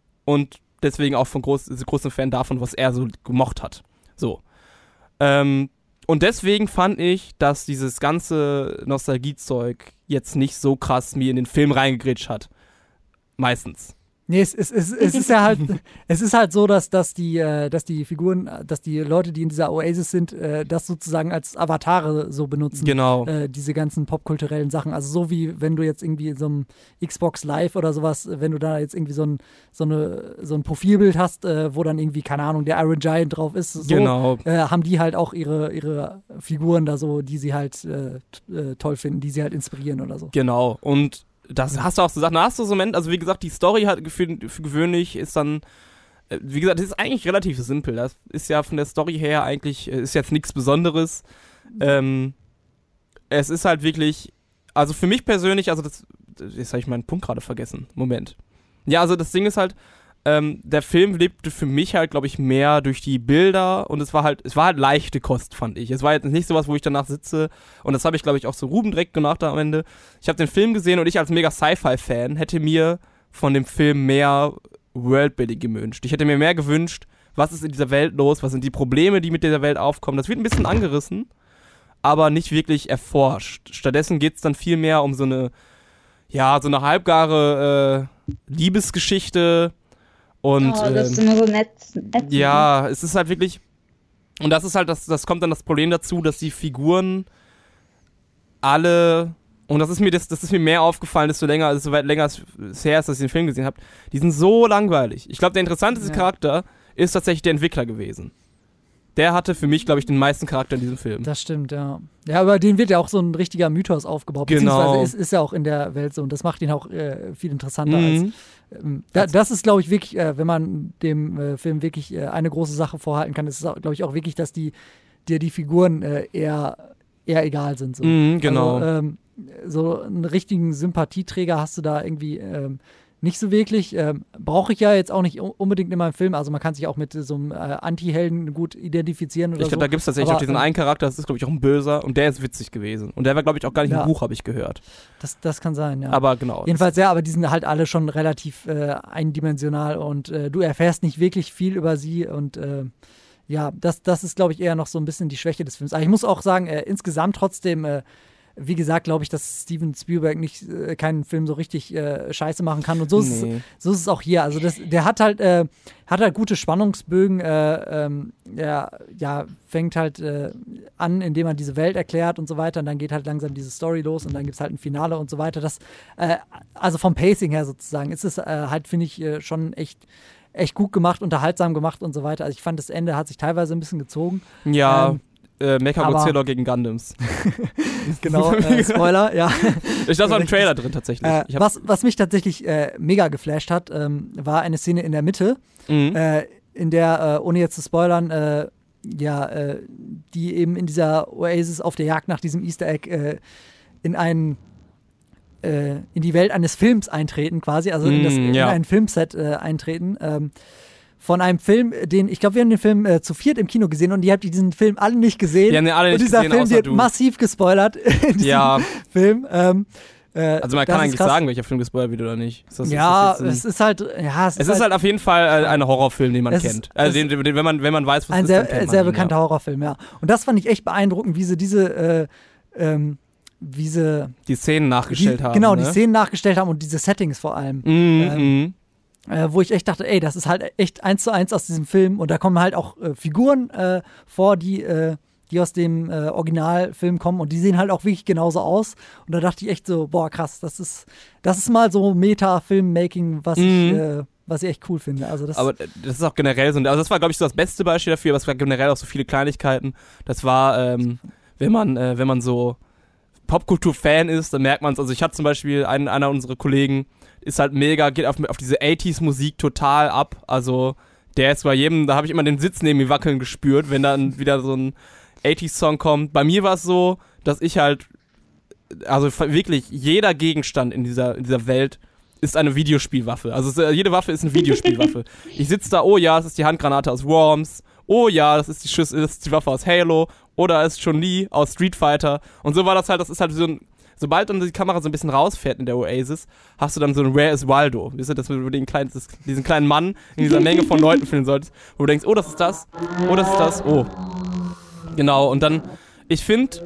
und deswegen auch von groß, großen Fan davon, was er so gemocht hat. So. Ähm, und deswegen fand ich, dass dieses ganze Nostalgiezeug jetzt nicht so krass mir in den Film reingegrätscht hat. Meistens. Nee, es, es, es, es ist ja halt, es ist halt so, dass, dass, die, äh, dass die Figuren, dass die Leute, die in dieser Oasis sind, äh, das sozusagen als Avatare so benutzen. Genau. Äh, diese ganzen popkulturellen Sachen. Also so wie wenn du jetzt irgendwie in so einem Xbox Live oder sowas, wenn du da jetzt irgendwie so ein, so eine, so ein Profilbild hast, äh, wo dann irgendwie, keine Ahnung, der Iron Giant drauf ist, so Genau. äh, haben die halt auch ihre, ihre Figuren da so, die sie halt äh, t- äh, toll finden, die sie halt inspirieren oder so. Genau. Und das hast du auch so Sachen, da hast du so Moment, also wie gesagt, die Story hat für, für gewöhnlich ist dann, äh, wie gesagt, das ist eigentlich relativ simpel. Das ist ja von der Story her eigentlich, äh, ist jetzt nichts Besonderes. Ähm, es ist halt wirklich, also für mich persönlich, also das, jetzt habe ich meinen Punkt gerade vergessen. Moment. Ja, also das Ding ist halt, ähm, der Film lebte für mich halt, glaube ich, mehr durch die Bilder und es war halt, es war halt leichte Kost, fand ich. Es war jetzt nicht sowas, wo ich danach sitze und das habe ich, glaube ich, auch so Ruben direkt gemacht am Ende. Ich habe den Film gesehen und ich als mega Sci-Fi-Fan hätte mir von dem Film mehr Worldbuilding gewünscht. Ich hätte mir mehr gewünscht, was ist in dieser Welt los, was sind die Probleme, die mit dieser Welt aufkommen. Das wird ein bisschen angerissen, aber nicht wirklich erforscht. Stattdessen geht es dann viel mehr um so eine, ja, so eine halbgare äh, Liebesgeschichte. Und, oh, das ist ähm, immer so nett. nett ja, es ist halt wirklich, und das ist halt, das, das kommt dann das Problem dazu, dass die Figuren alle, und das ist mir das, das ist mir mehr aufgefallen, desto länger, also so weit länger es her ist, dass ich den Film gesehen habe, die sind so langweilig. Ich glaube, der interessanteste ja. Charakter ist tatsächlich der Entwickler gewesen. Der hatte für mich, glaube ich, den meisten Charakter in diesem Film. Das stimmt, ja. Ja, aber den wird ja auch so ein richtiger Mythos aufgebaut. Genau. Beziehungsweise ist, ist ja auch in der Welt so. Und das macht ihn auch äh, viel interessanter. Mhm. Als, ähm, da, das ist, glaube ich, wirklich, äh, wenn man dem äh, Film wirklich äh, eine große Sache vorhalten kann, ist es, glaube ich, auch wirklich, dass die, dir die Figuren äh, eher, eher egal sind. So. Mhm, genau. Also, ähm, so einen richtigen Sympathieträger hast du da irgendwie ähm, nicht so wirklich. Ähm, brauche ich ja jetzt auch nicht unbedingt in meinem Film. Also man kann sich auch mit so einem äh, Anti-Helden gut identifizieren oder Ich glaube, so. da gibt es tatsächlich Aber, auch diesen ähm, einen Charakter, das ist, glaube ich, auch ein Böser und der ist witzig gewesen. Und der war, glaube ich, auch gar nicht Ja. im Buch, habe ich gehört. Das, das kann sein, ja. Aber genau. Jedenfalls, ja, aber die sind halt alle schon relativ äh, eindimensional und äh, du erfährst nicht wirklich viel über sie und äh, ja, das, das ist, glaube ich, eher noch so ein bisschen die Schwäche des Films. Aber ich muss auch sagen, äh, insgesamt trotzdem, äh, wie gesagt, glaube ich, dass Steven Spielberg nicht äh, keinen Film so richtig äh, scheiße machen kann und so ist, Nee. es, so ist es auch hier. Also das, der hat halt, äh, hat halt gute Spannungsbögen, äh, ähm, der ja, fängt halt äh, an, indem er diese Welt erklärt und so weiter und dann geht halt langsam diese Story los und dann gibt es halt ein Finale und so weiter. Das, äh, also vom Pacing her sozusagen ist es äh, halt, finde ich, äh, schon echt echt gut gemacht, unterhaltsam gemacht und so weiter. Also ich fand, das Ende hat sich teilweise ein bisschen gezogen. Ja, Ähm, äh, Mechagodzilla aber- gegen Gundams. Genau, äh, Spoiler, ja. Ich das war im Trailer drin tatsächlich. Äh, Ich hab, was, was mich tatsächlich äh, mega geflasht hat, ähm, war eine Szene in der Mitte, mhm. äh, in der, äh, ohne jetzt zu spoilern, äh, ja, äh, die eben in dieser Oasis auf der Jagd nach diesem Easter Egg äh, in einen äh, in die Welt eines Films eintreten quasi, also in, das, Mm, in ja. ein Filmset äh, eintreten. Ähm, von einem Film, den, ich glaube, wir haben den Film äh, zu viert im Kino gesehen und ihr habt diesen Film alle nicht gesehen. Wir haben den alle und nicht dieser gesehen, Film außer wird du. massiv gespoilert in diesem Ja. Film. Ähm, äh, Also man das kann ist eigentlich krass. sagen, welcher Film gespoilert wird oder nicht. Ist das, Ja, ist das jetzt es ein, ist halt, ja, es, es ist halt auf jeden Fall äh, ein Horrorfilm, den man Es kennt. ist- Also es- den, den, wenn man wenn man weiß, was ein ist, sehr, dann kennt man sehr ihn, bekannter ja. Horrorfilm, ja. Und das fand ich echt beeindruckend, wie sie diese, äh, ähm, wie sie Die Szenen nachgestellt die, haben. genau, ne? die Szenen nachgestellt haben und diese Settings vor allem. Mhm, Ähm, mhm. Äh, wo ich echt dachte, ey, das ist halt echt eins zu eins aus diesem Film und da kommen halt auch äh, Figuren äh, vor, die, äh, die aus dem äh, Originalfilm kommen und die sehen halt auch wirklich genauso aus und da dachte ich echt so, boah, krass, das ist, das ist mal so Meta-Filmmaking, was, ich, Mhm. äh, was ich echt cool finde. Also das, Aber das ist auch generell so, also das war, glaube ich, so das beste Beispiel dafür, aber es war generell auch so viele Kleinigkeiten. Das war, ähm, wenn man, äh, wenn man so Popkultur-Fan ist, dann merkt man es. Also ich hatte zum Beispiel einen, einer unserer Kollegen, ist halt mega, geht auf, auf diese achtziger-Musik total ab. Also der ist bei jedem, da habe ich immer den Sitz neben mir wackeln gespürt, wenn dann wieder so ein achtziger-Song kommt. Bei mir war es so, dass ich halt, also wirklich jeder Gegenstand in dieser, in dieser Welt ist eine Videospielwaffe. Also es, jede Waffe ist eine Videospielwaffe. Ich sitze da, oh ja, es ist die Handgranate aus Worms. Oh ja, das ist die Schüsse, das ist die Waffe aus Halo. Oder es ist Chun-Li aus Street Fighter. Und so war das halt, das ist halt so ein, sobald dann die Kamera so ein bisschen rausfährt in der Oasis, hast du dann so ein Where is Waldo? Weißt du, dass du den kleinen, das, diesen kleinen Mann in dieser Menge von Leuten finden solltest, wo du denkst, oh, das ist das, oh, das ist das, oh. Genau, und dann, ich finde,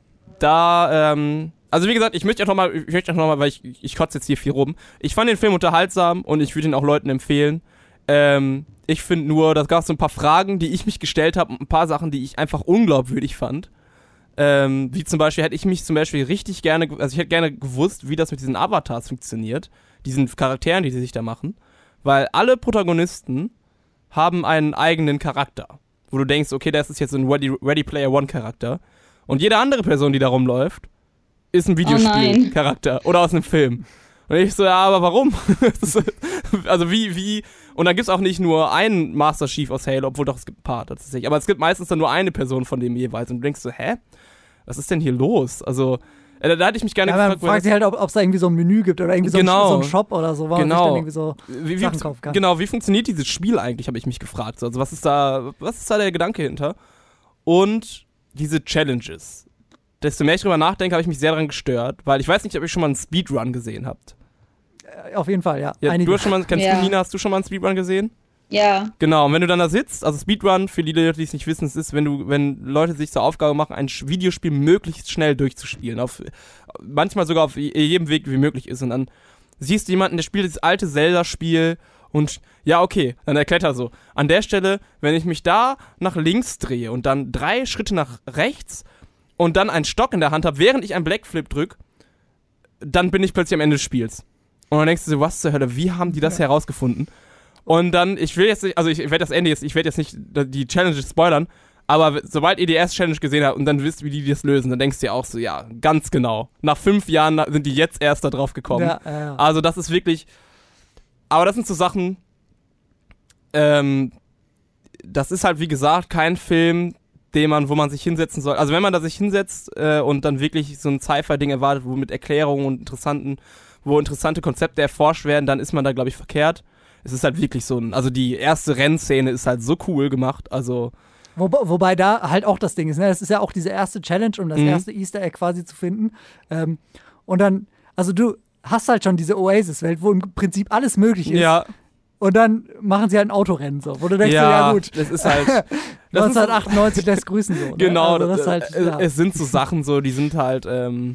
da, ähm, also wie gesagt, ich möchte auch nochmal, ich möchte auch nochmal, weil ich, ich kotze jetzt hier viel rum. Ich fand den Film unterhaltsam und ich würde ihn auch Leuten empfehlen. Ähm, ich finde nur, da gab es so ein paar Fragen, die ich mich gestellt habe und ein paar Sachen, die ich einfach unglaubwürdig fand. Ähm, wie zum Beispiel hätte ich mich zum Beispiel richtig gerne, also ich hätte gerne gewusst, wie das mit diesen Avatars funktioniert, diesen Charakteren, die sie sich da machen, weil alle Protagonisten haben einen eigenen Charakter, wo du denkst, okay, das ist jetzt so ein Ready, Ready Player One Charakter und jede andere Person, die da rumläuft, ist ein Videospiel-Charakter oder aus einem Film. Und ich so, ja, aber warum? Also wie, wie, und dann gibt's auch nicht nur einen Master Chief aus Halo, obwohl doch, es gibt ein paar tatsächlich, aber es gibt meistens dann nur eine Person von dem jeweils und du denkst so, hä? Was ist denn hier los? Also, äh, da, da hätte ich mich gerne ja, gefragt. Man fragt sich halt, ob es da irgendwie so ein Menü gibt oder irgendwie so, genau. ein, so ein Shop oder so, wo man genau. sich dann irgendwie so wie, wie, Sachen kaufen kann. Genau, wie funktioniert dieses Spiel eigentlich, habe ich mich gefragt. Also was ist da, was ist da der Gedanke hinter? Und diese Challenges. Desto mehr ich drüber nachdenke, habe ich mich sehr daran gestört, weil ich weiß nicht, ob ihr schon mal einen Speedrun gesehen habt. Äh, auf jeden Fall, ja. ja du hast schon mal, kennst ja. du, Nina, hast du schon mal einen Speedrun gesehen? Ja. Genau, und wenn du dann da sitzt, also Speedrun, für die Leute, die es nicht wissen, es ist, wenn du, wenn Leute sich zur Aufgabe machen, ein Videospiel möglichst schnell durchzuspielen, auf, manchmal sogar auf jedem Weg, wie möglich ist, und dann siehst du jemanden, der spielt das alte Zelda-Spiel und ja, okay, dann erklärt er so, an der Stelle, wenn ich mich da nach links drehe und dann drei Schritte nach rechts und dann einen Stock in der Hand habe, während ich einen Blackflip drücke, dann bin ich plötzlich am Ende des Spiels. Und dann denkst du so, was zur Hölle, wie haben die das ja. herausgefunden? Und dann, ich will jetzt nicht, also ich werde das Ende jetzt, ich werde jetzt nicht die Challenges spoilern, aber sobald ihr die erste Challenge gesehen habt und dann wisst, wie die das lösen, dann denkst du dir auch so, ja, ganz genau. Nach fünf Jahren sind die jetzt erst da drauf gekommen. Ja, ja, ja. Also das ist wirklich, aber das sind so Sachen, ähm, das ist halt wie gesagt kein Film, den man, wo man sich hinsetzen soll. Also wenn man da sich hinsetzt äh, und dann wirklich so ein Sci-Fi-Ding erwartet, wo mit Erklärungen und interessanten, wo interessante Konzepte erforscht werden, dann ist man da, glaube ich, verkehrt. Es ist halt wirklich so ein, also die erste Rennszene ist halt so cool gemacht, also Wo, wobei da halt auch das Ding ist, ne? Das ist ja auch diese erste Challenge, um das Mhm. erste Easter Egg quasi zu finden. Ähm, und dann, also du hast halt schon diese Oasis-Welt, wo im Prinzip alles möglich ist. ja, Und dann machen sie halt ein Autorennen so, wo du denkst, ja, so, ja gut, das ist halt, das ist, neunzehnhundertachtundneunzig lässt grüßen so. Ne? genau, also das ist das, halt, äh, ja. es sind so Sachen so, die sind halt, ähm,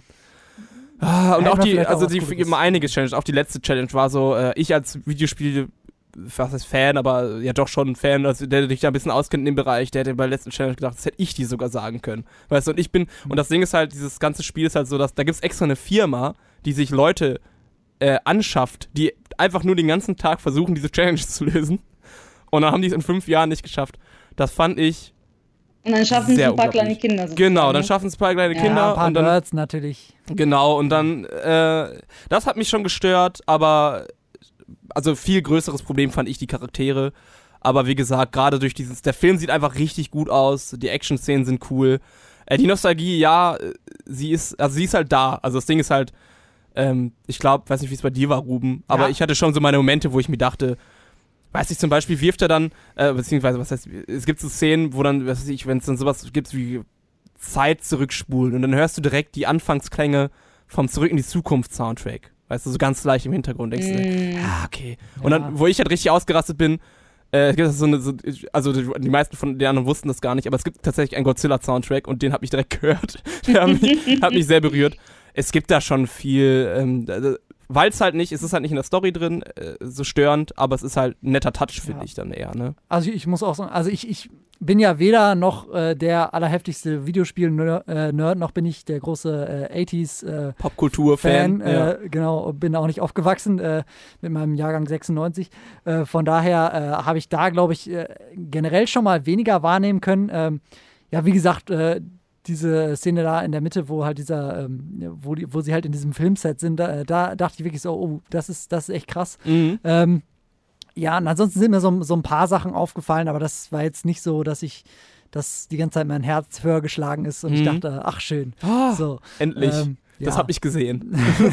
ah, und Hätte auch man die, vielleicht also auch die was Gutes. immer einige Challenge, auch die letzte Challenge war so, äh, ich als Videospiel, was heißt Fan, aber ja doch schon ein Fan, also der sich da ein bisschen auskennt in dem Bereich, der hätte bei der letzten Challenge gedacht, das hätte ich die sogar sagen können. Weißt du, und ich bin, Mhm. und das Ding ist halt, dieses ganze Spiel ist halt so, dass da gibt's extra eine Firma, die sich Leute äh, anschafft, die einfach nur den ganzen Tag versuchen, diese Challenge zu lösen. Und dann haben die es in fünf Jahren nicht geschafft. Das fand ich Und dann schaffen es sehr ein paar unglaublich. kleine Kinder. sozusagen, Genau, dann ne? schaffen es ein paar kleine Ja, Kinder ein paar und dann Nerds natürlich. genau und dann äh, das hat mich schon gestört, aber also viel größeres Problem fand ich die Charaktere. Aber wie gesagt, gerade durch dieses, der Film sieht einfach richtig gut aus, die Action-Szenen sind cool. Äh, die Nostalgie, ja, sie ist, also sie ist halt da. Also das Ding ist halt, ähm, ich glaube, weiß nicht, wie es bei dir war, Ruben, aber Ja. ich hatte schon so meine Momente, wo ich mir dachte, weiß ich, zum Beispiel wirft er dann, äh, beziehungsweise, was heißt, es gibt so Szenen, wo dann, was weiß ich, wenn es dann sowas gibt wie Zeit zurückspulen und dann hörst du direkt die Anfangsklänge vom Zurück in die Zukunft Soundtrack. Weißt du, so ganz leicht im Hintergrund denkst du, Mm. ah, okay. Und Ja. dann, wo ich halt richtig ausgerastet bin, äh, gibt es so eine, so, also die, die meisten von den anderen wussten das gar nicht, aber es gibt tatsächlich einen Godzilla-Soundtrack und den habe ich direkt gehört. Der hat mich, hat mich sehr berührt. Es gibt da schon viel, ähm, weil es halt nicht, es ist halt nicht in der Story drin, äh, so störend, aber es ist halt ein netter Touch, finde Ja. ich dann eher, ne? Also ich muss auch sagen, also ich, ich bin ja weder noch äh, der allerheftigste Videospiel-Nerd, noch bin ich der große äh, achtziger äh, Popkultur-Fan. Fan, äh, genau, bin auch nicht aufgewachsen äh, mit meinem Jahrgang sechsundneunzig. Äh, von daher äh, habe ich da, glaube ich, äh, generell schon mal weniger wahrnehmen können. Ähm, ja, wie gesagt, äh, diese Szene da in der Mitte, wo halt dieser, ähm, wo, die, wo sie halt in diesem Filmset sind, da, da dachte ich wirklich so, oh, das ist, das ist echt krass. Mhm. Ähm, ja, und ansonsten sind mir so, so ein paar Sachen aufgefallen, aber das war jetzt nicht so, dass ich, dass die ganze Zeit mein Herz höher geschlagen ist und Mhm. ich dachte, ach schön. Oh, So, endlich. ähm, Das ja. habe ich gesehen.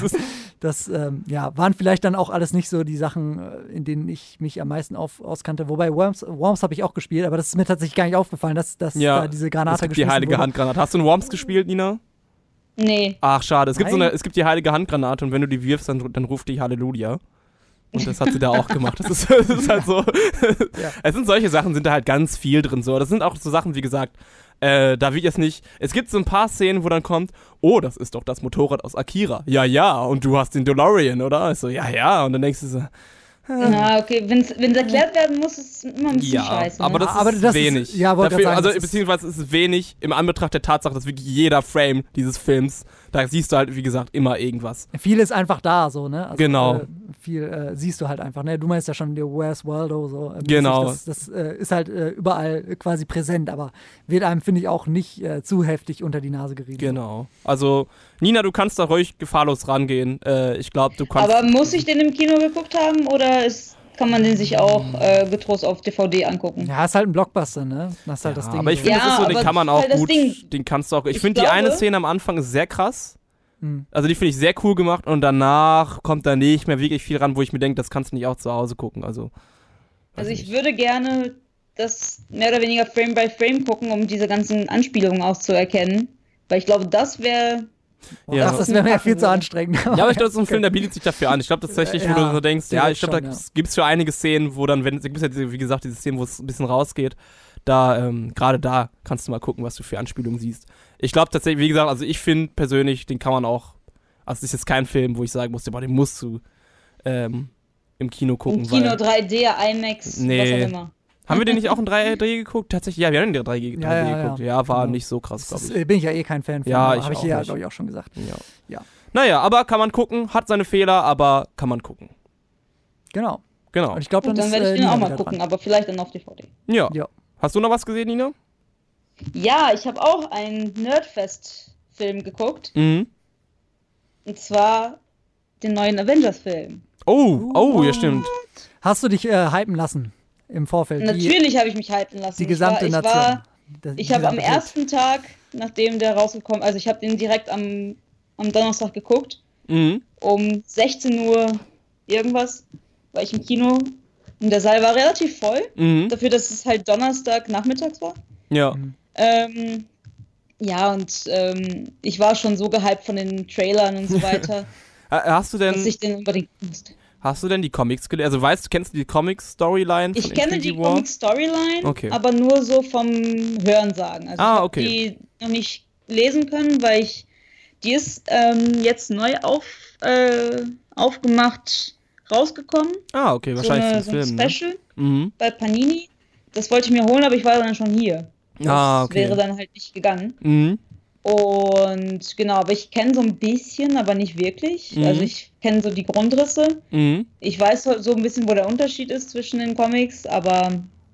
Das ähm, ja, waren vielleicht dann auch alles nicht so die Sachen, äh, in denen ich mich am meisten auf, auskannte. Wobei Worms, Worms habe ich auch gespielt, aber das ist mir tatsächlich gar nicht aufgefallen, dass, dass Ja, da diese Es Granate gibt die geschmissen heilige wurde. Handgranate. Hast du in Worms gespielt, Nina? Nee. Ach, schade. Es gibt, so Nein. eine, es gibt die heilige Handgranate und wenn du die wirfst, dann, dann ruft die Halleluja. Und das hat sie da auch gemacht. Das ist, das ist halt so. Ja. Es sind solche Sachen, sind da halt ganz viel drin. So. Das sind auch so Sachen, wie gesagt, Äh, da wird jetzt nicht, es gibt so ein paar Szenen, wo dann kommt, oh, das ist doch das Motorrad aus Akira. Ja, ja, und du hast den DeLorean, oder? Ich so, ja, ja, und dann denkst du so, Ja, okay, wenn es erklärt werden muss, ist es immer ein bisschen ja, scheiße. Ne? aber das ist Aber das wenig. Ist, ja, wollte Dafür, gerade sagen, also das ist- beziehungsweise es ist wenig im Anbetracht der Tatsache, dass wirklich jeder Frame dieses Films, da siehst du halt, wie gesagt, immer irgendwas. Viel ist einfach da, so, ne? Also, Genau. Äh, viel äh, siehst du halt einfach, ne? Du meinst ja schon, der Where's Waldo, so. Äh, Genau. Das, das äh, ist halt äh, überall quasi präsent, aber wird einem, finde ich, auch nicht äh, zu heftig unter die Nase gerieben. Genau. Also, Nina, du kannst da ruhig gefahrlos rangehen. Äh, ich glaube, du kannst... Aber muss ich den im Kino geguckt haben oder ist, kann man den sich auch äh, getrost auf D V D angucken? Ja, ist halt ein Blockbuster, ne? Das ist halt ja, das Ding. aber ich so. finde, Ja, das ist so, den aber kann man das ist auch halt das gut, Ding. den kannst du auch, ich Ich finde die eine glaube- Szene am Anfang ist sehr krass. Hm. Also die finde ich sehr cool gemacht und danach kommt da nicht mehr wirklich viel ran, wo ich mir denke, das kannst du nicht auch zu Hause gucken. Also, Also weiß ich nicht. würde gerne das mehr oder weniger Frame by Frame gucken, um diese ganzen Anspielungen auszuerkennen. Weil ich glaube, das wäre... Ja. Ach, das wäre mir viel zu anstrengend. Ja, aber ich glaube, so ein Film, der bietet sich dafür an. Ich glaube tatsächlich, wo Ja, du so denkst, ja, ich glaube, da schon, ja. gibt es für einige Szenen, wo dann, wenn, es gibt ja, diese, wie gesagt, diese Szenen, wo es ein bisschen rausgeht, da, ähm, gerade da kannst du mal gucken, was du für Anspielungen siehst. Ich glaube tatsächlich, wie gesagt, also ich finde persönlich, den kann man auch, also es ist jetzt kein Film, wo ich sagen musste, boah, den musst du ähm, im Kino gucken. Im Kino weil, drei D, IMAX, Nee. was auch immer. haben wir den nicht auch in drei D geguckt? Tatsächlich, ja, wir haben den in drei D, Ja, ja, geguckt. Ja, ja. war Genau. nicht so krass, glaube Das ich. ist, bin ich ja eh kein Fan von. Ja, ich Habe ich auch hier, nicht. glaube ich, auch schon gesagt. Ja. Ja. Naja, aber kann man gucken, hat seine Fehler, aber kann man gucken. Genau. Genau. Und ich glaube, Gut, dann, dann ist werde ich äh, den Nina auch mal wieder gucken, dran. aber vielleicht dann auf D V D. Ja. Ja. Hast du noch was gesehen, Nina? Ja, ich habe auch einen Nerdfest-Film geguckt. Mhm. Und zwar den neuen Avengers-Film. Oh, oh, ja, stimmt. Hast du dich äh, hypen lassen im Vorfeld? Die, Natürlich habe ich mich hypen lassen. die gesamte ich war, ich Nation. War, Das- ich habe am gesamte Welt. ersten Tag, nachdem der rausgekommen, also ich habe den direkt am, am Donnerstag geguckt, Mhm. um sechzehn Uhr irgendwas, war ich im Kino und der Saal war relativ voll, Mhm. dafür, dass es halt Donnerstag nachmittags war. Ja. Ähm, ja, und ähm, ich war schon so gehypt von den Trailern und so weiter, Äh, Hast du dass denn, ich den unbedingt musste. hast du denn die Comics gelesen? Also weißt du, kennst du die Comics-Storyline von Ich kenne Infinity die War? Comic-Storyline, Okay. aber nur so vom Hörensagen. Also Ah, ich habe okay. die noch nicht lesen können, weil ich die ist ähm, jetzt neu auf, äh, aufgemacht rausgekommen. Ah, okay, wahrscheinlich so, eine, zum so ein Film, ne? Special Mhm. bei Panini. Das wollte ich mir holen, aber ich war dann schon hier. Das Ah, okay. wäre dann halt nicht gegangen. Mhm. Und genau, aber ich kenne so ein bisschen, aber nicht wirklich. Mhm. Also ich kenne so die Grundrisse. Mhm. Ich weiß so so ein bisschen, wo der Unterschied ist zwischen den Comics, aber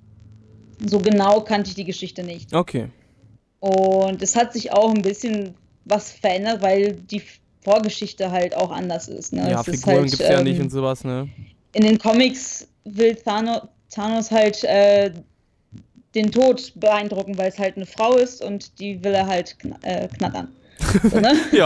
so genau kannte ich die Geschichte nicht. Okay. Und es hat sich auch ein bisschen was verändert, weil die Vorgeschichte halt auch anders ist. Ne? Ja, Es ist Figuren halt, gibt's ja ähm, nicht und sowas, ne? In den Comics will Thanos, Thanos halt äh, den Tod beeindrucken, weil es halt eine Frau ist und die will er halt kn äh, knattern. So, ne? Ja.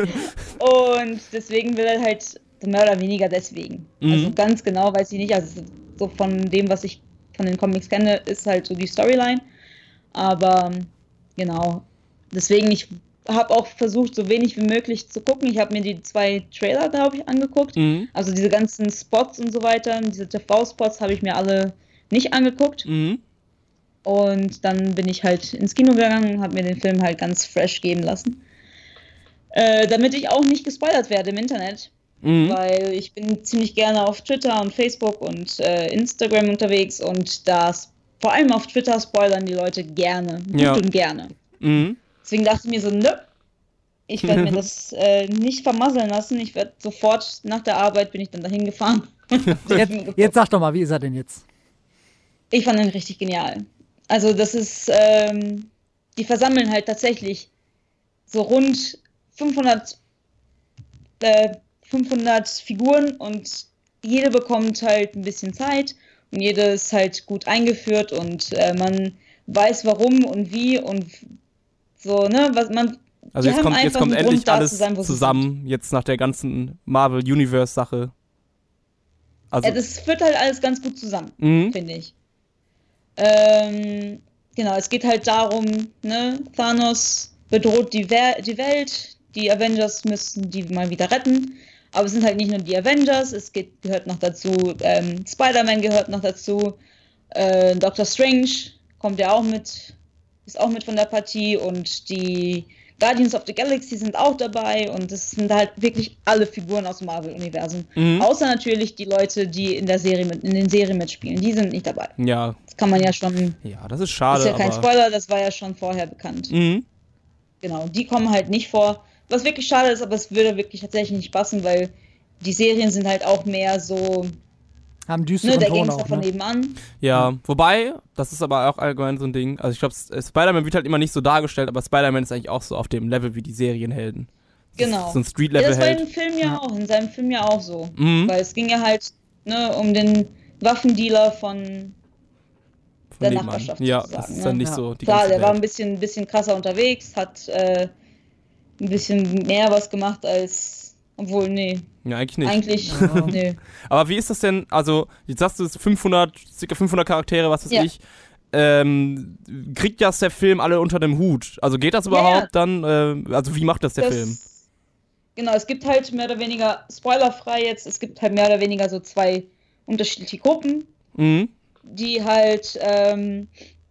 Und deswegen will er halt, mehr oder weniger deswegen. Mhm. Also ganz genau weiß ich nicht, also so von dem, was ich von den Comics kenne, ist halt so die Storyline. Aber genau, deswegen, ich habe auch versucht, so wenig wie möglich zu gucken. Ich habe mir die zwei Trailer, glaube ich, angeguckt. Mhm. Also diese ganzen Spots und so weiter, diese T V-Spots habe ich mir alle nicht angeguckt. Mhm. Und dann bin ich halt ins Kino gegangen und habe mir den Film halt ganz fresh geben lassen. Äh, damit ich auch nicht gespoilert werde im Internet. Mhm. Weil ich bin ziemlich gerne auf Twitter und Facebook und äh, Instagram unterwegs und das vor allem auf Twitter spoilern die Leute gerne. Gut Ja. und gerne. Mhm. Deswegen dachte ich mir so, nö, ich werde mir das äh, nicht vermasseln lassen. Ich werde sofort nach der Arbeit bin ich dann dahin gefahren. Jetzt, jetzt sag doch mal, wie ist er denn jetzt? Ich fand den richtig genial. Also das ist, ähm, die versammeln halt tatsächlich so rund fünfhundert, äh, fünfhundert Figuren und jede bekommt halt ein bisschen Zeit und jede ist halt gut eingeführt und äh, man weiß warum und wie und so, ne, was man. Also die jetzt haben kommt, jetzt einfach kommt einen endlich Grund, da alles zu sein, wo sie zusammen, jetzt nach der ganzen Marvel-Universe-Sache. Also, Ja, das führt halt alles ganz gut zusammen, mhm. finde ich. Ähm, genau, es geht halt darum, ne, Thanos bedroht die, Wer die Welt, die Avengers müssen die mal wieder retten, aber es sind halt nicht nur die Avengers, es geht, gehört noch dazu, ähm, Spider-Man gehört noch dazu, äh, Doctor Strange kommt ja auch mit ist auch mit von der Partie und die Guardians of the Galaxy sind auch dabei und es sind halt wirklich alle Figuren aus dem Marvel-Universum. Mhm. Außer natürlich die Leute, die in der Serie mit, in den Serien mitspielen. Die sind nicht dabei. Ja. Das kann man ja schon. Ja, das ist schade. Das ist ja kein aber... Spoiler, das war ja schon vorher bekannt. Mhm. Genau, die kommen halt nicht vor. Was wirklich schade ist, aber es würde wirklich tatsächlich nicht passen, weil die Serien sind halt auch mehr so. Haben düsteren ne, der Ton Gangster auch, von ne? nebenan. Ja, mhm. wobei, das ist aber auch allgemein so ein Ding. Also ich glaube, Spider-Man wird halt immer nicht so dargestellt, aber Spider-Man ist eigentlich auch so auf dem Level wie die Serienhelden. Das genau. So ein Street-Level. Ja, das war Held. im Film ja auch, in seinem Film ja auch so. Mhm. Weil es ging ja halt ne, um den Waffendealer von, von der nebenan. Nachbarschaft. Ja, sozusagen, das ist dann ne? nicht Ja. so die Klar, ganze der Welt. war ein bisschen, bisschen krasser unterwegs, hat äh, ein bisschen mehr was gemacht als. Obwohl, nee. Ja, eigentlich nicht. Eigentlich, Ja. nee. Aber wie ist das denn, also, jetzt sagst du es fünfhundert, circa fünfhundert Charaktere, was weiß Ja. ich, ähm, kriegt das der Film alle unter dem Hut? Also geht das überhaupt Ja, dann, äh, also wie macht das der Das- Film? Genau, es gibt halt mehr oder weniger, spoilerfrei jetzt, es gibt halt mehr oder weniger so zwei unterschiedliche Gruppen, Mhm. die halt ähm,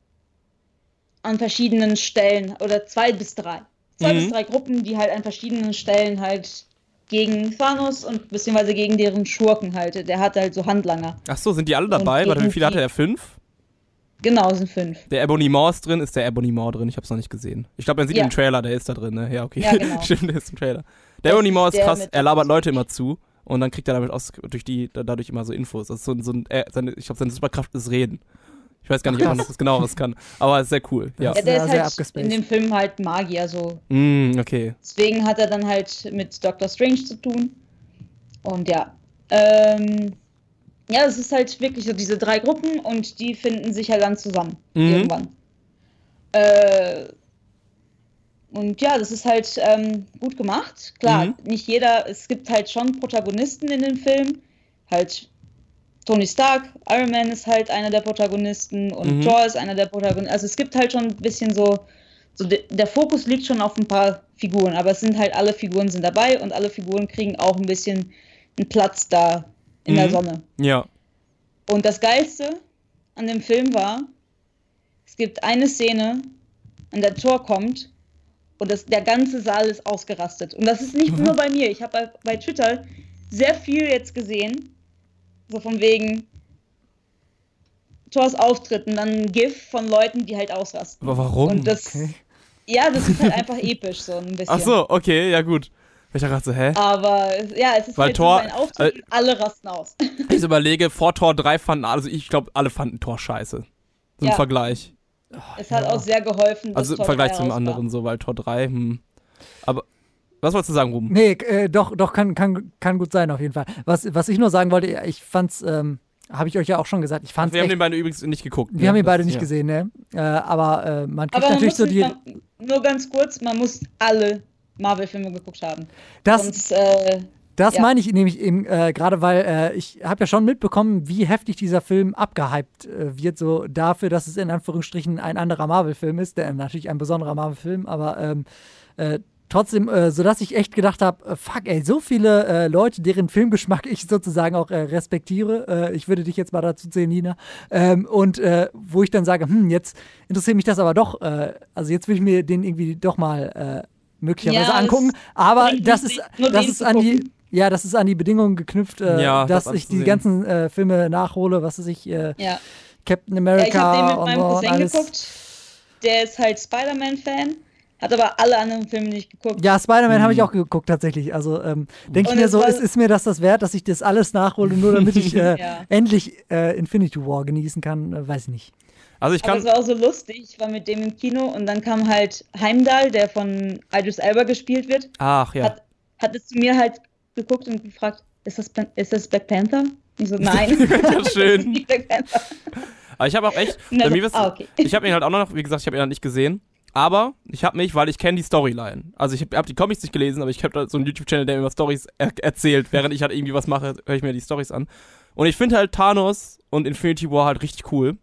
an verschiedenen Stellen, oder zwei bis drei, zwei Mhm. bis drei Gruppen, die halt an verschiedenen Stellen halt gegen Thanos und beziehungsweise gegen deren Schurken halt, der hat halt so Handlanger. Ach so, sind die alle dabei? Und Warte, wie viele gegen hatte er? Fünf? Genau, es sind fünf. Der Ebony Maw ist drin, ist der Ebony Maw drin? Ich hab's noch nicht gesehen. Ich glaube, man sieht Ja. im Trailer, der ist da drin, ne? Ja, okay. Ja, genau. Stimmt, der ist im Trailer. Der Das Ebony Maw ist ist der krass, mit- er labert Leute immer zu und dann kriegt er damit aus, durch die, dadurch immer so Infos. Das ist so, ein- so ein, äh, seine, ich glaube, seine Superkraft ist Reden. Ich weiß gar nicht, Ach, ob man das genaueres kann, aber es ist sehr cool, ja. Das Ja, ist der ja ist sehr halt abgespaced. in dem Film halt Magier, so. Mm, okay. Deswegen hat er dann halt mit Doctor Strange zu tun. Und ja, ähm, ja, es ist halt wirklich so diese drei Gruppen und die finden sich halt dann zusammen Mhm. irgendwann. Äh, und ja, das ist halt ähm, gut gemacht. Klar, Mhm. nicht jeder, es gibt halt schon Protagonisten in dem Film. Halt Tony Stark, Iron Man ist halt einer der Protagonisten und Mhm. Thor ist einer der Protagonisten. Also es gibt halt schon ein bisschen so, so de, der Fokus liegt schon auf ein paar Figuren, aber es sind halt alle Figuren sind dabei und alle Figuren kriegen auch ein bisschen einen Platz da in Mhm. der Sonne. Ja. Und das Geilste an dem Film war, es gibt eine Szene, an der Thor kommt und das, der ganze Saal ist ausgerastet. Und das ist nicht Mhm. nur bei mir. Ich habe bei, bei Twitter sehr viel jetzt gesehen, so von wegen Thors Auftritt und dann ein GIF von Leuten, die halt ausrasten. Aber warum? Und das, Okay. ja, das ist halt einfach episch, so ein bisschen. Ach so, okay, ja gut. Ich dachte gerade so, hä? Aber ja, es ist Weil halt Thor- so ein Auftritt äh, und alle rasten aus. Ich überlege, vor Tor drei fanden, also ich glaube, alle fanden Tor scheiße. So im Ja. Vergleich. Es hat auch sehr geholfen, dass Also im Thor Vergleich drei zum raus war. anderen so, weil Tor drei, hm. Aber, was wolltest du sagen, Ruben? Nee, äh, doch, doch, kann, kann, kann gut sein, auf jeden Fall. Was, was ich nur sagen wollte, ich fand's, ähm, habe ich euch ja auch schon gesagt, ich fand's Wir haben echt, den beiden übrigens nicht geguckt. wir ne? haben ihn beide Das- nicht ja. gesehen, ne? Äh, aber äh, man kriegt Aber man natürlich muss so die, man, nur ganz kurz, man muss alle Marvel-Filme geguckt haben. das, Sonst, äh, Das Ja. meine ich nämlich eben äh, gerade, weil äh, ich habe ja schon mitbekommen, wie heftig dieser Film abgehypt äh, wird, so dafür, dass es in Anführungsstrichen ein anderer Marvel-Film ist, der natürlich ein besonderer Marvel-Film, aber ähm, äh, trotzdem, äh, sodass ich echt gedacht habe, äh, fuck, ey, so viele äh, Leute, deren Filmgeschmack ich sozusagen auch äh, respektiere, äh, ich würde dich jetzt mal dazu zählen, Nina, ähm, und äh, wo ich dann sage, hm, jetzt interessiert mich das aber doch, äh, also jetzt will ich mir den irgendwie doch mal äh, möglicherweise Ja, angucken, es aber bringt das nicht, ist, nur das den ist zu an die, gucken. ja, das ist an die Bedingungen geknüpft, äh, Ja, dass das ich die anzusehen. ganzen äh, Filme nachhole, was weiß ich, äh, ja. Captain ja, America ich habe den mit und, meinem und Cousin alles. geguckt. Der ist halt Spider-Man-Fan, hat aber alle anderen Filme nicht geguckt. Ja, Spider-Man habe ich Hm. auch geguckt tatsächlich. Also ähm, denke ich Und mir es so, war- ist, ist mir das das wert, dass ich das alles nachhole, nur damit ich äh, Ja. endlich äh, Infinity War genießen kann? Äh, weiß ich nicht. Also ich Aber kann, es war auch so lustig, ich war mit dem im Kino und dann kam halt Heimdall, der von Idris Elba gespielt wird, ach ja. hat, hat es zu mir halt geguckt und gefragt, ist das, Pan- ist das Black Panther? Ich so, nein. Ja, schön. Das ist nicht Black Panther. Aber ich habe auch echt, Und bei er mir so, was, ah, okay. ich habe ihn halt auch noch, wie gesagt, ich habe ihn halt nicht gesehen. Aber ich habe mich, weil ich kenne die Storyline. Also ich habe hab die Comics nicht gelesen, aber ich habe da so einen YouTube-Channel, der mir Stories er erzählt. Während ich halt irgendwie was mache, höre ich mir die Stories an. Und ich finde halt Thanos und Infinity War halt richtig cool.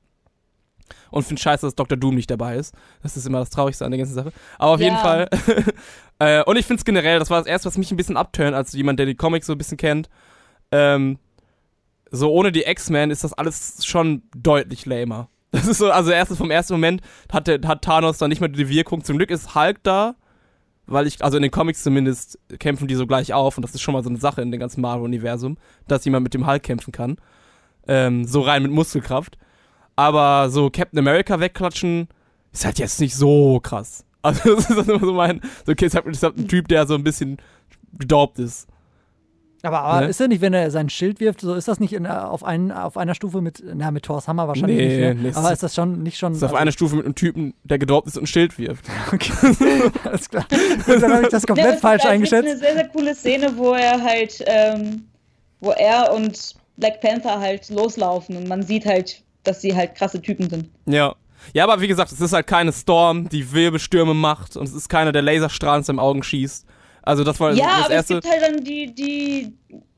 Und finde scheiße, dass Doktor Doom nicht dabei ist. Das ist immer das Traurigste an der ganzen Sache. Aber auf Ja. jeden Fall. äh, und ich finde es generell, das war das erste, was mich ein bisschen abturnt, als jemand, der die Comics so ein bisschen kennt. Ähm, so ohne die X-Men ist das alles schon deutlich lamer. Das ist so, also erstens vom ersten Moment hat, der, hat Thanos dann nicht mehr die Wirkung. Zum Glück ist Hulk da, weil ich, also in den Comics zumindest, kämpfen die so gleich auf und das ist schon mal so eine Sache in dem ganzen Marvel-Universum, dass jemand mit dem Hulk kämpfen kann. Ähm, so rein mit Muskelkraft. Aber so Captain America wegklatschen ist halt jetzt nicht so krass. Also das ist dann immer so mein, so okay, es hat, es hat ein Typ, der so ein bisschen gedorbt ist. Aber, aber Ne? ist er nicht, wenn er sein Schild wirft, so ist das nicht in, auf, einen, auf einer Stufe mit, na, mit Thors Hammer wahrscheinlich Nee, nicht, ne? nee, Aber ist das schon nicht schon. Das ist auf also, einer Stufe mit einem Typen, der gedorbt ist und ein Schild wirft. Okay, alles klar. Gut, dann habe ich das komplett Ja, es falsch gibt, es gibt eingeschätzt. eine sehr, sehr coole Szene, wo er halt, ähm, wo er und Black Panther halt loslaufen und man sieht halt, dass sie halt krasse Typen sind. Ja. Ja, aber wie gesagt, es ist halt keine Storm, die Wirbelstürme macht und es ist keiner, der Laserstrahlen aus den Augen schießt. Also das war Ja, das aber erste. es gibt halt dann die, die,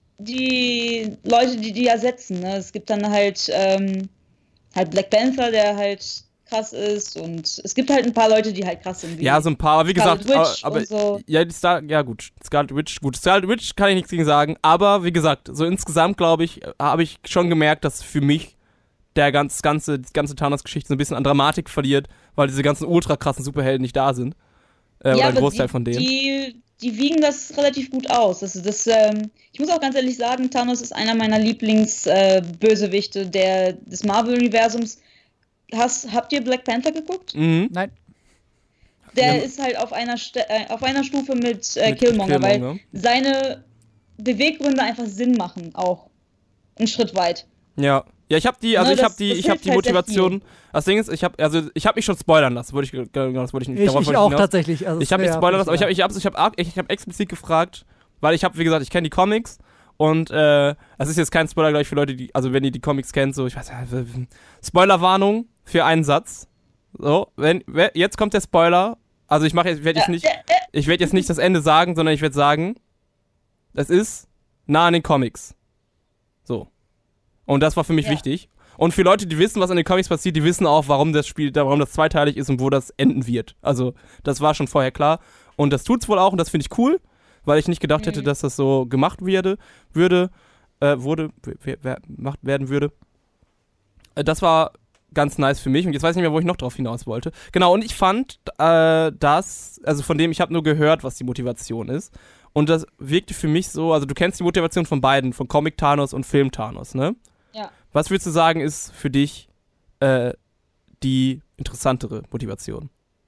die Leute, die die ersetzen. Ne? Es gibt dann halt, ähm, halt Black Panther, der halt krass ist und es gibt halt ein paar Leute, die halt krass sind. Wie Ja, so ein paar, aber wie Scarlet gesagt, Witch aber, aber und so. ja, die Star, ja gut, Scarlet Witch, gut, Scarlet Witch kann ich nichts gegen sagen, aber wie gesagt, so insgesamt glaube ich, habe ich schon gemerkt, dass für mich der ganz, ganze, die ganze Thanos-Geschichte so ein bisschen an Dramatik verliert, weil diese ganzen ultra krassen Superhelden nicht da sind. Äh, ja, oder ein aber Großteil die, von denen. Die, die wiegen das relativ gut aus. Also das, ähm, ich muss auch ganz ehrlich sagen, Thanos ist einer meiner Lieblings-Bösewichte äh, der, des Marvel-Universums. Hast, habt ihr Black Panther geguckt? Mhm. Nein. Der Ja. ist halt auf einer, St äh, auf einer Stufe mit, äh, Mit Killmonger, Killmonger. weil seine Beweggründe einfach Sinn machen, auch. Einen Schritt weit. Ja. Ja, ich habe die, also Ne, ich das- habe die, das ich habe hilft die halt sehr Motivation. Das Ding ist, ich habe, also ich habe mich schon spoilern lassen, wollte ich, genau, das wollte ich nicht. Ich, darauf ich wollte auch hinaus. tatsächlich. Also Ich habe es nicht wär- spoilern lassen, aber ich habe ich hab, ich hab, ich hab explizit gefragt, weil ich habe, wie gesagt, ich kenne die Comics und äh, es ist jetzt kein Spoiler gleich für Leute, die, also wenn ihr die Comics kennt, so, ich weiß ja, Spoilerwarnung für einen Satz. So, wenn, wer- jetzt kommt der Spoiler. Also ich mache jetzt, werde jetzt nicht, ich werde jetzt nicht das Ende sagen, sondern ich werde sagen, es ist nah an den Comics. So. Und das war für mich Ja. wichtig. Und für Leute, die wissen, was in den Comics passiert, die wissen auch, warum das Spiel, warum das zweiteilig ist und wo das enden wird. Also, das war schon vorher klar. Und das tut's wohl auch und das finde ich cool, weil ich nicht gedacht hätte, Mhm. dass das so gemacht werde, würde, äh, wurde, w- w- gemacht werden würde. Äh, das war ganz nice für mich und jetzt weiß ich nicht mehr, wo ich noch drauf hinaus wollte. Genau, und ich fand, äh, das, also von dem, ich habe nur gehört, was die Motivation ist. Und das wirkte für mich so, also du kennst die Motivation von beiden, von Comic Thanos und Film Thanos, ne? Ja. Was würdest du sagen, ist für dich äh, die interessantere Motivation?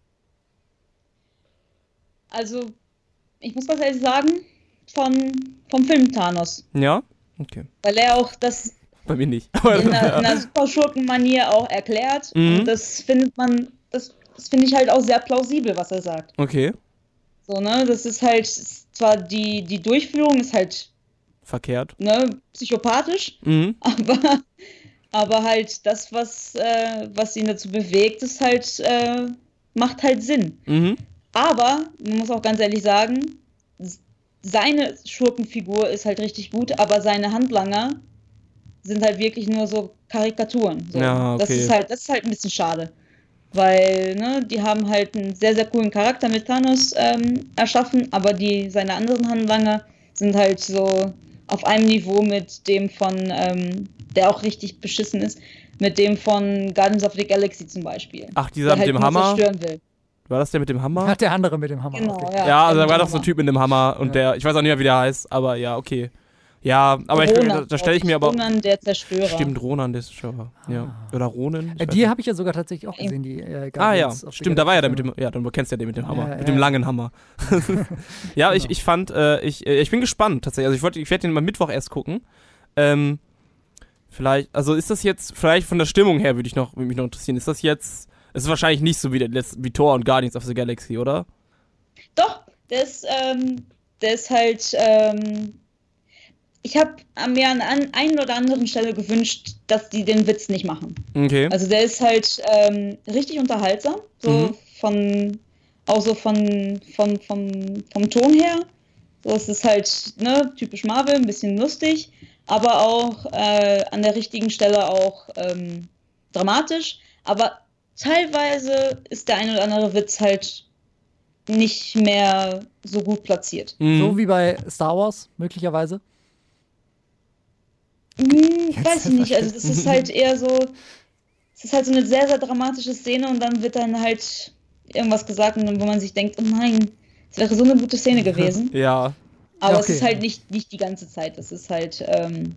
Also, ich muss ganz ehrlich sagen, von, vom Film Thanos. Ja? Okay. Weil er auch das Bei mir nicht. in einer, in einer super Schurken-Manier auch erklärt. Mhm. Und das findet man, das, das finde ich halt auch sehr plausibel, was er sagt. Okay. So, ne, das ist halt, zwar die, die Durchführung ist halt, Verkehrt. ne, psychopathisch, Mhm. aber, aber halt das, was, äh, was ihn dazu bewegt, ist halt, äh, macht halt Sinn. Mhm. Aber, man muss auch ganz ehrlich sagen, s- seine Schurkenfigur ist halt richtig gut, aber seine Handlanger sind halt wirklich nur so Karikaturen. So. Ja, Das okay. ist halt, das ist halt ein bisschen schade. Weil, ne, die haben halt einen sehr, sehr coolen Charakter mit Thanos ähm, erschaffen, aber die, seine anderen Handlanger sind halt so auf einem Niveau mit dem von, ähm, der auch richtig beschissen ist, mit dem von Guardians of the Galaxy zum Beispiel. Ach, dieser der mit halt dem nur Hammer? zerstören will. War das der mit dem Hammer? Hat der andere mit dem Hammer. Genau, okay. ja. Ja, also der da war mit doch dem so ein Hammer. Typ mit dem Hammer und Ja. der, ich weiß auch nicht mehr, wie der heißt, aber ja, okay. Ja, aber ich, Ronan, da, da stelle ich mir aber. Ronan, der Zerstörer. Stimmt, Ronan, der ist schon. Ja. Oder Ronan? ich Äh, weiß die nicht. habe ich ja sogar tatsächlich auch gesehen, die äh, Ah ja, Guardians of the stimmt, da war ja der mit Galaxy dem, ja, dann kennst du ja den mit dem Hammer, Ja, mit ja, dem ja. langen Hammer. ja, ich, Genau. ich fand, äh, ich, äh, ich bin gespannt tatsächlich, also ich wollte, ich werde den mal Mittwoch erst gucken. Ähm, vielleicht, also ist das jetzt, vielleicht von der Stimmung her würde ich noch, würde mich noch interessieren, ist das jetzt, es ist wahrscheinlich nicht so wie, der, letzte- wie Thor und Guardians of the Galaxy, oder? Doch, der ist, ähm, der ist halt, ähm, ich habe mir an an einer oder anderen Stelle gewünscht, dass die den Witz nicht machen. Okay. Also der ist halt ähm, richtig unterhaltsam, so Mhm. von, auch so von, von, vom, vom Ton her. So, es ist halt, ne, typisch Marvel, ein bisschen lustig, aber auch äh, an der richtigen Stelle auch ähm, dramatisch. Aber teilweise ist der ein oder andere Witz halt nicht mehr so gut platziert. Mhm. So wie bei Star Wars, möglicherweise. Hm, weiß ich nicht, also das ist halt eher so, es ist halt so eine sehr, sehr dramatische Szene und dann wird dann halt irgendwas gesagt, wo man sich denkt, oh nein, es wäre so eine gute Szene gewesen. Ja. Aber Ja, es okay. ist halt nicht, nicht die ganze Zeit, es ist halt ähm,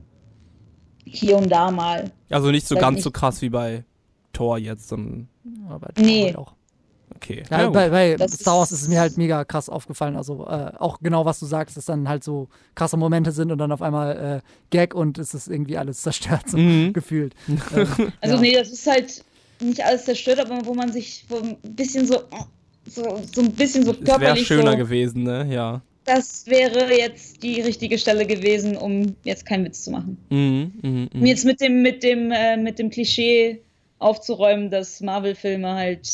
hier und da mal. Also nicht so Weiß ganz nicht. so krass wie bei Thor jetzt, sondern Aber Nee. halt auch. okay. Ja, gut. bei bei Das Star Wars ist- ist es mir halt mega krass aufgefallen. Also äh, auch genau, was du sagst, dass dann halt so krasse Momente sind und dann auf einmal äh, Gag und es ist irgendwie alles zerstört, so Mhm. gefühlt. Ähm, Also ja. nee, das ist halt nicht alles zerstört, aber wo man sich wo ein bisschen so, so, so ein bisschen so Es wäre körperlich schöner so, gewesen, ne? Ja. das wäre jetzt die richtige Stelle gewesen, um jetzt keinen Witz zu machen. Mhm, mhm, Um mhm. jetzt mit dem, mit dem, äh, mit dem Klischee aufzuräumen, dass Marvel-Filme halt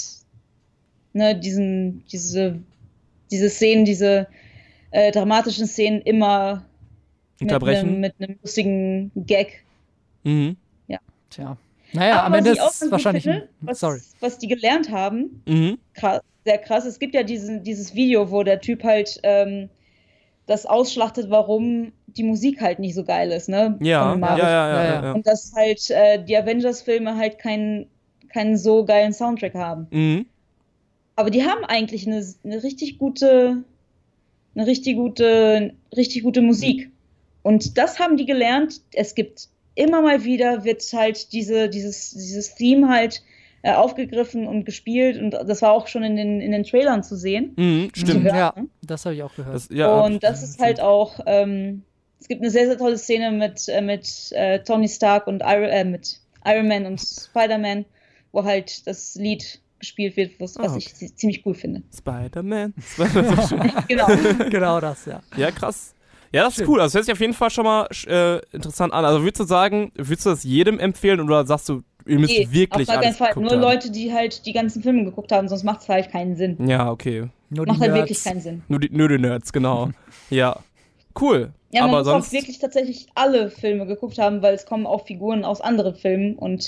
ne, diesen, diese, diese Szenen, diese äh, dramatischen Szenen immer mit Unterbrechen. einem, mit einem lustigen Gag. Mhm. Tja. Naja, Aber am was Ende ich auch ist ganz es gut wahrscheinlich. finde, ein- was, Sorry. was die gelernt haben, Mhm. krass, sehr krass. Es gibt ja diesen, dieses Video, wo der Typ halt ähm, das ausschlachtet, warum die Musik halt nicht so geil ist, ne? Ja, Von ja, den ja, Marvel- ja, Ja, ja, ja. ja. Und dass halt äh, die Avengers-Filme halt keinen keinen so geilen Soundtrack haben. Mhm. Aber die haben eigentlich eine, eine richtig gute, eine richtig gute, richtig gute Musik. Und das haben die gelernt. Es gibt immer mal wieder wird halt diese, dieses, dieses Theme halt äh, aufgegriffen und gespielt. Und das war auch schon in den, in den Trailern zu sehen. Mhm. Stimmt. hören, Ja, ne? das habe ich auch gehört. Das, ja, hab ich- Und das ist halt auch, ähm, es gibt eine sehr, sehr tolle Szene mit, äh, mit äh, Tony Stark und Iron, äh, mit Iron Man und Spider-Man, wo halt das Lied gespielt wird, was, was Ah, ich zi- ziemlich cool finde. Spider-Man. Spider-Man. So schön. Genau. Genau das, ja. Ja, krass. Ja, das ist Schön. cool. Also, das hört sich auf jeden Fall schon mal äh, interessant an. Also, würdest du sagen, würdest du das jedem empfehlen oder sagst du, ihr müsst Nee, wirklich auf gar keinen alles Fall. geguckt Nur haben? Leute, die halt die ganzen Filme geguckt haben, sonst macht es halt keinen Sinn. Ja, okay. Nur Macht die halt Nerds. wirklich keinen Sinn. Nur die, nur die Nerds, genau. Ja. Cool. Ja, man Aber muss sonst. auch wirklich tatsächlich alle Filme geguckt haben, weil es kommen auch Figuren aus anderen Filmen und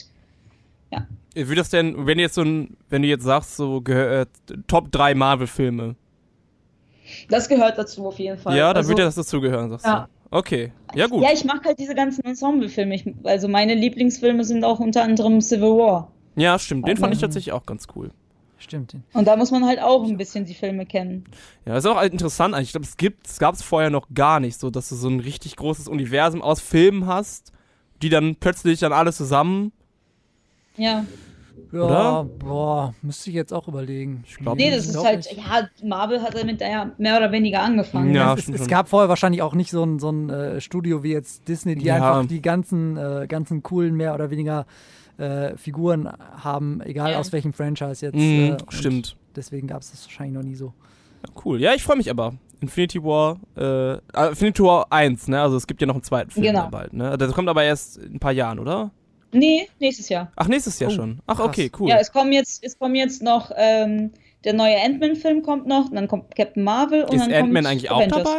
Wie das denn, wenn du jetzt so ein, wenn du jetzt sagst, so gehör, äh, Top drei Marvel-Filme. das gehört dazu auf jeden Fall. Ja, dann Also- würde das dazugehören, sagst Ja. du. Okay. Ja, gut. Ja, ich mag halt diese ganzen Ensemble-Filme. Ich, also meine Lieblingsfilme sind auch unter anderem Civil War. Ja, stimmt. Den fand ich Mhm. tatsächlich auch ganz cool. Stimmt. Und da muss man halt auch ein bisschen die Filme kennen. Ja, das ist auch halt interessant eigentlich. Ich glaube, es gibt, es gab es vorher noch gar nicht, so dass du so ein richtig großes Universum aus Filmen hast, die dann plötzlich dann alles zusammen. Ja. Ja, Oder? boah, müsste ich jetzt auch überlegen. Ich glaub- Nee, das ist glaub halt, nicht. ja, Marvel hat damit ja mehr oder weniger angefangen. Ja, es, stimmt es schon. gab vorher wahrscheinlich auch nicht so ein, so ein äh, Studio wie jetzt Disney, die Ja. einfach die ganzen, äh, ganzen coolen, mehr oder weniger äh, Figuren haben, egal Ja. aus welchem Franchise jetzt. Mhm, äh, und stimmt. Deswegen gab es das wahrscheinlich noch nie so. Ja, cool. Ja, ich freue mich aber. Infinity War, äh, äh, Infinity War eins, ne? Also es gibt ja noch einen zweiten Film Genau. dann bald, ne? Das kommt aber erst in ein paar Jahren, oder? Nee, nächstes Jahr. Ach, nächstes Jahr Oh, schon. Ach, krass. okay, cool. Ja, es kommen jetzt, es kommen jetzt noch, ähm, der neue Ant-Man-Film kommt noch, und dann kommt Captain Marvel und Ist dann Ant-Man kommt eigentlich Avengers. auch dabei?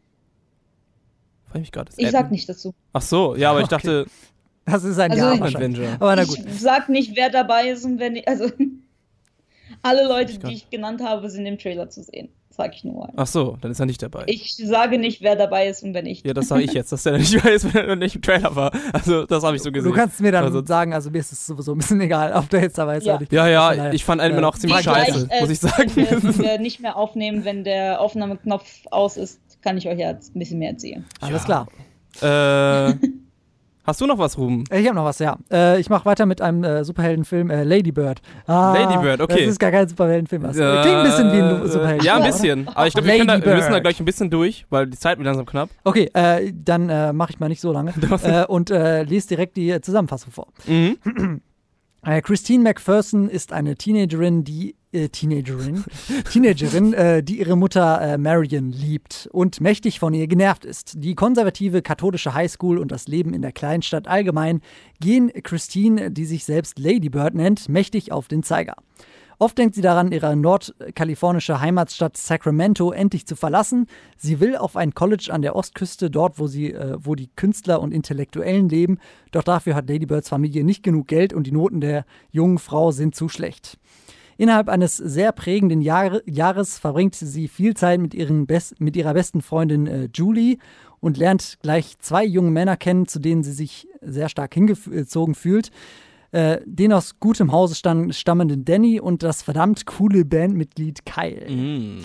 Frag ich mich gerade. ist Ich Ant-Man- sag nicht dazu. Ach so, ja, aber ich Okay. dachte, Das ist ein Also Jahr ich- wahrscheinlich. Avenger. Aber na gut. Ich sag nicht, wer dabei ist und wer nicht. Also alle Leute, Ich kann- die ich genannt habe, sind im Trailer zu sehen. Sag ich nur. Ach so, dann ist er nicht dabei. Ich sage nicht, wer dabei ist und wer nicht. Ja, das sage ich jetzt, dass der nicht weiß, wenn er nicht im Trailer war. Also, das habe ich so gesehen. Du kannst mir dann Also- sagen, also mir ist es sowieso ein bisschen egal, ob der jetzt dabei ist Ja. oder nicht. Ja, Von ja, daher, ich fand Ant-Man äh, auch ziemlich Gleich, scheiße, äh, muss ich sagen. Wenn wir, wenn wir nicht mehr aufnehmen, wenn der Aufnahmeknopf aus ist, kann ich euch jetzt ein bisschen mehr erzählen. Alles Ja. klar. äh, hast du noch was, Ruben? Äh, Ich habe noch was, ja. Äh, ich mache weiter mit einem äh, Superheldenfilm, äh, Lady Bird. Ah, Lady Bird, okay. Das ist gar kein Superheldenfilm. Das Äh, klingt ein bisschen wie ein Superheldenfilm. Ja, ein oder? bisschen. Aber ich glaube, wir, Lady können da- wir müssen da Bird. gleich ein bisschen durch, weil die Zeit wird langsam knapp. Okay, äh, dann äh, mache ich mal nicht so lange äh, und äh, lese direkt die äh, Zusammenfassung vor. Mhm. Äh, Christine McPherson ist eine Teenagerin, die äh, Teenagerin, Teenagerin, äh, die ihre Mutter äh, Marion liebt und mächtig von ihr genervt ist. Die konservative katholische Highschool und das Leben in der Kleinstadt allgemein gehen Christine, die sich selbst Lady Bird nennt, mächtig auf den Zeiger. Oft denkt sie daran, ihre nordkalifornische Heimatstadt Sacramento endlich zu verlassen. Sie will auf ein College an der Ostküste, dort, wo, sie, äh, wo die Künstler und Intellektuellen leben. Doch dafür hat Lady Birds Familie nicht genug Geld und die Noten der jungen Frau sind zu schlecht. Innerhalb eines sehr prägenden Jahre, Jahres verbringt sie viel Zeit mit, ihren Best, mit ihrer besten Freundin äh, Julie und lernt gleich zwei junge Männer kennen, zu denen sie sich sehr stark hingezogen fühlt. äh, den aus gutem Hause stam- stammenden Danny und das verdammt coole Bandmitglied Kyle. Mm.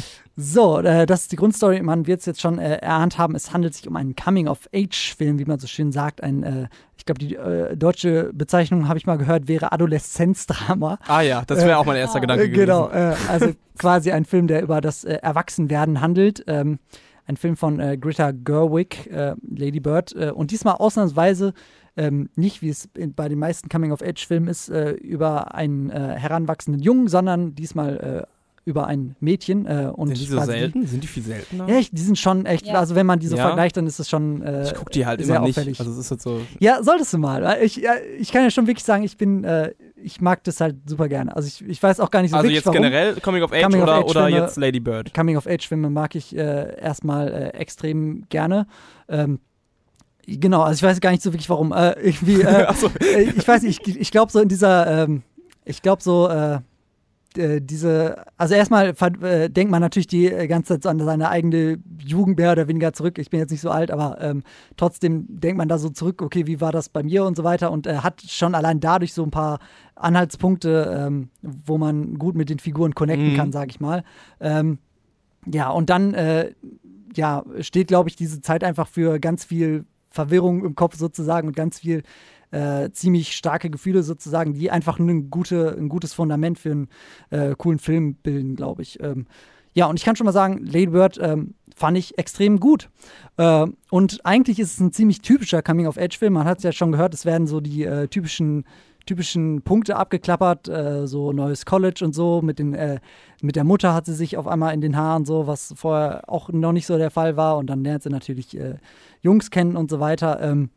So, äh, das ist die Grundstory. Man wird es jetzt schon äh, erahnt haben. Es handelt sich um einen Coming-of-Age-Film, wie man so schön sagt. Ein, äh, ich glaube, die äh, deutsche Bezeichnung, habe ich mal gehört, wäre Adoleszenzdrama. Ah ja, das wäre Äh, auch mein erster Gedanke Äh, gewesen. genau, äh, also quasi ein Film, der über das äh, Erwachsenwerden handelt. Ähm, ein Film von äh, Greta Gerwig, äh, Lady Bird. Äh, und diesmal ausnahmsweise ähm, nicht, wie es in, bei den meisten Coming-of-Age-Filmen ist, äh, über einen äh, heranwachsenden Jungen, sondern diesmal äh, über ein Mädchen. Äh, und Sind die so quasi selten? Sind die viel seltener? Die, ja, ich, die sind schon echt, Ja. also wenn man die so Ja. vergleicht, dann ist es schon äh, Ich guck die halt sehr immer nicht. auffällig. Also es ist halt so. Ja, solltest du mal. Ich, ja, ich kann ja schon wirklich sagen, ich bin, äh, ich mag das halt super gerne. Also ich, ich weiß auch gar nicht so Also wirklich, jetzt warum. generell Coming of Age Coming of oder, Age oder Filme- jetzt Lady Bird? Coming-of-Age-Filme mag ich äh, erstmal äh, extrem gerne. Ähm, genau, also ich weiß gar nicht so wirklich, warum. Äh, irgendwie, äh, Ach so. äh, ich weiß nicht, ich, ich glaube so in dieser, ähm, ich glaube so, äh, äh, diese, also erstmal ver- äh, denkt man natürlich die äh, ganze Zeit so an seine eigene Jugend mehr oder weniger zurück. Ich bin jetzt nicht so alt, aber ähm, trotzdem denkt man da so zurück, okay, wie war das bei mir und so weiter und äh, hat schon allein dadurch so ein paar Anhaltspunkte, ähm, wo man gut mit den Figuren connecten Mhm. kann, sag ich mal. Ähm, ja, und dann äh, ja, steht, glaube ich, diese Zeit einfach für ganz viel Verwirrung im Kopf sozusagen und ganz viel äh, ziemlich starke Gefühle sozusagen, die einfach eine gute, ein gutes Fundament für einen äh, coolen Film bilden, glaube ich. Ähm, ja, und ich kann schon mal sagen, Lady Bird ähm, fand ich extrem gut. Äh, und eigentlich ist es ein ziemlich typischer Coming-of-Age-Film. Man hat es ja schon gehört, es werden so die äh, typischen typischen Punkte abgeklappert, äh, so neues College und so. Mit, den, äh, mit der Mutter hat sie sich auf einmal in den Haaren so, was vorher auch noch nicht so der Fall war. Und dann lernt sie natürlich äh, Jungs kennen und so weiter. Ähm,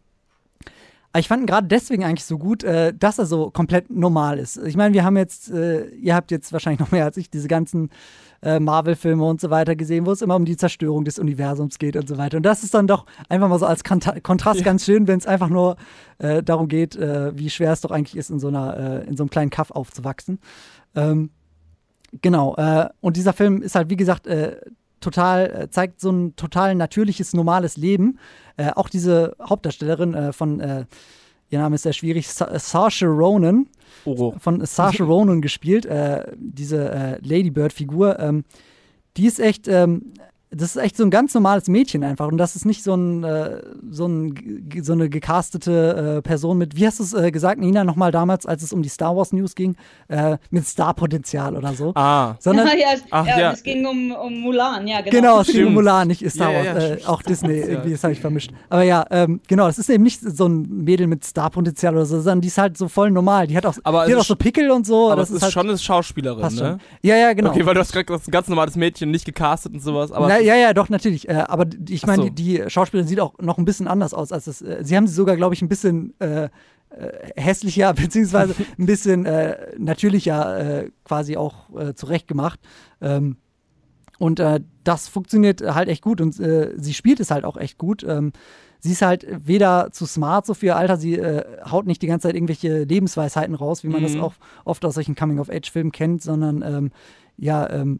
aber ich fand ihn gerade deswegen eigentlich so gut, äh, dass er so komplett normal ist. Ich meine, wir haben jetzt, äh, ihr habt jetzt wahrscheinlich noch mehr als ich diese ganzen äh, Marvel-Filme und so weiter gesehen, wo es immer um die Zerstörung des Universums geht und so weiter. Und das ist dann doch einfach mal so als Kont- Kontrast Ja. ganz schön, wenn es einfach nur äh, darum geht, äh, wie schwer es doch eigentlich ist, in so einer, äh, in so einem kleinen Kaff aufzuwachsen. Ähm, genau. Äh, und dieser Film ist halt, wie gesagt, äh, total, äh, zeigt so ein total natürliches, normales Leben. Äh, auch diese Hauptdarstellerin äh, von, äh, ihr Name ist sehr schwierig, Sa- Saoirse Ronan, Oh. von Saoirse Ronan gespielt, äh, diese äh, Lady Bird-Figur, ähm, die ist echt, ähm, das ist echt so ein ganz normales Mädchen einfach und das ist nicht so ein, äh, so, ein g- so eine gecastete äh, Person mit, wie hast du es äh, gesagt, Nina, nochmal damals, als es um die Star Wars News ging, äh, mit Starpotenzial oder so, Ah. sondern ja, Ach, ja, ja. es ging um, um Mulan, ja, genau. genau, es ging um Stimmt. Mulan, nicht Star Ja, Wars, ja, ja, äh, stimmt. auch Disney, Ja. irgendwie, das habe ich vermischt. Aber ja, ähm, genau, das ist eben nicht so ein Mädel mit Starpotenzial oder so, sondern die ist halt so voll normal. Die hat auch, Aber die es hat auch ist so Pickel und so. Aber das es ist halt, schon eine Schauspielerin, passt ne? schon. Ja, ja, genau. Okay, weil du hast gerade gesagt, ein ganz normales Mädchen, nicht gecastet und sowas. Aber Na, ja, ja, doch, natürlich. Äh, aber die- ich meine, Ach so. die, die Schauspielerin sieht auch noch ein bisschen anders aus als das. Äh, sie haben sie sogar, glaube ich, ein bisschen äh, äh, hässlicher, beziehungsweise ein bisschen äh, natürlicher äh, quasi auch äh, zurechtgemacht. Ähm, und äh, das funktioniert halt echt gut und äh, sie spielt es halt auch echt gut. Ähm, sie ist halt weder zu smart so für ihr Alter, sie äh, haut nicht die ganze Zeit irgendwelche Lebensweisheiten raus, wie man das Mhm. auch oft aus solchen Coming-of-Age-Filmen kennt, sondern ähm, ja, ähm,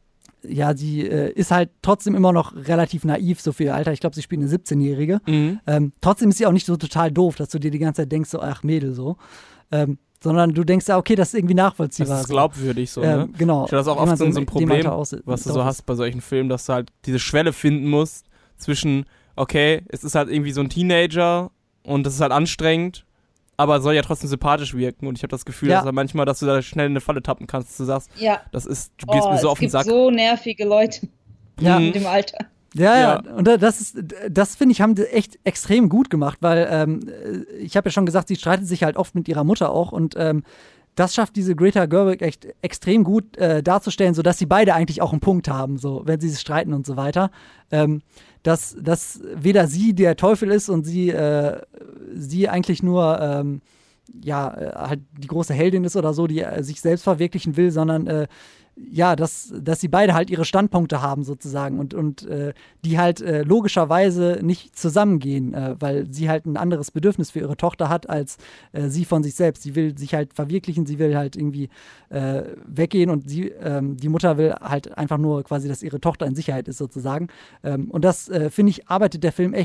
ja, sie äh, ist halt trotzdem immer noch relativ naiv, so für ihr Alter. Ich glaube, sie spielt eine siebzehnjährige. Mhm. Ähm, trotzdem ist sie auch nicht so total doof, dass du dir die ganze Zeit denkst, so, ach Mädel, so. Ähm, sondern du denkst ja, okay, das ist irgendwie nachvollziehbar. Das ist so. glaubwürdig so, Ähm, ne? genau. Ich finde das auch Wie man oft so, so ein dem Problem, Alter aus- was du drauf so ist. hast bei solchen Filmen, dass du halt diese Schwelle finden musst zwischen, okay, es ist halt irgendwie so ein Teenager und das ist halt anstrengend, aber soll ja trotzdem sympathisch wirken und ich habe das Gefühl, Ja. dass da manchmal, dass du da schnell in eine Falle tappen kannst, dass du sagst, Ja, das ist, du gehst oh, mir so es auf den gibt Sack. so nervige Leute Ja. Mhm. in dem Alter. Ja, ja, Ja. und da- das ist, das finde ich, haben die echt extrem gut gemacht, weil ähm, ich habe ja schon gesagt, sie streitet sich halt oft mit ihrer Mutter auch und ähm, das schafft diese Greta Gerwig echt extrem gut äh, darzustellen, sodass sie beide eigentlich auch einen Punkt haben, so, wenn sie sich streiten und so weiter. Ähm, dass, dass weder sie der Teufel ist und sie, äh, sie eigentlich nur ähm, ja, äh, halt die große Heldin ist oder so, die äh, sich selbst verwirklichen will, sondern äh, ja, dass, dass sie beide halt ihre Standpunkte haben sozusagen und, und äh, die halt äh, logischerweise nicht zusammengehen, äh, weil sie halt ein anderes Bedürfnis für ihre Tochter hat als äh, sie von sich selbst. Sie will sich halt verwirklichen, sie will halt irgendwie äh, weggehen und sie, ähm, die Mutter will halt einfach nur quasi, dass ihre Tochter in Sicherheit ist sozusagen. Ähm, und das, äh, finde ich, arbeitet der Film echt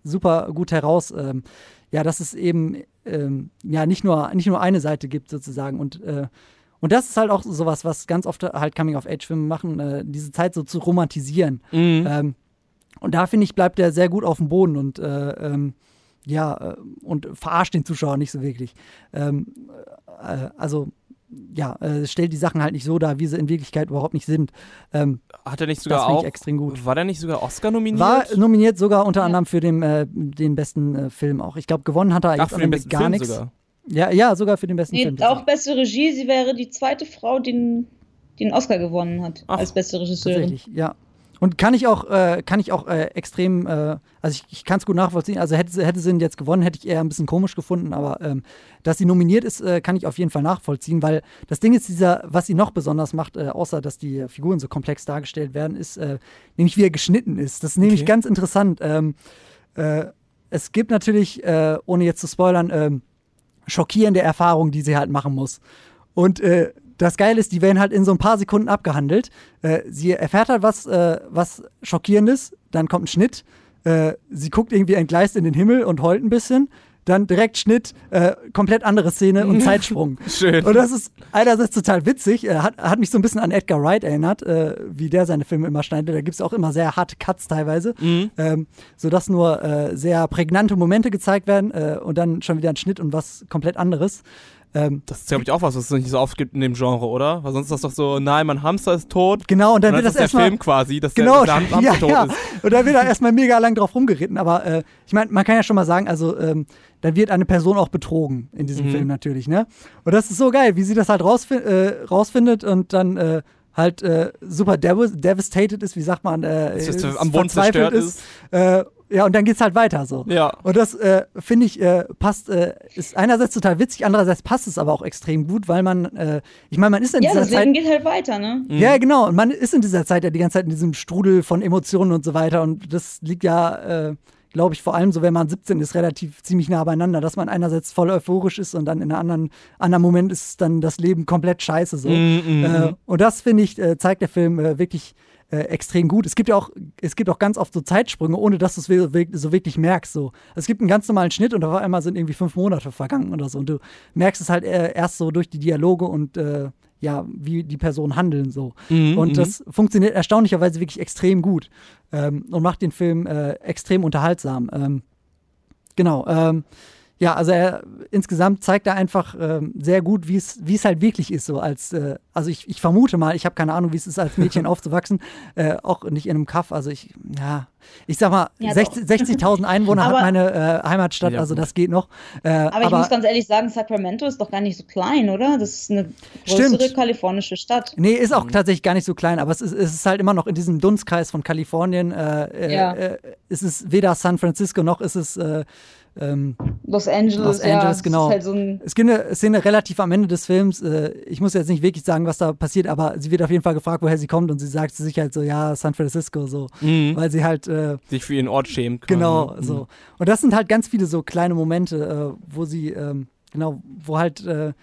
super gut heraus, ähm, ja, dass es eben ähm, ja nicht nur, nicht nur eine Seite gibt sozusagen und äh, Und das ist halt auch sowas, was ganz oft halt Coming-of-Age-Filme machen, äh, diese Zeit so zu romantisieren. Mhm. Ähm, und da, finde ich, bleibt er sehr gut auf dem Boden und äh, ähm, ja, äh, und verarscht den Zuschauer nicht so wirklich. Ähm, äh, also, ja, äh, stellt die Sachen halt nicht so dar, wie sie in Wirklichkeit überhaupt nicht sind. Ähm, Hat er nicht sogar das finde auch, ich extrem gut. war der nicht sogar Oscar nominiert? War nominiert sogar unter anderem für den, äh, den besten äh, Film auch. Ich glaube, gewonnen hat er Ach, jetzt für am den Ende besten gar Film nichts. sogar. Ja, ja, sogar für den besten Nee, Film. auch beste Regie, sie wäre die zweite Frau, die den, die den Oscar gewonnen hat, Ach, als beste Regisseurin. Tatsächlich, ja. Und kann ich auch, äh, kann ich auch äh, extrem, äh, also ich, ich kann es gut nachvollziehen, also hätte, sie- hätte sie ihn jetzt gewonnen, hätte ich eher ein bisschen komisch gefunden, aber ähm, dass sie nominiert ist, äh, kann ich auf jeden Fall nachvollziehen, weil das Ding ist, dieser, was sie noch besonders macht, äh, außer dass die Figuren so komplex dargestellt werden, ist äh, nämlich wie er geschnitten ist. Das ist nämlich Okay. ganz interessant. Ähm, äh, es gibt natürlich, äh, ohne jetzt zu spoilern, ähm, schockierende Erfahrungen, die sie halt machen muss. Und äh, das Geile ist, die werden halt in so ein paar Sekunden abgehandelt. Äh, sie erfährt halt was, äh, was Schockierendes, dann kommt ein Schnitt. Äh, sie guckt irgendwie entgleist in den Himmel und heult ein bisschen. Dann direkt Schnitt, äh, komplett andere Szene und Zeitsprung. Schön. Und das ist einerseits total witzig, äh, hat, hat mich so ein bisschen an Edgar Wright erinnert, äh, wie der seine Filme immer schneidet. Da gibt es auch immer sehr harte Cuts teilweise, Mhm. ähm, sodass nur äh, sehr prägnante Momente gezeigt werden äh, und dann schon wieder ein Schnitt und was komplett anderes. Ähm, Das ist, glaube ich, auch was, was es nicht so oft gibt in dem Genre, oder? Weil sonst ist das doch so, nein, mein Hamster ist tot. genau, und dann Und wird dann das ist der erstmal. Film quasi, dass Genau, der, dass der Ham- ja, Hamster ja. tot ist. Und da wird er erstmal mega lang drauf rumgeritten. Aber äh, ich meine, man kann ja schon mal sagen, also ähm, dann wird eine Person auch betrogen in diesem Mhm. Film natürlich, ne? Und das ist so geil, wie sie das halt rausfi- äh, rausfindet und dann äh, halt äh, super dev- devastated ist, wie sagt man, äh, Dass das ist am Boden verzweifelt zerstört ist. Äh, ja, und dann geht's halt weiter so. Ja. Und das äh, finde ich äh, passt, äh, ist einerseits total witzig, andererseits passt es aber auch extrem gut, weil man, äh, ich meine, man ist in Ja, dieser das Zeit. Leben geht halt weiter, ne? Mhm. Ja, genau. Und man ist in dieser Zeit ja die ganze Zeit in diesem Strudel von Emotionen und so weiter. Und das liegt ja, äh, glaube ich, vor allem so, wenn man siebzehn ist, relativ ziemlich nah beieinander, dass man einerseits voll euphorisch ist und dann in einem anderen, anderen Moment ist dann das Leben komplett scheiße. So. Mhm, mhm. Äh, und das, finde ich, äh, zeigt der Film äh, wirklich äh, extrem gut. Es gibt ja auch, es gibt auch ganz oft so Zeitsprünge, ohne dass du es wir- wir- so wirklich merkst. So. Es gibt einen ganz normalen Schnitt und auf einmal sind irgendwie fünf Monate vergangen oder so. Und du merkst es halt äh, erst so durch die Dialoge und äh, ja, wie die Personen handeln so. Mhm, und mhm. das funktioniert erstaunlicherweise wirklich extrem gut ähm, und macht den Film äh, extrem unterhaltsam. Ähm, genau. Ähm, ja, also er insgesamt zeigt er einfach ähm, sehr gut, wie es wie es halt wirklich ist, so als, äh, also ich, ich vermute mal, ich habe keine Ahnung, wie es ist, als Mädchen aufzuwachsen, äh, auch nicht in einem Kaff, also ich, ja, ich sag mal, Ja, sechzig sechzigtausend Einwohner hat Aber- meine äh, Heimatstadt, Ja, also gut. das geht noch. Äh, Aber, aber ich muss ganz ehrlich sagen, Sacramento ist doch gar nicht so klein, oder? Das ist eine größere Stimmt. kalifornische Stadt. Nee, ist auch tatsächlich gar nicht so klein, aber es ist, es ist halt immer noch in diesem Dunstkreis von Kalifornien. Äh, äh, Ja. äh, es ist weder San Francisco noch ist es äh, ähm, Los Angeles, Los ja. Angeles, es genau. Ist halt so ein, Es gibt eine Szene relativ am Ende des Films. Äh, ich muss jetzt nicht wirklich sagen, was da passiert, aber sie wird auf jeden Fall gefragt, woher sie kommt und sie sagt zu sich halt so, ja, San Francisco, so. Mhm. Weil sie halt, äh, Sich für ihren Ort schämt. quasi, genau, ne? so. Und das sind halt ganz viele so kleine Momente, äh, wo sie, ähm, genau, wo halt äh,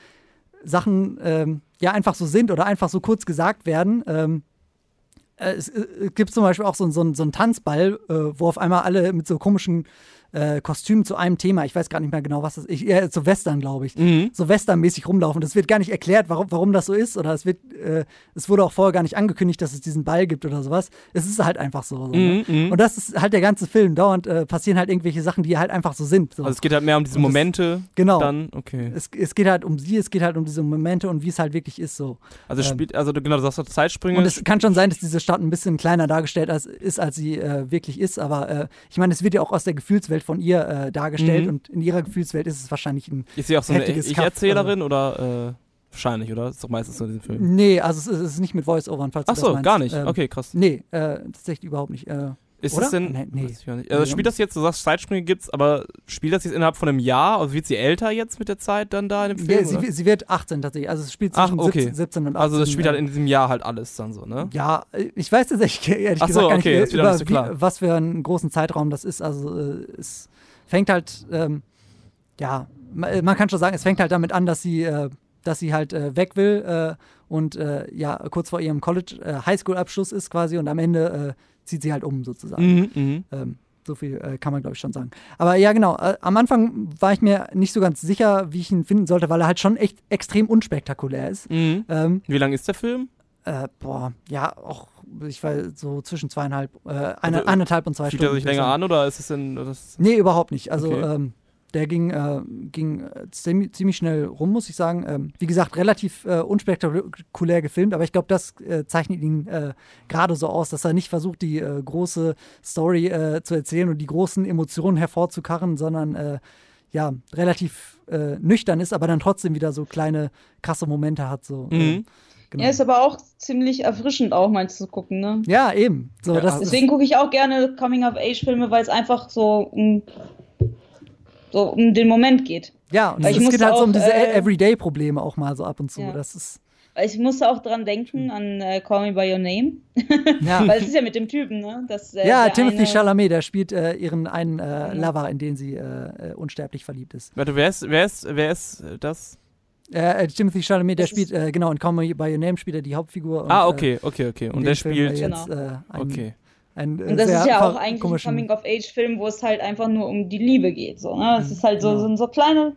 Sachen ähm, ja einfach so sind oder einfach so kurz gesagt werden. Ähm, äh, es, äh, es gibt zum Beispiel auch so, so, so einen Tanzball, äh, wo auf einmal alle mit so komischen äh, Kostümen zu einem Thema, ich weiß gar nicht mehr genau, was das ist, eher zu Western, glaube ich, Mhm. so Western-mäßig rumlaufen. Das wird gar nicht erklärt, warum, warum das so ist, oder es wird, äh, es wurde auch vorher gar nicht angekündigt, dass es diesen Ball gibt oder sowas. Es ist halt einfach so. so ne? Mhm, mhm. Und das ist halt der ganze Film. Dauernd äh, passieren halt irgendwelche Sachen, die halt einfach so sind. So. Also es geht halt mehr um diese Und das- Momente. genau. Dann, okay. es, es geht halt um sie, es geht halt um diese Momente und wie es halt wirklich ist. So. Also es ähm, spielt, also du- genau, du sagst doch Zeitsprünge. Und es kann schon sein, dass diese Stadt ein bisschen kleiner dargestellt als, ist, als sie äh, wirklich ist. Aber äh, ich meine, es wird ja auch aus der Gefühlswelt von ihr äh, dargestellt Mhm. und in ihrer Gefühlswelt ist es wahrscheinlich ein. ist sie auch so eine heftiges Ich-Erzählerin oder äh, wahrscheinlich, oder? Ist doch meistens so in diesem Film. Nee, also es ist, es ist nicht mit Voice-Overn, falls Ach du so, das meinst. gar nicht. Ähm, Okay, krass. Nee, äh, tatsächlich überhaupt nicht. Äh, Ist oder? es denn, Nee, nee. weiß ich gar nicht. Also spielt das jetzt, du sagst Zeitsprünge gibt's, aber spielt das jetzt innerhalb von einem Jahr? Also wird sie älter jetzt mit der Zeit dann da in dem Film? ja, oder? sie, sie wird achtzehn tatsächlich. Also es spielt Ach, zwischen okay. siebzehn, siebzehn und achtzehn. Also das spielt halt äh, in diesem Jahr halt alles dann so, ne? Ja, ich weiß tatsächlich ehrlich Ach so, gesagt gar okay, nicht, das äh, wird auch über nicht so klar. wie, was für einen großen Zeitraum das ist. Also äh, es fängt halt, ähm, ja, ma- man kann schon sagen, es fängt halt damit an, dass sie, äh, dass sie halt äh, weg will äh, und äh, ja, kurz vor ihrem College, äh, Highschool-Abschluss ist quasi und am Ende äh, zieht sie halt um sozusagen. Mhm, mhm. Ähm, So viel äh, kann man, glaube ich, schon sagen. Aber ja, genau. Äh, am Anfang war ich mir nicht so ganz sicher, wie ich ihn finden sollte, weil er halt schon echt extrem unspektakulär ist. Mhm. Ähm, Wie lang ist der Film? äh, boah, ja, auch, ich war so zwischen zweieinhalb, äh, eine, Also, eineinhalb und zwei Fühlt Stunden. er sich länger an oder ist es denn. Das Nee, überhaupt nicht. Also, Okay. ähm, der ging, äh, ging äh, ziemlich, ziemlich schnell rum, muss ich sagen. Ähm, wie gesagt, relativ äh, unspektakulär gefilmt, aber ich glaube, das äh, zeichnet ihn äh, gerade so aus, dass er nicht versucht, die äh, große Story äh, zu erzählen und die großen Emotionen hervorzukarren, sondern äh, ja, relativ äh, nüchtern ist, aber dann trotzdem wieder so kleine, krasse Momente hat. So, Mhm. äh, genau. Ja, ist aber auch ziemlich erfrischend auch mal zu gucken, ne? Ja, eben. So, Ja, das ist, Deswegen gucke ich auch gerne Coming-of-Age-Filme, weil es einfach so um, so um den Moment geht. ja, und Weil es ich geht musste halt so um auch, diese äh, Everyday-Probleme auch mal so ab und zu. Ja. Das ist, Weil Ich musste auch dran denken an äh, Call Me By Your Name, ja. weil es ist ja mit dem Typen, ne? Das, äh, Ja, der Timothy eine, Chalamet, der spielt äh, ihren einen äh, Genau. Lover, in den sie äh, äh, unsterblich verliebt ist. Warte, wer ist, wer ist, wer ist das? Äh, äh, Timothy Chalamet, der Das spielt, äh, genau, in Call Me By Your Name spielt er die Hauptfigur. Und, Ah, okay, okay, okay. Äh, in Und dem der Film, spielt. äh, jetzt, Genau. äh, ein, Okay. ein, äh, Und das sehr ist ja auch ver- eigentlich ein komischen- Coming-of-Age-Film, wo es halt einfach nur um die Liebe geht. So, ne? Es ist halt so, Genau. sind so kleine,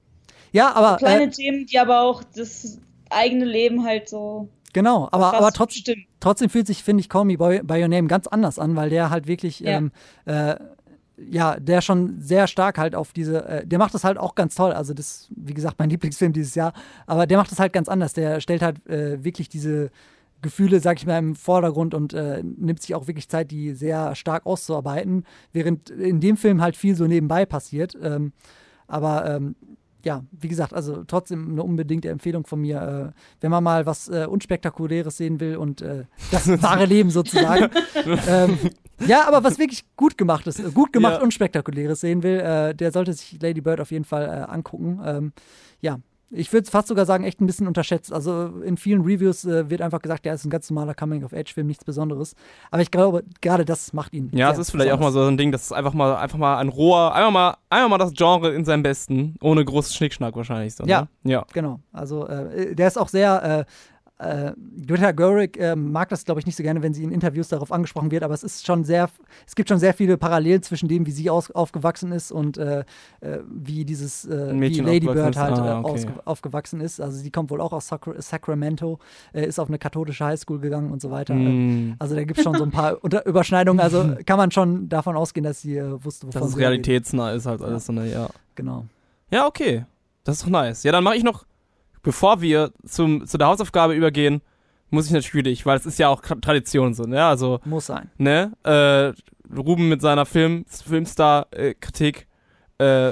Ja, aber kleine äh, Themen, die aber auch das eigene Leben halt so genau, aber, krass aber trotz, bestimmen. trotzdem fühlt sich, finde ich, Call Me By, By Your Name ganz anders an, weil der halt wirklich, Ja. ähm, äh, ja, der schon sehr stark halt auf diese, äh, der macht das halt auch ganz toll, also das, wie gesagt, mein Lieblingsfilm dieses Jahr, aber der macht das halt ganz anders, der stellt halt äh, wirklich diese Gefühle, sag ich mal, im Vordergrund und äh, nimmt sich auch wirklich Zeit, die sehr stark auszuarbeiten, während in dem Film halt viel so nebenbei passiert, ähm, aber ähm, ja, wie gesagt, also trotzdem eine unbedingte Empfehlung von mir, äh, wenn man mal was äh, Unspektakuläres sehen will und äh, das wahre Leben sozusagen. ähm, ja, aber was wirklich gut gemacht ist, äh, gut gemacht Ja. Unspektakuläres sehen will, äh, der sollte sich Lady Bird auf jeden Fall äh, angucken. Ähm, ja, ich würde fast sogar sagen, echt ein bisschen unterschätzt. Also in vielen Reviews äh, wird einfach gesagt, ja, ist ein ganz normaler Coming-of-Age-Film, nichts Besonderes. Aber ich glaube, gerade das macht ihn. Ja, es sehr ist vielleicht auch mal besonders. so ein Ding, das ist einfach mal, einfach mal ein roher, einfach mal, einfach mal das Genre in seinem Besten, ohne großes Schnickschnack wahrscheinlich. So, Ja. Ne? Ja. Genau, also äh, der ist auch sehr, äh, äh, Greta Gerwig äh, mag das, glaube ich, nicht so gerne, wenn sie in Interviews darauf angesprochen wird, aber es ist schon sehr, es gibt schon sehr viele Parallelen zwischen dem, wie sie aus, aufgewachsen ist und äh, äh, wie dieses, äh, Ein wie Mädchen Lady aufgewachsen Bird ist. halt Ah, äh, okay. ausge, aufgewachsen ist. Also sie kommt wohl auch aus Sacra Sacramento, äh, ist auf eine katholische Highschool gegangen und so weiter. Mm. Also da gibt es schon so ein paar Unter Überschneidungen, also kann man schon davon ausgehen, dass sie äh, wusste, wovon Dass es sie redet. realitätsnah ist halt alles so eine, ja. Genau. Ja, okay. Das ist doch nice. Ja, dann mache ich noch, bevor wir zum, zu der Hausaufgabe übergehen, muss ich natürlich, weil es ist ja auch Tradition so, ne? Also, Muss sein. ne? Äh, Ruben mit seiner Film, Filmstar-Kritik äh,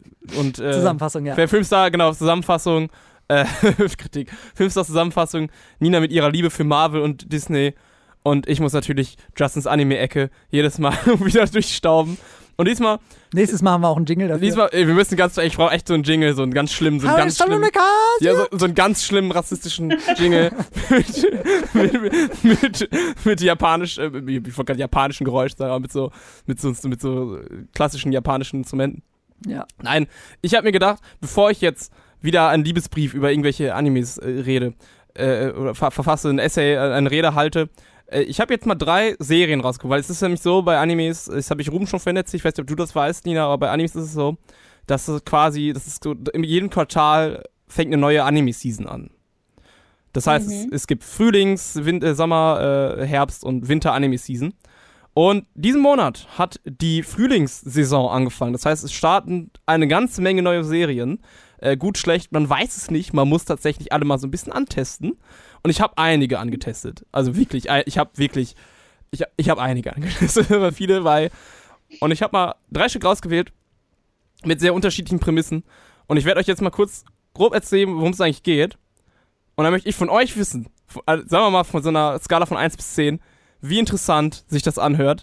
und äh, Zusammenfassung, ja. Filmstar, genau, Zusammenfassung, äh, Kritik, Filmstar-Zusammenfassung, Nina mit ihrer Liebe für Marvel und Disney und ich muss natürlich Justins Anime-Ecke jedes Mal wieder durchstauben. Und diesmal, Nächstes Mal haben wir auch einen Jingle dafür. diesmal, ey, wir müssen ganz, ich brauche echt so einen Jingle, so einen ganz schlimmen, so einen Hallo, ganz ist Hallo, schlimmen, Niklas! ja, so, so einen ganz schlimmen rassistischen Jingle mit, mit, mit, mit japanisch, äh, ich wollte gerade japanischen Geräusch sagen, aber mit so, mit so, mit so klassischen japanischen Instrumenten. Ja. Nein, ich habe mir gedacht, bevor ich jetzt wieder einen Liebesbrief über irgendwelche Animes äh, rede, äh, oder ver verfasse, ein Essay, äh, eine Rede halte, äh, ich habe jetzt mal drei Serien rausgeguckt, weil es ist nämlich so bei Animes, das habe ich Ruben schon vernetzt, ich weiß nicht, ob du das weißt, Nina, aber bei Animes ist es so, dass es quasi, das ist so, in jedem Quartal fängt eine neue Anime-Season an. Das heißt, Mhm. es, es gibt Frühlings-, Win äh, Sommer-, äh, Herbst- und Winter-Anime-Season. Und diesen Monat hat die Frühlingssaison angefangen. Das heißt, es starten eine ganze Menge neue Serien. Äh, gut, schlecht, man weiß es nicht. Man muss tatsächlich alle mal so ein bisschen antesten. Und ich habe einige angetestet. Also wirklich, ein- ich habe wirklich, ich, ich habe einige angetestet, aber viele, weil. Und ich habe mal drei Stück rausgewählt mit sehr unterschiedlichen Prämissen. Und ich werde euch jetzt mal kurz grob erzählen, worum es eigentlich geht. Und dann möchte ich von euch wissen, von, also sagen wir mal von so einer Skala von eins bis zehn, wie interessant sich das anhört.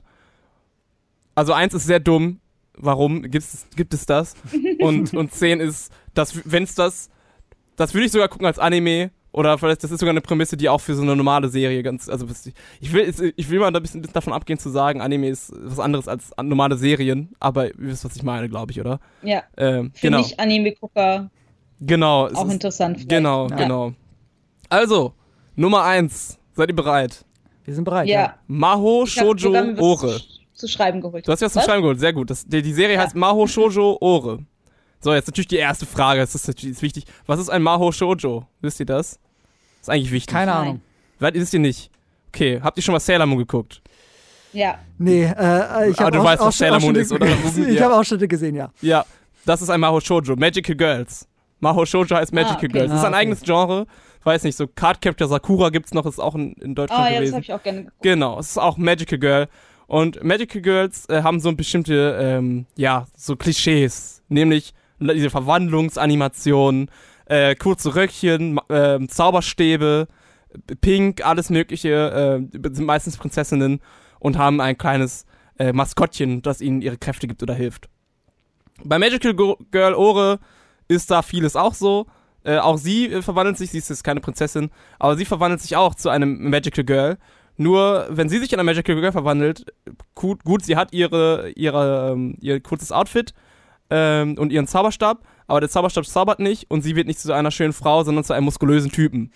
Also eins ist sehr dumm. Warum gibt's, gibt es das? Und, und zehn ist, dass, wenn es das, das würde ich sogar gucken als Anime. Oder vielleicht, das ist sogar eine Prämisse, die auch für so eine normale Serie ganz, also ich will, ich will mal ein bisschen davon abgehen zu sagen, Anime ist was anderes als normale Serien, aber ihr wisst, was ich meine, glaube ich, oder? Ja, Ähm, für genau, Nicht-Anime-Gucker genau. es auch ist- interessant. vielleicht. Genau, Ja. genau. Also, Nummer eins. Seid ihr bereit? Wir sind bereit. Ja. Maho Ich hab sogar Shoujo was- Ore. zu schreiben geholt. Du hast dir was zum Schreiben geholt, sehr gut. Das, die, die Serie ja. heißt Mahou Shoujo Ore. So, jetzt natürlich die erste Frage, das ist natürlich wichtig. Was ist ein Mahou Shoujo? Wisst ihr das? Das ist eigentlich wichtig. Keine Ahnung. Was ist ihr nicht? Okay, habt ihr schon mal Sailor Moon geguckt? Ja. Nee, äh, ich habe Aber du auch, weißt, was Sailor Moon ist, oder? Ich habe Ausschnitte gesehen, ja. Ja, das ist ein Mahou Shoujo, Magical Girls. Mahou Shoujo heißt Magical ah, okay. Girls. Das ist ein ah, okay. eigenes Genre. Weiß nicht, so Cardcaptor Sakura gibt's noch, ist auch in, in Deutschland ah, ja, gewesen. Das hab ich auch gerne geguckt. Genau, es ist auch Magical Girl. Und Magical Girls äh, haben so bestimmte, ähm, ja, so Klischees. Nämlich diese Verwandlungsanimationen, äh, kurze Röckchen, äh, Zauberstäbe, Pink, alles mögliche, äh, sind meistens Prinzessinnen und haben ein kleines äh, Maskottchen, das ihnen ihre Kräfte gibt oder hilft. Bei Magical Girl Ore ist da vieles auch so. Äh, auch sie äh, verwandelt sich, sie ist jetzt keine Prinzessin, aber sie verwandelt sich auch zu einem Magical Girl. Nur, wenn sie sich in eine Magical Girl verwandelt, gut, gut sie hat ihre, ihre, ähm, ihr kurzes Outfit ähm, und ihren Zauberstab, aber der Zauberstab zaubert nicht und sie wird nicht zu einer schönen Frau, sondern zu einem muskulösen Typen.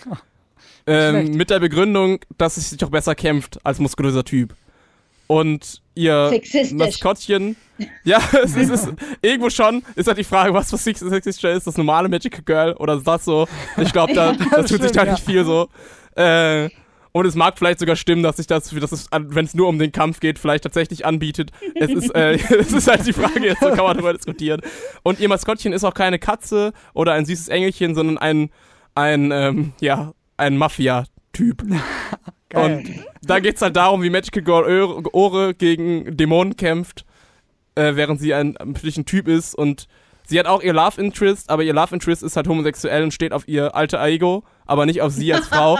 ähm, mit der Begründung, dass sie sich doch besser kämpft als muskulöser Typ. Und ihr Maskottchen, ja, es ist, es ist irgendwo schon, ist halt die Frage, was für sexistischer ist, das normale Magical Girl oder ist das so? Ich glaube, da, das tut stimmt, sich da ja. nicht viel so. Äh, und es mag vielleicht sogar stimmen, dass sich das, dass es, wenn es nur um den Kampf geht, vielleicht tatsächlich anbietet. Es ist, äh, es ist halt die Frage, jetzt so kann man darüber diskutieren. Und ihr Maskottchen ist auch keine Katze oder ein süßes Engelchen, sondern ein, ein, ähm, ja, ein Mafia-Typ. Geil. Und da geht's halt darum, wie Magical Girl Ore gegen Dämonen kämpft, äh, während sie ein, ein Typ ist. Und sie hat auch ihr Love Interest, aber ihr Love Interest ist halt homosexuell und steht auf ihr alter Ego, aber nicht auf sie als Frau.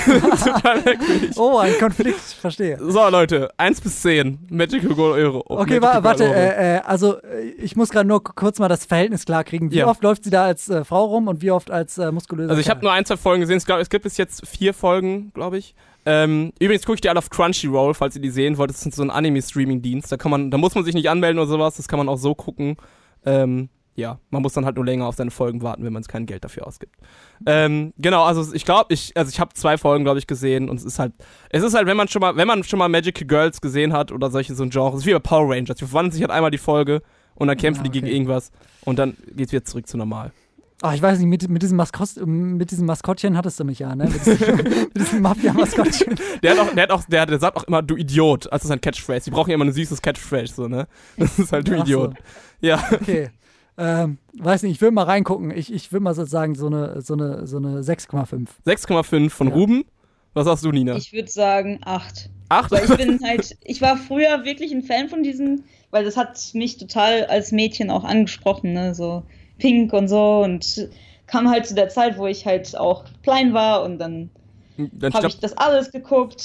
Total merkwürdig. Oh, ein Konflikt, verstehe. So, Leute, eins bis zehn, Magical Girl Ore. Okay, Magical warte, äh, äh, also ich muss gerade nur kurz mal das Verhältnis klar kriegen. Wie ja. oft läuft sie da als äh, Frau rum und wie oft als äh, muskulöse Also ich habe nur ein, zwei Folgen gesehen, es gibt bis jetzt vier Folgen, glaube ich. Ähm, übrigens gucke ich die alle auf Crunchyroll, falls ihr die sehen wollt. Das ist so ein Anime-Streaming-Dienst. Da kann man, da muss man sich nicht anmelden oder sowas. Das kann man auch so gucken. Ähm, ja, man muss dann halt nur länger auf seine Folgen warten, wenn man kein Geld dafür ausgibt. Ähm, genau, also ich glaube, ich, also ich habe zwei Folgen, glaube ich, gesehen und es ist halt, es ist halt, wenn man schon mal, wenn man schon mal Magical Girls gesehen hat oder solche so ein Genre, es ist wie bei Power Rangers. Die verwandeln sich halt einmal die Folge und dann kämpfen ah, okay. die gegen irgendwas und dann geht's wieder zurück zu normal. Ach, ich weiß nicht, mit, mit, diesem Maskott, mit diesem Maskottchen hattest du mich ja, ne? Mit diesem, mit diesem Mafia-Maskottchen. Der hat auch, der hat auch, der, der sagt auch immer, du Idiot, als sein Catchphrase. Die brauchen ja immer ein süßes Catchphrase, so, ne? Das ist halt, du Ach Idiot. So. Ja. Okay. Ähm, weiß nicht, ich will mal reingucken. Ich, ich will mal so sagen, so eine, so eine, so eine sechs Komma fünf. sechs Komma fünf von ja. Ruben. Was sagst du, Nina? Ich würde sagen acht. acht? Weil ich bin halt, ich war früher wirklich ein Fan von diesen, weil das hat mich total als Mädchen auch angesprochen, ne? So Pink und so und kam halt zu der Zeit, wo ich halt auch klein war und dann, dann habe ich das alles geguckt,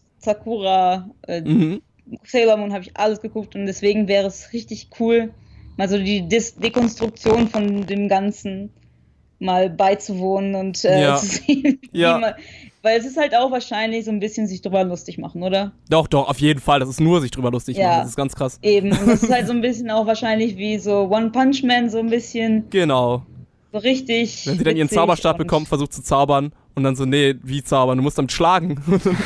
Sakura, äh, mhm. Sailor Moon habe ich alles geguckt und deswegen wäre es richtig cool, mal so die Dis- Dekonstruktion von dem Ganzen mal beizuwohnen und äh, ja. zu sehen, ja. wie man, weil es ist halt auch wahrscheinlich so ein bisschen sich drüber lustig machen, oder? Doch, doch, auf jeden Fall. Das ist nur sich drüber lustig ja. machen. Das ist ganz krass. Eben. Und das ist halt so ein bisschen auch wahrscheinlich wie so One Punch Man, so ein bisschen. Genau. So richtig. Wenn sie dann ihren Zauberstab bekommt, versucht zu zaubern und dann so, nee, wie zaubern? Du musst damit schlagen.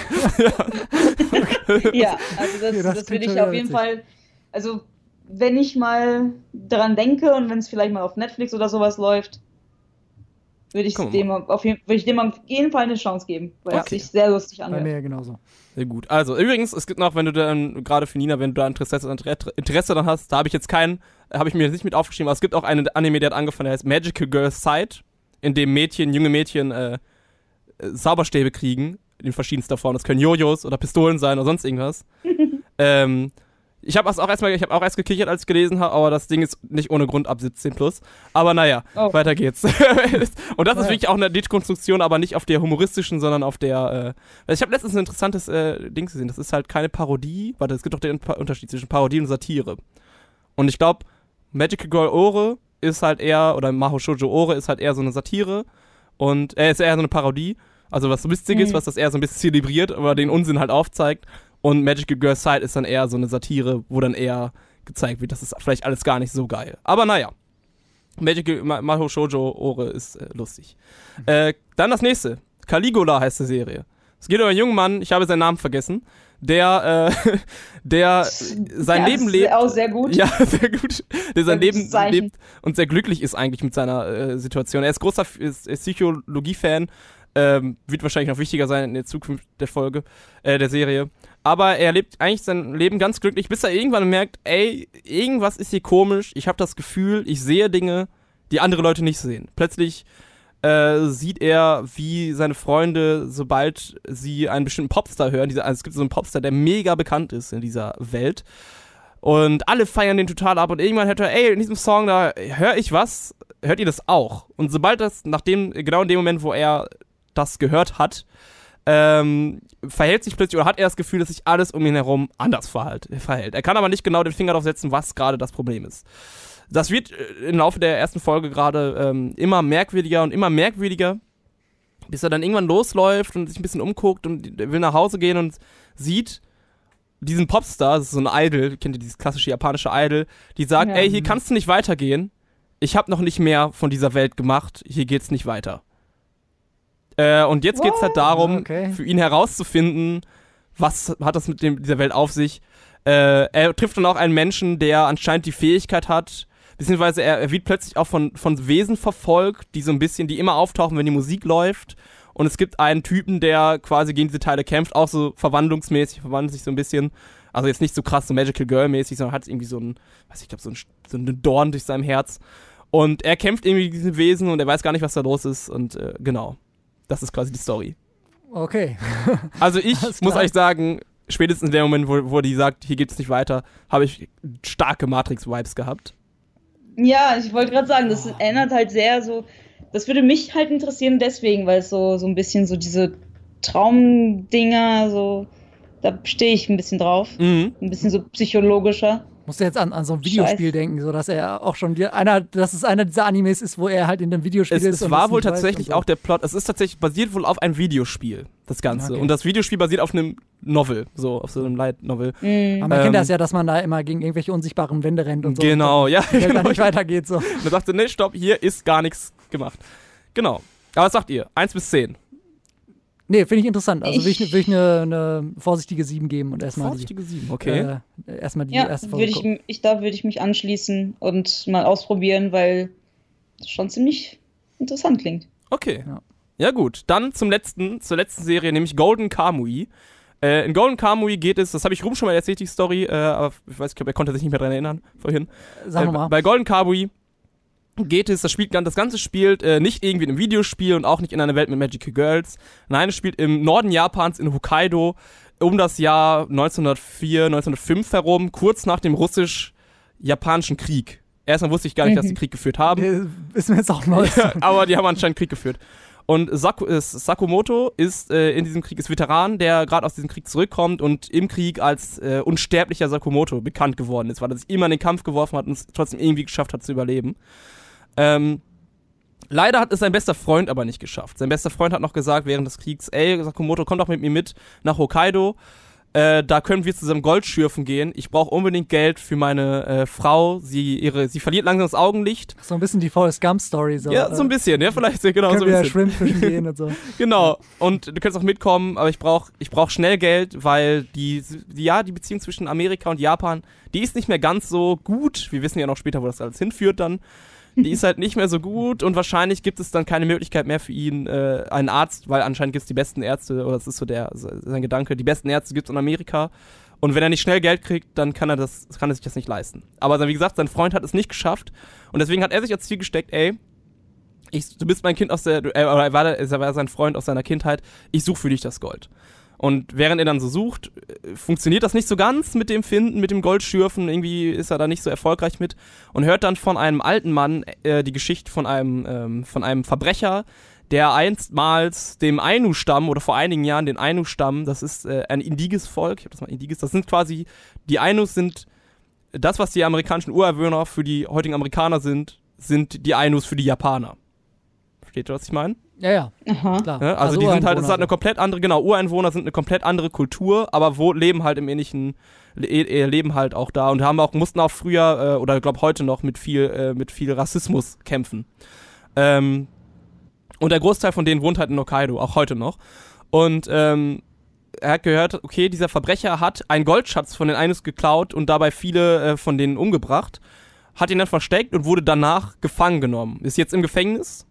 ja. ja, also das, ja, das, das würde ich auf jeden witzig. Fall, also wenn ich mal daran denke und wenn es vielleicht mal auf Netflix oder sowas läuft, würde ich, dem auf jeden, würde ich dem auf jeden Fall eine Chance geben, weil okay. es sich sehr lustig anhört. Bei mir genauso. Sehr gut. Also übrigens, es gibt noch, wenn du dann, gerade für Nina, wenn du da Interesse, Interesse dann hast, da habe ich jetzt keinen, habe ich mir jetzt nicht mit aufgeschrieben, aber es gibt auch einen Anime, der hat angefangen, der heißt Magical Girl Sight, in dem Mädchen, junge Mädchen äh, Zauberstäbe kriegen, in verschiedenster Form. Das können Jojos oder Pistolen sein oder sonst irgendwas. ähm, Ich habe auch erstmal, ich habe auch erst gekichert, als ich gelesen habe, aber das Ding ist nicht ohne Grund ab siebzehn plus. Aber naja, oh. weiter geht's. Und das ist wirklich auch eine Dekonstruktion, aber nicht auf der humoristischen, sondern auf der, äh, ich habe letztens ein interessantes äh, Ding gesehen, das ist halt keine Parodie, warte, es gibt doch den Unterschied zwischen Parodie und Satire. Und ich glaube, Magical Girl Ore ist halt eher, oder Mahou Shoujo Ore ist halt eher so eine Satire und, äh, ist eher so eine Parodie, also was so lustig ist, mhm. was das eher so ein bisschen zelebriert, aber den Unsinn halt aufzeigt. Und Magical Girl Sight ist dann eher so eine Satire, wo dann eher gezeigt wird, das ist vielleicht alles gar nicht so geil. Aber naja, Magical Mahou Shoujo Ore ist äh, lustig. Mhm. Äh, dann das nächste, Caligula heißt die Serie. Es geht um einen jungen Mann, ich habe seinen Namen vergessen, der, äh, der sein ja, Leben ist lebt. Auch sehr gut. Ja, sehr gut. Der sein Sehr Leben Zeichen. lebt und sehr glücklich ist eigentlich mit seiner äh, Situation. Er ist großer ist, ist Psychologie-Fan, ähm, wird wahrscheinlich noch wichtiger sein in der Zukunft der Folge, äh, der Serie. Aber er lebt eigentlich sein Leben ganz glücklich, bis er irgendwann merkt, ey, irgendwas ist hier komisch. Ich habe das Gefühl, ich sehe Dinge, die andere Leute nicht sehen. Plötzlich äh, sieht er, wie seine Freunde, sobald sie einen bestimmten Popstar hören, dieser, also es gibt so einen Popstar, der mega bekannt ist in dieser Welt, und alle feiern den total ab, und irgendwann hört er, ey, in diesem Song, da höre ich was, hört ihr das auch? Und sobald das, nachdem, genau in dem Moment, wo er das gehört hat, ähm, verhält sich plötzlich, oder hat er das Gefühl, dass sich alles um ihn herum anders verhält. verhält. Er kann aber nicht genau den Finger darauf setzen, was gerade das Problem ist. Das wird im Laufe der ersten Folge gerade ähm, immer merkwürdiger und immer merkwürdiger, bis er dann irgendwann losläuft und sich ein bisschen umguckt und will nach Hause gehen und sieht diesen Popstar, das ist so ein Idol, kennt ihr dieses klassische japanische Idol, die sagt, Ja. ey, hier kannst du nicht weitergehen, ich habe noch nicht mehr von dieser Welt gemacht, hier geht's nicht weiter. Äh, und jetzt geht's halt darum, Okay. für ihn herauszufinden, was hat das mit dem, dieser Welt auf sich. Äh, er trifft dann auch einen Menschen, der anscheinend die Fähigkeit hat, beziehungsweise er, er wird plötzlich auch von, von Wesen verfolgt, die so ein bisschen, die immer auftauchen, wenn die Musik läuft. Und es gibt einen Typen, der quasi gegen diese Teile kämpft, auch so verwandlungsmäßig, verwandelt sich so ein bisschen. Also jetzt nicht so krass, so Magical Girl-mäßig, sondern hat irgendwie so ein, weiß ich, glaube so ein, so ein Dorn durch seinem Herz. Und er kämpft irgendwie gegen diese Wesen und er weiß gar nicht, was da los ist. Und äh, genau, das ist quasi die Story. Okay. Also ich Alles muss klar. euch sagen, spätestens in dem Moment, wo, wo die sagt, hier geht's nicht weiter, habe ich starke Matrix-Vibes gehabt. Ja, ich wollte gerade sagen, das erinnert halt sehr so, das würde mich halt interessieren deswegen, weil es so, so ein bisschen so diese Traumdinger, so, da stehe ich ein bisschen drauf. Mhm. Ein bisschen so psychologischer. Musst du jetzt an, an so ein Videospiel Scheiße. denken, so dass er auch schon die, einer, dass es einer dieser Animes ist, wo er halt in einem Videospiel Es, ist. es und war das wohl nicht weiß tatsächlich und so. auch der Plot, es ist tatsächlich basiert wohl auf einem Videospiel, das Ganze. Okay. Und das Videospiel basiert auf einem Novel, so auf so einem Light Novel. Mhm. Aber man ähm, kennt das ja, dass man da immer gegen irgendwelche unsichtbaren Wände rennt und so. Genau, ja. Und dann, Genau. dann nicht weitergeht so. Und er sagte, nee, stopp, hier ist gar nichts gemacht. Genau. Aber was sagt ihr? eins bis zehn. Nee, finde ich interessant. Also will ich, Ich- will ich eine, eine vorsichtige sieben geben und erstmal die, Vorsichtige sieben, okay. äh, erstmal die Ja, erste würde Folge ich, ich, da würde ich mich anschließen und mal ausprobieren, weil das schon ziemlich interessant klingt. Okay. Ja. Ja. gut. Dann zum letzten, zur letzten Serie, nämlich Golden Kamuy. Äh, in Golden Kamuy geht es, das habe ich rum schon mal erzählt, die Story, äh, aber ich weiß, ich glaube, er konnte sich nicht mehr dran erinnern vorhin. gucken. Sag Äh, nochmal. bei Golden Kamuy geht es, das, spielt, das Ganze spielt äh, nicht irgendwie in einem Videospiel und auch nicht in einer Welt mit Magical Girls. Nein, es spielt im Norden Japans in Hokkaido um das Jahr neunzehnhundertvier, neunzehnhundertfünf herum, kurz nach dem russisch-japanischen Krieg. Erstmal wusste ich gar nicht, dass die Krieg geführt haben. Äh, Ist mir jetzt auch neu. Ja, aber die haben anscheinend Krieg geführt. Und Saku, ist, Sakamoto ist äh, in diesem Krieg, ist Veteran, der gerade aus diesem Krieg zurückkommt und im Krieg als äh, unsterblicher Sakamoto bekannt geworden ist, weil er sich immer in den Kampf geworfen hat und es trotzdem irgendwie geschafft hat zu überleben. Ähm, leider hat es sein bester Freund aber nicht geschafft. Sein bester Freund hat noch gesagt während des Kriegs, ey, Sakamoto, komm doch mit mir mit nach Hokkaido. Äh, da können wir zusammen Gold schürfen gehen. Ich brauche unbedingt Geld für meine äh, Frau. Sie, ihre, sie verliert langsam das Augenlicht. So ein bisschen die Forrest Gump-Story. So. Ja, so ein bisschen, ja, vielleicht, genau, Können so ein wir bisschen. Schwimmfischen gehen und so. Genau, und du kannst auch mitkommen, aber ich brauche ich brauch schnell Geld, weil die, die, ja, die Beziehung zwischen Amerika und Japan, die ist nicht mehr ganz so gut. Wir wissen ja noch später, wo das alles hinführt dann. Die ist halt nicht mehr so gut und wahrscheinlich gibt es dann keine Möglichkeit mehr für ihn, äh, einen Arzt, weil anscheinend gibt es die besten Ärzte, oder das ist so der sein Gedanke, die besten Ärzte gibt es in Amerika. Und wenn er nicht schnell Geld kriegt, dann kann er, das, kann er sich das nicht leisten. Aber wie gesagt, sein Freund hat es nicht geschafft und deswegen hat er sich als Ziel gesteckt, ey, ich, du bist mein Kind aus der, äh, oder er war, er war sein Freund aus seiner Kindheit, ich suche für dich das Gold. Und während er dann so sucht, funktioniert das nicht so ganz mit dem Finden, mit dem Goldschürfen. Irgendwie ist er da nicht so erfolgreich mit. Und hört dann von einem alten Mann äh, die Geschichte von einem, ähm, von einem Verbrecher, der einstmals dem Ainu-Stamm oder vor einigen Jahren den Ainu-Stamm, das ist äh, ein indiges Volk, ich hab das mal indiges, das sind quasi, die Ainus sind das, was die amerikanischen Ureinwohner für die heutigen Amerikaner sind, sind die Ainus für die Japaner. Versteht ihr, was ich meine? Ja, ja, Aha. klar. Ja, also, die sind halt, es ist halt eine Ureinwohner komplett andere, genau, Ureinwohner sind eine komplett andere Kultur, aber wo leben halt im ähnlichen, le äh, leben halt auch da und haben auch, mussten auch früher, äh, oder ich glaube heute noch mit viel, äh, mit viel Rassismus kämpfen. Ähm, und der Großteil von denen wohnt halt in Hokkaido, auch heute noch. Und ähm, er hat gehört, okay, dieser Verbrecher hat einen Goldschatz von den Ainus geklaut und dabei viele äh, von denen umgebracht, hat ihn dann versteckt und wurde danach gefangen genommen. Ist jetzt im Gefängnis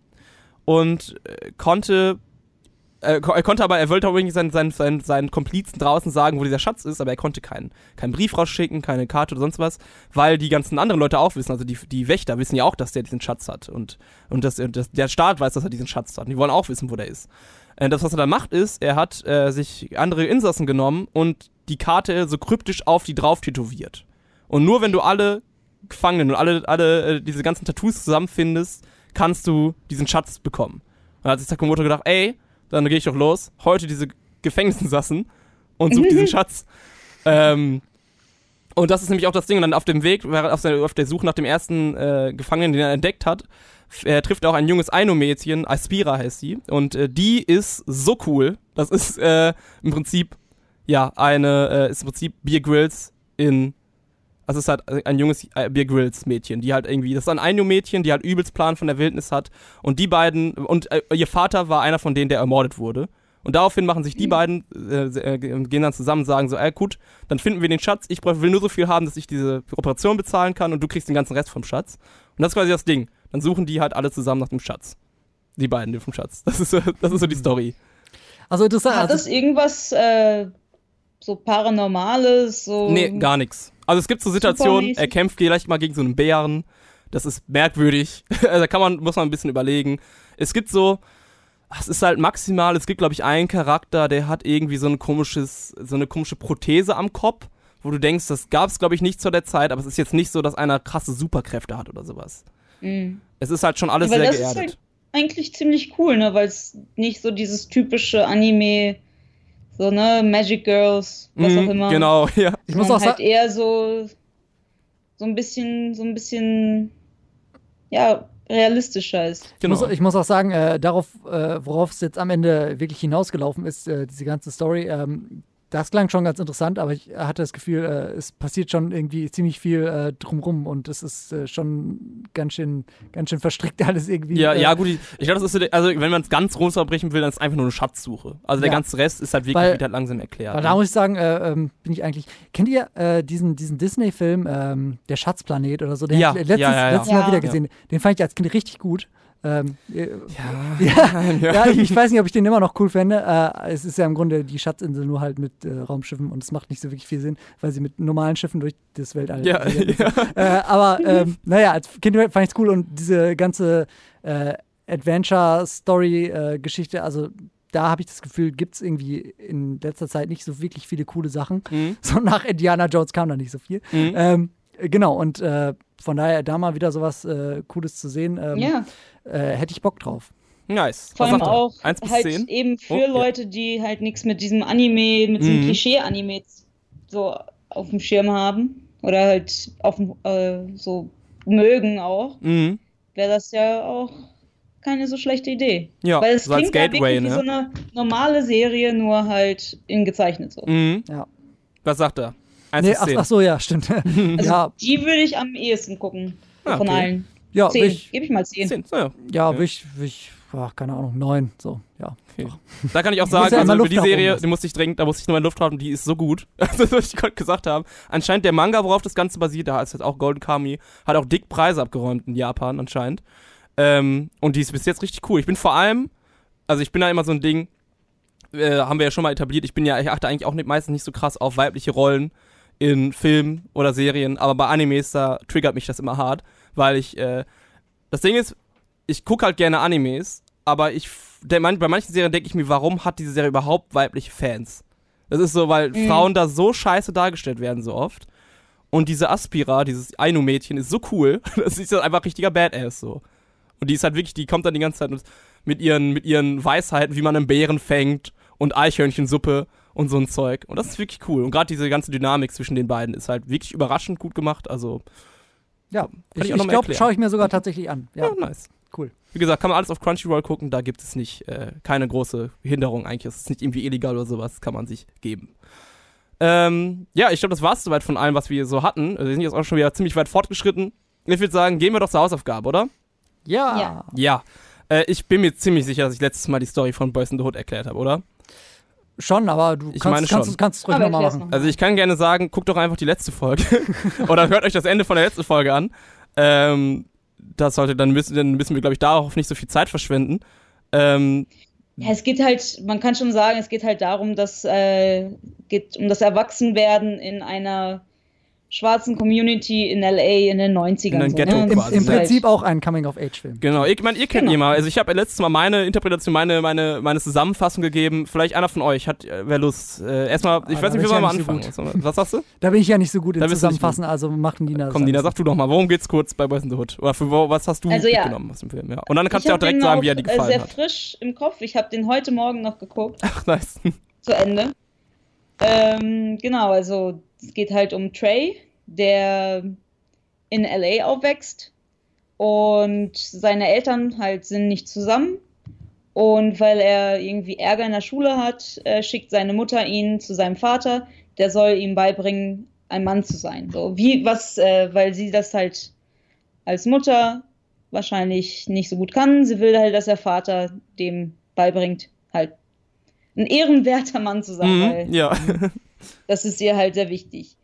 und äh, konnte, äh, er konnte aber, er wollte auch irgendwie seinen, seinen, seinen, seinen Komplizen draußen sagen, wo dieser Schatz ist, aber er konnte keinen, keinen Brief rausschicken, keine Karte oder sonst was, weil die ganzen anderen Leute auch wissen, also die, die Wächter wissen ja auch, dass der diesen Schatz hat und, und das, das, der Staat weiß, dass er diesen Schatz hat und die wollen auch wissen, wo der ist. Äh, das, was er dann macht, ist, er hat äh, sich andere Insassen genommen und die Karte so kryptisch auf die drauf tätowiert. Und nur wenn du alle Gefangenen und alle, alle äh, diese ganzen Tattoos zusammenfindest, kannst du diesen Schatz bekommen. Und dann hat sich Sakamoto gedacht, ey, dann gehe ich doch los, heute diese Gefängnisinsassen und suche diesen Schatz. Ähm, und das ist nämlich auch das Ding. Und dann auf dem Weg, auf der, auf der Suche nach dem ersten äh, Gefangenen, den er entdeckt hat, er trifft auch ein junges Ainu-Mädchen, Aspira heißt sie, und äh, die ist so cool. Das ist äh, im Prinzip, ja, eine, äh, ist im Prinzip Bear Grylls in, also es ist halt ein junges äh, Bear Grylls Mädchen, die halt irgendwie, das ist ein Ainu-Mädchen, die halt übelst Plan von der Wildnis hat und die beiden, und äh, ihr Vater war einer von denen, der ermordet wurde. Und daraufhin machen sich die beiden, äh, äh, gehen dann zusammen und sagen so, ey gut, dann finden wir den Schatz, ich will nur so viel haben, dass ich diese Operation bezahlen kann und du kriegst den ganzen Rest vom Schatz. Und das ist quasi das Ding. Dann suchen die halt alle zusammen nach dem Schatz. Die beiden vom Schatz. Das ist so, das ist so die Story. Also interessant. Hat das irgendwas äh, so Paranormales? So nee, gar nichts. Also es gibt so Situationen, Supermäßig. er kämpft vielleicht mal gegen so einen Bären. Das ist merkwürdig. Da kann man, muss man ein bisschen überlegen. Es gibt so, es ist halt maximal, es gibt glaube ich einen Charakter, der hat irgendwie so ein komisches, so eine komische Prothese am Kopf, wo du denkst, das gab es glaube ich nicht zu der Zeit, aber es ist jetzt nicht so, dass einer krasse Superkräfte hat oder sowas. Mhm. Es ist halt schon alles Ja, weil sehr das geerdet. ist halt eigentlich ziemlich cool, ne, weil es nicht so dieses typische Anime, so ne, Magic Girls, was Mhm, auch immer. Genau, ja. Ich muss sondern auch halt sagen, eher so so ein bisschen, so ein bisschen, ja, realistischer ist. ich, Genau. muss, ich muss auch sagen, äh, darauf, äh, worauf es jetzt am Ende wirklich hinausgelaufen ist, äh, diese ganze Story, ähm, das klang schon ganz interessant, aber ich hatte das Gefühl, äh, es passiert schon irgendwie ziemlich viel äh, drumrum und es ist äh, schon ganz schön, ganz schön verstrickt alles irgendwie. Ja, äh, ja, gut, ich, ich glaube, das ist so, der- also wenn man es ganz runterbrechen will, dann ist es einfach nur eine Schatzsuche. Also der Ja. ganze Rest ist halt wirklich Weil- wird halt langsam erklärt. Weil ne? da muss ich sagen, äh, ähm, bin ich eigentlich. Kennt ihr äh, diesen, diesen Disney-Film, ähm, Der Schatzplanet oder so? Den Ja, hab ich letztens, ja, ja, ja. letztes Mal Ja. wieder gesehen. Den fand ich als Kind richtig gut. Ähm, äh, ja, ja, ja, ich, ich weiß nicht, ob ich den immer noch cool fände. Äh, es ist ja im Grunde die Schatzinsel nur halt mit äh, Raumschiffen und es macht nicht so wirklich viel Sinn, weil sie mit normalen Schiffen durch das Weltall. ja, ja. Äh, aber ähm, naja, als Kind fand ich es cool und diese ganze äh, Adventure-Story-Geschichte, also da habe ich das Gefühl, gibt es irgendwie in letzter Zeit nicht so wirklich viele coole Sachen. Mhm. So nach Indiana Jones kam da nicht so viel. Mhm. Ähm, genau, und äh, von daher da mal wieder sowas äh, Cooles zu sehen, ähm, Ja, äh, hätte ich Bock drauf. Nice. vor Was allem sagt er? auch eins bis halt zehn? eben für Oh, ja. Leute, die halt nichts mit diesem Anime, mit diesem Mhm. Klischee-Anime so auf dem Schirm haben oder halt auf dem, äh, so mögen auch, Mhm. wäre das ja auch keine so schlechte Idee. Ja, Weil es so als klingt ja Gateway, wirklich wie ne? so eine normale Serie, nur halt in gezeichnet so. Mhm. Ja. Was sagt er? eins Nee, bis ach, zehn. ach so, ja, stimmt. Also ja, die würde ich am ehesten gucken. Ah, Von okay. allen. ja, Zehn. will ich, Gebe ich mal zehn. zehn. So, ja. ja, Okay. will ich, will ich, ach, keine Ahnung, neun, so, ja. Okay. Doch. Da kann ich auch muss sagen, ja also immer über Luft die nach oben Serie, lassen. die musste ich dringend, da musste ich nur in Luft haben, die ist so gut. Also, was ich gerade gesagt habe. Anscheinend der Manga, worauf das Ganze basiert, da ist jetzt auch Golden Kamuy, hat auch dick Preise abgeräumt in Japan anscheinend. Ähm, und die ist bis jetzt richtig cool. Ich bin vor allem, also ich bin da immer so ein Ding, äh, haben wir ja schon mal etabliert, ich bin ja, ich achte eigentlich auch nicht, meistens nicht so krass auf weibliche Rollen in Filmen oder Serien, aber bei Animes, da triggert mich das immer hart, weil ich, äh, das Ding ist, ich gucke halt gerne Animes, aber ich, der, man, bei manchen Serien denke ich mir, warum hat diese Serie überhaupt weibliche Fans? Das ist so, weil Mhm. Frauen da so scheiße dargestellt werden so oft. Und diese Aspira, dieses Ainu-Mädchen, ist so cool, das ist einfach richtiger Badass so. Und die ist halt wirklich, die kommt dann die ganze Zeit mit ihren, mit ihren Weisheiten, wie man einen Bären fängt und Eichhörnchensuppe und so ein Zeug. Und das ist wirklich cool. Und gerade diese ganze Dynamik zwischen den beiden ist halt wirklich überraschend gut gemacht. Also, Ja, ich ich, auch noch ich mal glaube, erklären. schaue ich mir sogar tatsächlich an. Ja, ja, nice. cool. Wie gesagt, kann man alles auf Crunchyroll gucken, da gibt es nicht, äh, keine große Hinderung eigentlich. Es ist nicht irgendwie illegal oder sowas, kann man sich geben. Ähm, ja, ich glaube, das war's soweit von allem, was wir so hatten. Also wir sind jetzt auch schon wieder ziemlich weit fortgeschritten. Ich würde sagen, gehen wir doch zur Hausaufgabe, oder? Ja. Ja. Ja. Äh, ich bin mir ziemlich sicher, dass ich letztes Mal die Story von Boys in the Hood erklärt habe, oder? Schon, aber du Ich kannst, meine kannst, schon. kannst es ruhig Aber nochmal erklär's machen. noch. Also ich kann gerne sagen, guckt doch einfach die letzte Folge. Oder hört euch das Ende von der letzten Folge an. Ähm, das sollte, dann müssen, dann müssen wir, glaube ich, darauf nicht so viel Zeit verschwenden. Ähm, Ja, es geht halt, man kann schon sagen, es geht halt darum, dass äh, geht um das Erwachsenwerden in einer schwarzen Community in L A in den neunzigern. In einem so, Ghetto ne? Im, Das quasi. Im ist halt- Prinzip auch ein Coming-of-Age-Film. Genau, ich meine, ihr kennt Genau. ihn mal. Also ich habe letztes Mal meine Interpretation, meine, meine, meine Zusammenfassung gegeben. Vielleicht einer von euch hat, äh, wer Lust. Äh, erstmal, ich Ah, weiß da nicht, wie bin soll ich man ja nicht so anfangen? Was sagst du? Da bin ich ja nicht so gut Da in bist du nicht Zusammenfassen, also machen Dina das. Komm, Dina, alles. sag du doch mal, worum geht's kurz bei Boys in the Hood? Oder für wo, was hast du Also ja. mitgenommen aus dem Film? Ja. Und dann kannst Ich du auch hab direkt den sagen, auch, wie er dir äh, gefallen sehr hat. frisch im Kopf. Ich habe den heute Morgen noch geguckt, Ach, nice. zu Ende. Ähm, genau, also es geht halt um Trey, der in L A aufwächst und seine Eltern halt sind nicht zusammen. Und weil er irgendwie Ärger in der Schule hat, äh, schickt seine Mutter ihn zu seinem Vater, der soll ihm beibringen, ein Mann zu sein. So wie was, äh, weil sie das halt als Mutter wahrscheinlich nicht so gut kann. Sie will halt, dass der Vater dem beibringt, halt ein ehrenwerter Mann zu sein, weil Mhm, ja. das ist ihr halt sehr wichtig.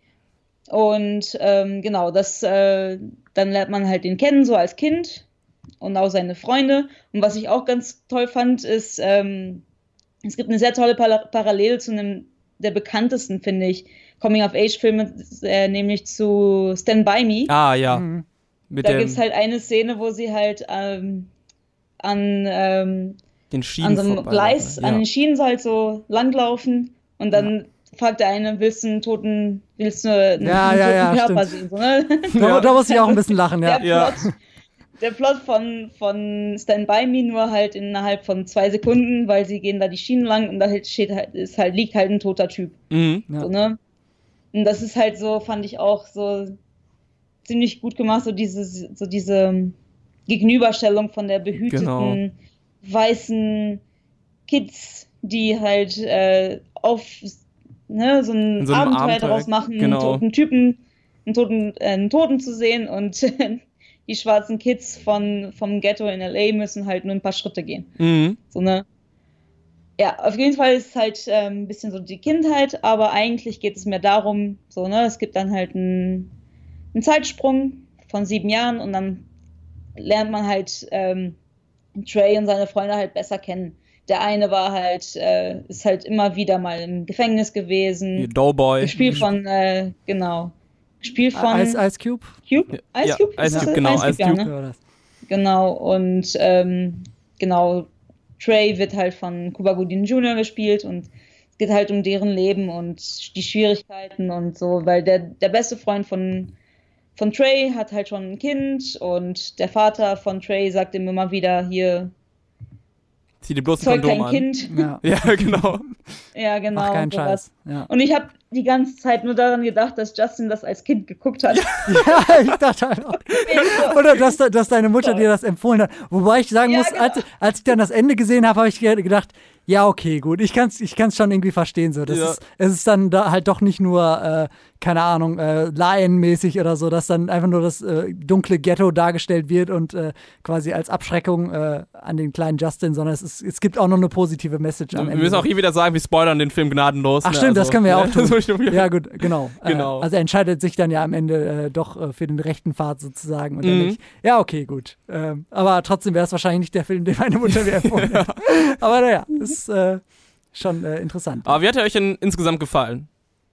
Und ähm, genau, das, äh, dann lernt man halt den kennen, so als Kind und auch seine Freunde. Und was ich auch ganz toll fand, ist, ähm, es gibt eine sehr tolle Par- Parallele zu einem der bekanntesten, finde ich, Coming-of-Age-Filme, äh, nämlich zu Stand By Me. Ah, ja. Mhm. Mit Da dem, gibt es halt eine Szene, wo sie halt ähm, an, ähm, den Schienen an so einem vorbeilaufen. Gleis, Ja. an den Schienen so halt so langlaufen und dann fragt der eine, willst du einen toten, willst du einen, Ja, einen ja, toten ja, Körper stimmt. sehen? So, ne? Da, Ja. da muss ich auch ein bisschen lachen, ja. Der Ja. Plot, der Plot von, von Stand By Me nur halt innerhalb von zwei Sekunden, weil sie gehen da die Schienen lang und da steht halt, ist halt, liegt halt ein toter Typ. Mhm. Ja. So, ne? Und das ist halt so, fand ich auch so ziemlich gut gemacht, so diese, so diese Gegenüberstellung von der behüteten, Genau. weißen Kids, die halt äh, auf ne, so ein In so einem Abenteuer Abenteuer, daraus machen, genau. einen toten Typen, einen toten, äh, einen Toten zu sehen und die schwarzen Kids von, vom Ghetto in L A müssen halt nur ein paar Schritte gehen. Mhm. So ne? Ja, auf jeden Fall ist es halt ähm, ein bisschen so die Kindheit, aber eigentlich geht es mehr darum, so, ne, es gibt dann halt einen, einen Zeitsprung von sieben Jahren und dann lernt man halt ähm, Trey und seine Freunde halt besser kennen. Der eine war halt, äh, ist halt immer wieder mal im Gefängnis Wie gewesen, Doughboy. gespielt von, äh, genau, gespielt von Ice, Ice Cube? Cube? Ice Ja, Cube? Ice Ist das Cube, das? genau, Ice Ice ja, Cube. ne? Ja, das. Genau, und ähm, genau, Trey wird halt von Cuba Gooding Junior gespielt und es geht halt um deren Leben und die Schwierigkeiten und so, weil der, der beste Freund von, von Trey hat halt schon ein Kind und der Vater von Trey sagt ihm immer wieder, hier, Zieh dir bloß ein zeug Kondom kein an. Kind. Ja. Ja, genau. Ja, genau. Mach keinen und sowas. Scheiß. Ja. Und ich habe die ganze Zeit nur daran gedacht, dass Justin das als Kind geguckt hat. Ja, ich dachte halt auch. Oder dass, dass deine Mutter dir das empfohlen hat. Wobei ich sagen Ja, muss, genau. als, als ich dann das Ende gesehen habe, habe ich ge- gedacht, ja, okay, gut, ich kann es ich kann's schon irgendwie verstehen. So. Das Ja. ist, es ist dann da halt doch nicht nur, äh, keine Ahnung, äh, Lion-mäßig oder so, dass dann einfach nur das äh, dunkle Ghetto dargestellt wird und äh, quasi als Abschreckung äh, an den kleinen Justin, sondern es, ist, es gibt auch noch eine positive Message am Wir Ende. müssen auch hier wieder sagen, wir spoilern den Film gnadenlos. Ach ne? stimmt, das Also, können wir ja auch ne? tun. Das muss ich noch wieder- Ja, gut, genau. Genau. Äh, also er entscheidet sich dann ja am Ende äh, doch äh, für den rechten Pfad sozusagen. Und dann Mhm. denke ich, ja, okay, gut. Ähm, aber trotzdem wäre es wahrscheinlich nicht der Film, den meine Mutter mir empfohlen hat. Aber naja, ist äh, schon äh, interessant. Aber wie hat er euch denn insgesamt gefallen?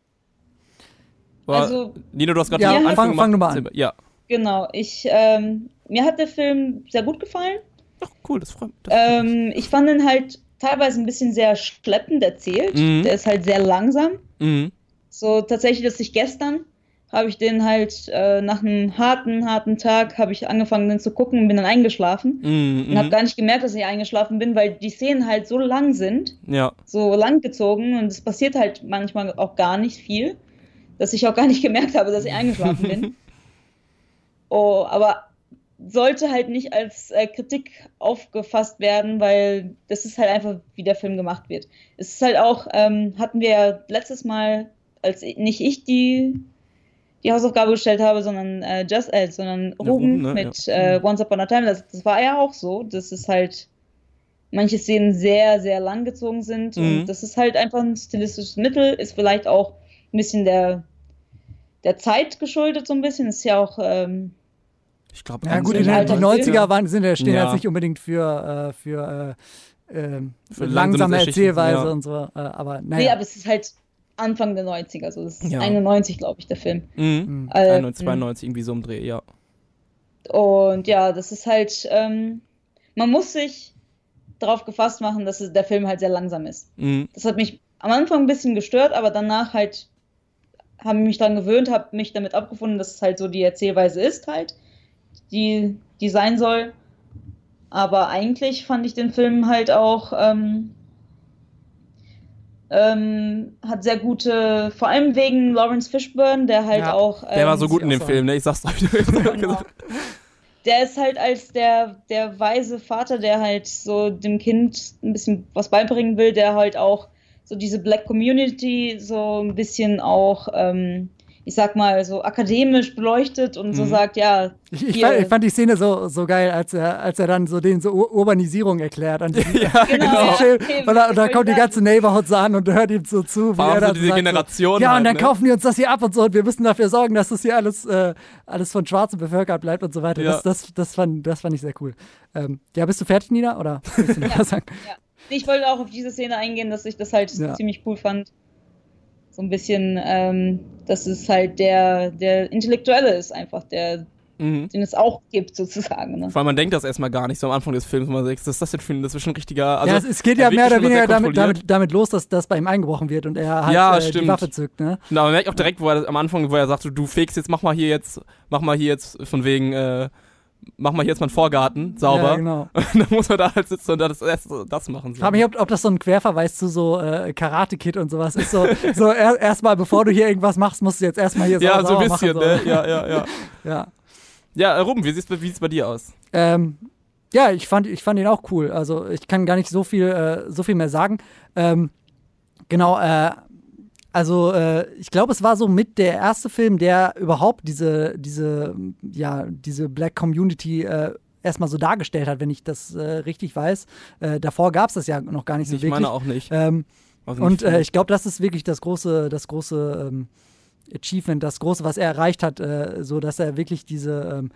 War- Also, Nino, du hast gerade Ja, den Anfang fang- gemacht. fang du mal an. Ja. genau, ich, ähm, mir hat der Film sehr gut gefallen. Ach, cool, das freut mich. Das freut mich. Ähm, ich fand ihn halt teilweise ein bisschen sehr schleppend erzählt. Mhm. Der ist halt sehr langsam. Mhm. So tatsächlich, dass ich gestern habe ich den halt äh, nach einem harten, harten Tag habe ich angefangen, den zu gucken und bin dann eingeschlafen. Mhm. Und habe gar nicht gemerkt, dass ich eingeschlafen bin, weil die Szenen halt so lang sind, Ja. so lang gezogen und es passiert halt manchmal auch gar nicht viel, dass ich auch gar nicht gemerkt habe, dass ich eingeschlafen bin. Oh, aber sollte halt nicht als äh, Kritik aufgefasst werden, weil das ist halt einfach, wie der Film gemacht wird. Es ist halt auch, ähm, hatten wir ja letztes Mal, als ich, nicht ich die, die Hausaufgabe gestellt habe, sondern äh, Just, äh, sondern Ja, Ruben Ruben, ne? mit äh, Once Upon a Time, das, das war ja auch so. Das ist halt manche Szenen sehr, sehr lang gezogen sind. Mhm. Und das ist halt einfach ein stilistisches Mittel, ist vielleicht auch ein bisschen der, der Zeit geschuldet, so ein bisschen. Ist ja auch. Ähm, Ich glaube, Ja gut, so die, die Alter- neunziger waren, sind, stehen Ja. jetzt nicht unbedingt für, äh, für, äh, ähm, Für langsame langsame Erzählweise Geschichten, ja. und so. Äh, aber Nee, naja. aber es ist halt Anfang der neunziger, so das ist Ja. einundneunzig, glaube ich, der Film. Mhm. Äh, einundneunzig, zweiundneunzig, irgendwie so im Dreh, ja. Und ja, das ist halt, ähm, man muss sich darauf gefasst machen, dass es, der Film halt sehr langsam ist. Mhm. Das hat mich am Anfang ein bisschen gestört, aber danach halt habe ich mich daran gewöhnt, habe mich damit abgefunden, dass es halt so die Erzählweise ist halt, die, die sein soll. Aber eigentlich fand ich den Film halt auch, ähm, ähm, hat sehr gute, vor allem wegen Lawrence Fishburne, der halt Ja, auch... Ähm, Der war so gut in dem auch Film, ne? Ich sag's euch. Genau. Der ist halt als der, der weise Vater, der halt so dem Kind ein bisschen was beibringen will, der halt auch so diese Black Community so ein bisschen auch, ähm, ich sag mal, so akademisch beleuchtet und so Mhm. sagt, ja, Ich, ich, hier- fand, ich fand die Szene so, so geil, als er, als er dann so den so Ur- Urbanisierung erklärt. An diesem, Ja, Genau, an diesem ja, Schild. okay, und da, und da wollte kommt die ich ganze Neighborhood so an und hört ihm so zu. Vor allem er so dann diese sagt Generation Ja, und halt, dann ne? kaufen die uns das hier ab und so und wir müssen dafür sorgen, dass das hier alles, äh, alles von Schwarzen bevölkert bleibt und so weiter. Ja. Das, das, das, fand, das fand ich sehr cool. Ähm, ja, bist du fertig, Nina? Oder willst du noch was sagen? ich wollte auch auf diese Szene eingehen, dass ich das halt Ja. ziemlich cool fand. So ein bisschen, ähm, dass es halt der, der Intellektuelle ist einfach, der, Mhm. den es auch gibt sozusagen. Ne? Vor allem, man denkt das erstmal gar nicht so am Anfang des Films, wo man sagt, was ist das denn für ein, das ist schon ein richtiger, also ja, es, es geht er ja wirkt mehr oder schon sehr weniger damit, kontrolliert. damit, damit los, dass das bei ihm eingebrochen wird und er halt Ja, äh, die stimmt. Waffe zückt. Ne? Na, man merkt auch direkt, wo er am Anfang, wo er sagt, so, du fegst jetzt, mach mal hier jetzt, mach mal hier jetzt von wegen, äh, mach mal hier jetzt mal einen Vorgarten sauber. Ja, genau. Und dann muss man da halt sitzen und das erst so das machen. Ich So. frage mich, ob, ob das so ein Querverweis zu so äh, Karate-Kid und sowas ist. So, so er, erstmal, bevor du hier irgendwas machst, musst du jetzt erstmal hier Ja, sau- so sauber ein bisschen, machen. ne? Ja, ja, ja. So. Ja. Ja, äh, Ruben, wie sieht's, wie sieht's bei dir aus? Ähm, ja, ich fand, ich fand ihn auch cool. Also ich kann gar nicht so viel, äh, so viel mehr sagen. Ähm, genau, äh, also äh, ich glaube, es war so mit der erste Film, der überhaupt diese, diese, ja, diese Black Community äh, erstmal so dargestellt hat, wenn ich das äh, richtig weiß. Äh, davor gab es das ja noch gar nicht so Ich wirklich. meine auch nicht. Ähm, Also und nicht äh, viel. ich glaube, das ist wirklich das große, das große ähm, Achievement, das große, was er erreicht hat, äh, so dass er wirklich diese, ähm,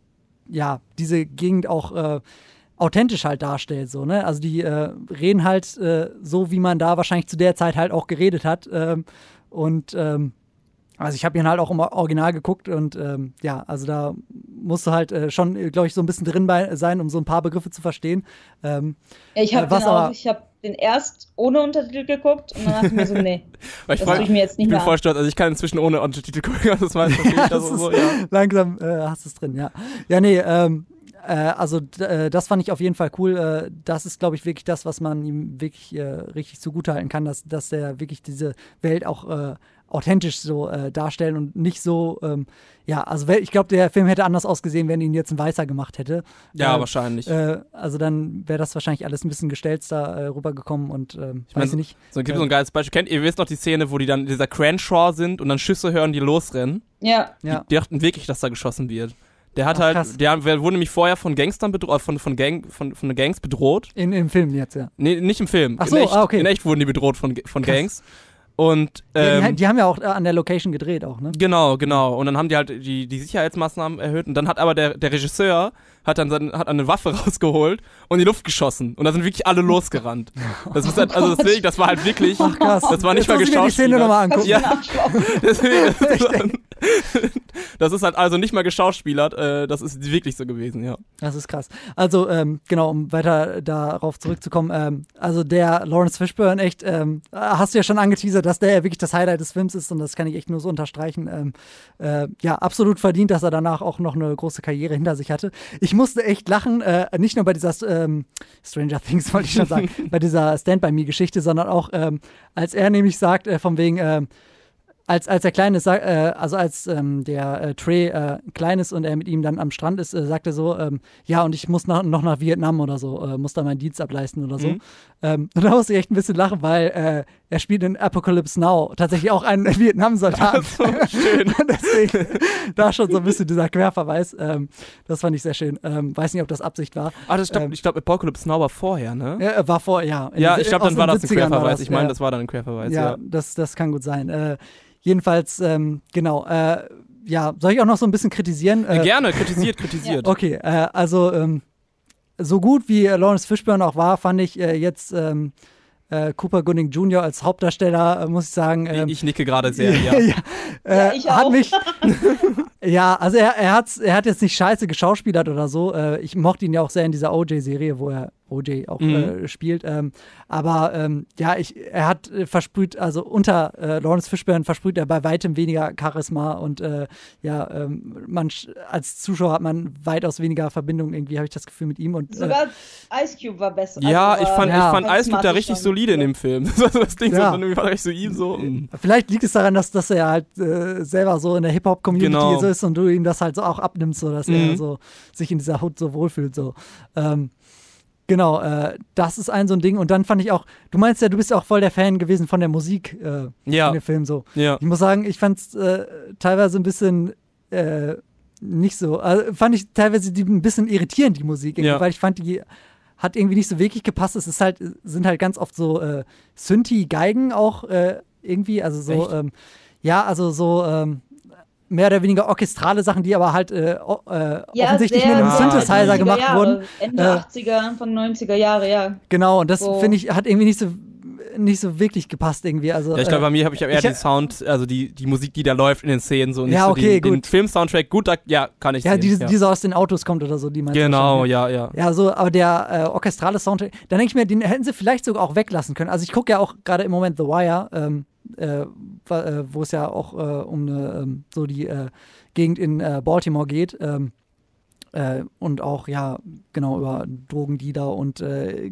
ja, diese Gegend auch äh, authentisch halt darstellt, so, ne? Also die äh, reden halt äh, so, wie man da wahrscheinlich zu der Zeit halt auch geredet hat. Ähm, und ähm, also ich habe ihn halt auch im Original geguckt und ähm, ja, also da musst du halt äh, schon, glaube ich, so ein bisschen drin bei sein, um so ein paar Begriffe zu verstehen. Ähm, Ja, ich habe Äh, was den, auch- aber- ich hab den erst ohne Untertitel geguckt und dann dachte ich mir so, nee, Weil ich, das freu, tue ich mir jetzt nicht ich bin mehr voll an. stolz, also ich kann inzwischen ohne Untertitel gucken, also das weiß ich Ja, also das so, ist- ja. langsam äh, hast du es drin, ja. Ja, nee, ähm, äh, also d- äh, das fand ich auf jeden Fall cool. Äh, das ist, glaube ich, wirklich das, was man ihm wirklich äh, richtig zugutehalten kann, dass, dass er wirklich diese Welt auch äh, authentisch so äh, darstellen und nicht so, ähm, ja, also wel- ich glaube, der Film hätte anders ausgesehen, wenn ihn jetzt ein Weißer gemacht hätte. Ja, äh, wahrscheinlich. Äh, also dann wäre das wahrscheinlich alles ein bisschen gestelzter äh, rübergekommen und ähm, Ich mein, weiß ich nicht. So, gibt so ein geiles Beispiel. Kennt ihr, wisst noch die Szene, wo die dann in dieser Cranshaw sind und dann Schüsse hören, die losrennen? Ja, Ja. Die, die dachten wirklich, dass da geschossen wird. Der hat Ach, halt, krass. der wurde nämlich vorher von Gangstern bedroht, von, von, Gang, von, von den Gangs bedroht. In, Im Film jetzt, ja. Nee, nicht im Film. Ach so, in echt, ah, okay. In echt wurden die bedroht von, von Krass. Gangs. Und, Ja, die, ähm, die haben ja auch äh, an der Location gedreht auch, ne? genau, genau. Und dann haben die halt die, die Sicherheitsmaßnahmen erhöht. Und dann hat aber der, der Regisseur hat dann seine, hat eine Waffe rausgeholt und in die Luft geschossen. Und da sind wirklich alle losgerannt. Das ist halt, also deswegen, das war halt wirklich, Ach krass. das war nicht Jetzt mal muss ich mir die Szene geschauspielert. nochmal angucken. was Ja. für ein Arschloch. Deswegen, das, Ich ist halt, das ist halt also nicht mal geschauspielert, äh, das ist wirklich so gewesen, ja. Das ist krass. Also, ähm, genau, um weiter darauf zurückzukommen, ähm, also der Lawrence Fishburne, echt, ähm, hast du ja schon angeteasert, dass der ja wirklich das Highlight des Films ist und das kann ich echt nur so unterstreichen. Ähm, äh, ja, absolut verdient, dass er danach auch noch eine große Karriere hinter sich hatte. Ich musste echt lachen, äh, nicht nur bei dieser ähm, Stranger Things, wollte ich schon sagen, bei dieser Stand-By-Me-Geschichte, sondern auch, ähm, als er nämlich sagt, äh, von wegen, ähm, als, als der Kleine, sag- äh, also als ähm, der äh, Trey äh, klein ist und er mit ihm dann am Strand ist, äh, sagt er so, ähm, ja, und ich muss nach, noch nach Vietnam oder so, äh, muss da meinen Dienst ableisten oder so. Mhm. Ähm, und da muss ich echt ein bisschen lachen, weil äh, er spielt in Apocalypse Now tatsächlich auch einen Vietnam-Soldaten. So schön. Deswegen da schon so ein bisschen dieser Querverweis. Ähm, das fand ich sehr schön. Ähm, weiß nicht, ob das Absicht war. Ah, das, ich glaube, Ähm, ich glaub, Apocalypse Now war vorher, ne? Ja, war vor, ja. In Ja, den- ich glaube, aus dann war den das ein siebzigern war Querverweis. das, Ich meine, ja. das war dann ein Querverweis, Ja, ja. Das, das kann gut sein. Äh, jedenfalls, ähm, genau. Äh, ja, soll ich auch noch so ein bisschen kritisieren? Äh, Äh, Gerne, kritisiert, kritisiert. Okay, äh, also ähm, so gut wie äh, Lawrence Fishburne auch war, fand ich äh, jetzt ähm, äh, Cooper Gooding Junior als Hauptdarsteller, äh, muss ich sagen. Ähm, Ich nicke gerade sehr, ja. ja, äh, Ja, ich hat auch. mich. Ja, also er, er, hat's, er hat jetzt nicht scheiße geschauspielert oder so. Äh, ich mochte ihn ja auch sehr in dieser O J-Serie, wo er O J auch Mhm. äh, spielt. Ähm, aber ähm, ja, ich, er hat äh, versprüht, also unter äh, Lawrence Fishburne versprüht er bei weitem weniger Charisma und äh, ja, ähm, man sch- als Zuschauer hat man weitaus weniger Verbindung irgendwie, habe ich das Gefühl mit ihm. Und, äh, Sogar Ice Cube war besser. Ja, Also ich war fand, Ja. ich fand Ice Cube da charismatisch richtig schon. solide in dem Film. Das, das Ding Ja. so, irgendwie war richtig so ihm so. mm. Vielleicht liegt es daran, dass, dass er halt äh, selber so in der Hip-Hop-Community Genau. so ist und du ihm das halt so auch abnimmst, so dass Mhm. er so sich in dieser Hood so wohlfühlt. So. Ähm, genau, äh, das ist ein so ein Ding. Und dann fand ich auch, du meinst ja, du bist ja auch voll der Fan gewesen von der Musik äh, Ja. in dem Film so. Ja. Ich muss sagen, ich fand es äh, teilweise ein bisschen äh, nicht so, also fand ich teilweise die, ein bisschen irritierend, die Musik, irgendwie, Ja. weil ich fand, die hat irgendwie nicht so wirklich gepasst. Es ist halt, sind halt ganz oft so äh, Synthi-Geigen auch äh, irgendwie, also so, Echt? ähm, ja, also so ähm, mehr oder weniger orchestrale Sachen, die aber halt äh, o- äh, Ja, offensichtlich sehr mit einem Ah, Synthesizer neunziger gemacht Jahre, wurden. Ende Äh, achtziger, Anfang neunziger Jahre, ja. Genau, und das So. finde ich, hat irgendwie nicht so nicht so wirklich gepasst irgendwie. Also, Ja, ich glaube, äh, bei mir habe ich aber eher ich- den Sound, also die, die Musik, die da läuft in den Szenen, so nicht Ja, so okay, den, den gut. Film-Soundtrack. Gut, da, ja, kann ich ja, sehen. diese, ja. die so aus den Autos kommt oder so, die meinst du Genau, wahrscheinlich. ja, ja. Ja, so, aber der äh, orchestrale Soundtrack, dann denke ich mir, den hätten sie vielleicht sogar auch weglassen können. Also ich gucke ja auch gerade im Moment The Wire, ähm, äh, wa- äh, wo es ja auch äh, um eine, ähm, so die äh, Gegend in äh, Baltimore geht. Ähm, äh, und auch, ja, genau, über Drogendealer und äh,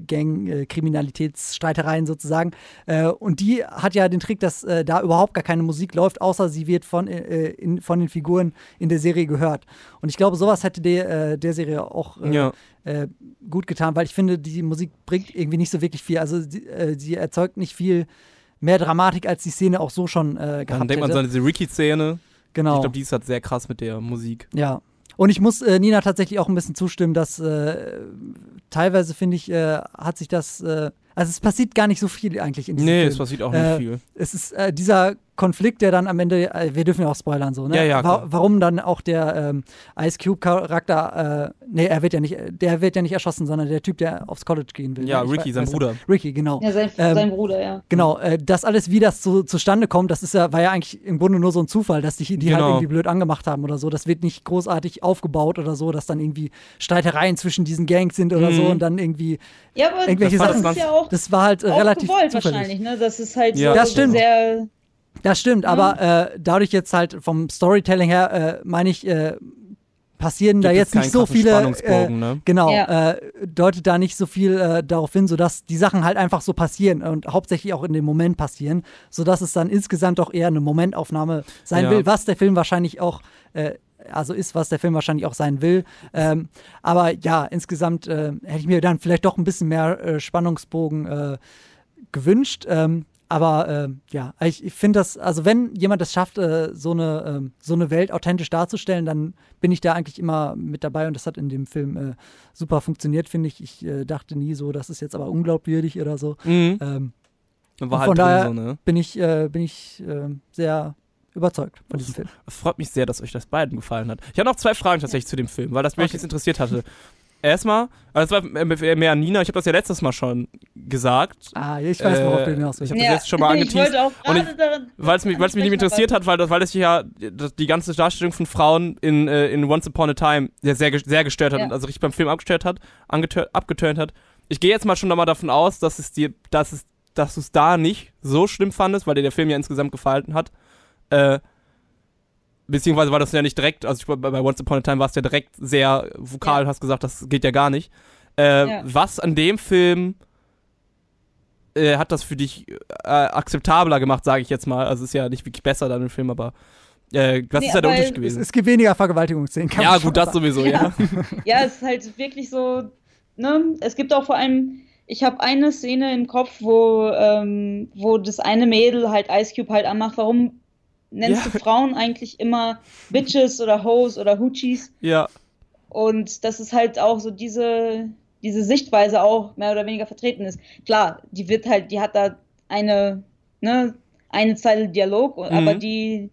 Gang-Kriminalitätsstreitereien sozusagen. Äh, und die hat ja den Trick, dass äh, da überhaupt gar keine Musik läuft, außer sie wird von, äh, in, von den Figuren in der Serie gehört. Und ich glaube, sowas hätte der, äh, der Serie auch äh, Ja. äh, gut getan, weil ich finde, die Musik bringt irgendwie nicht so wirklich viel. Also sie, äh, sie erzeugt nicht viel mehr Dramatik, als die Szene auch so schon äh, gehabt Dann denkt man hätte. so an diese Ricky-Szene. Genau. Ich glaube, die ist halt sehr krass mit der Musik. Ja. Und ich muss äh, Nina tatsächlich auch ein bisschen zustimmen, dass äh, teilweise, finde ich, äh, hat sich das, äh, also es passiert gar nicht so viel eigentlich in diesem Nee, Film. es passiert auch Äh, nicht viel. Es ist äh, dieser Konflikt, der dann am Ende, äh, wir dürfen ja auch spoilern so, ne? Ja, ja, Wa- klar. warum dann auch der ähm, Ice Cube Charakter, äh, nee, er wird ja nicht, der wird ja nicht erschossen, sondern der Typ, der aufs College gehen will. Ja, ne? Ich Ricky, weiß- sein weiß Bruder. Ricky, genau. Ja, sein, Ähm, sein Bruder, ja. Genau, äh, das alles, wie das so zustande kommt, das ist ja, war ja eigentlich im Grunde nur so ein Zufall, dass die, die halt Genau. irgendwie blöd angemacht haben oder so. Das wird nicht großartig aufgebaut oder so, dass dann irgendwie Streitereien zwischen diesen Gangs sind oder Mhm. so und dann irgendwie Ja, aber irgendwelche das Sachen. ist ja auch, Das war halt äh, auch relativ gewollt zufällig. wahrscheinlich, ne? Das ist halt Ja. so Das stimmt. sehr. Das stimmt, aber äh, dadurch jetzt halt vom Storytelling her, äh, meine ich, äh, passieren da Gibt jetzt es nicht keinen so krassen viele. Äh, Spannungsbogen, ne? genau, Ja. äh, deutet da nicht so viel äh, darauf hin, sodass die Sachen halt einfach so passieren und hauptsächlich auch in dem Moment passieren, sodass es dann insgesamt auch eher eine Momentaufnahme sein Ja. will, was der Film wahrscheinlich auch. Äh, also ist, was der Film wahrscheinlich auch sein will. Ähm, aber ja, insgesamt äh, hätte ich mir dann vielleicht doch ein bisschen mehr äh, Spannungsbogen äh, gewünscht. Ähm, aber äh, ja, ich, ich finde das, also wenn jemand es schafft, äh, so, eine, ähm, so eine Welt authentisch darzustellen, dann bin ich da eigentlich immer mit dabei und das hat in dem Film äh, super funktioniert, finde ich. Ich äh, dachte nie so, das ist jetzt aber unglaubwürdig oder so. Mhm. Ähm, War und halt von drin daher so, ne? bin ich, äh, bin ich äh, sehr überzeugt von diesem Film. Es freut mich sehr, dass euch das beiden gefallen hat. Ich habe noch zwei Fragen tatsächlich zu dem Film, weil das mich Okay. jetzt interessiert hatte. Erstmal, also das war mehr an Nina, ich habe das ja letztes Mal schon gesagt, Ah, ich weiß, worauf Äh, du hinaus willst. ich hab das jetzt schon mal ich angeteased. wollte auch Und gerade daran. weil es mich, weil's mich nicht interessiert hat, weil das, weil das ja das, die ganze Darstellung von Frauen in, äh, in Once Upon a Time sehr, sehr, ge- sehr gestört hat Ja. und also richtig beim Film abgestört hat, angetör- abgeturnt hat. Ich gehe jetzt mal schon nochmal davon aus, dass es dir, dass es, dass du es da nicht so schlimm fandest, weil dir der Film ja insgesamt gefallen hat. Äh, beziehungsweise war das ja nicht direkt, also ich, bei, bei Once Upon a Time war es ja direkt sehr vokal, Ja. hast gesagt, das geht ja gar nicht. Äh, Ja. Was an dem Film äh, hat das für dich äh, akzeptabler gemacht, sage ich jetzt mal. Also ist ja nicht wirklich besser dann im Film, aber äh, was Nee, ist ja der aber Unterschied Es, gewesen? es gibt weniger Vergewaltigungsszenen. kann Ja, man schon gut, das sagen. sowieso, ja. Ja, es ist halt wirklich so, ne, es gibt auch vor allem, ich habe eine Szene im Kopf, wo, ähm, wo das eine Mädel halt Ice Cube halt anmacht, warum nennst Ja. du Frauen eigentlich immer Bitches oder Hoes oder Hoochies? Ja, Und dass es halt auch so diese, diese Sichtweise auch mehr oder weniger vertreten ist. Klar, die wird halt, die hat da eine, ne, eine Zeile Dialog, Mhm. aber die,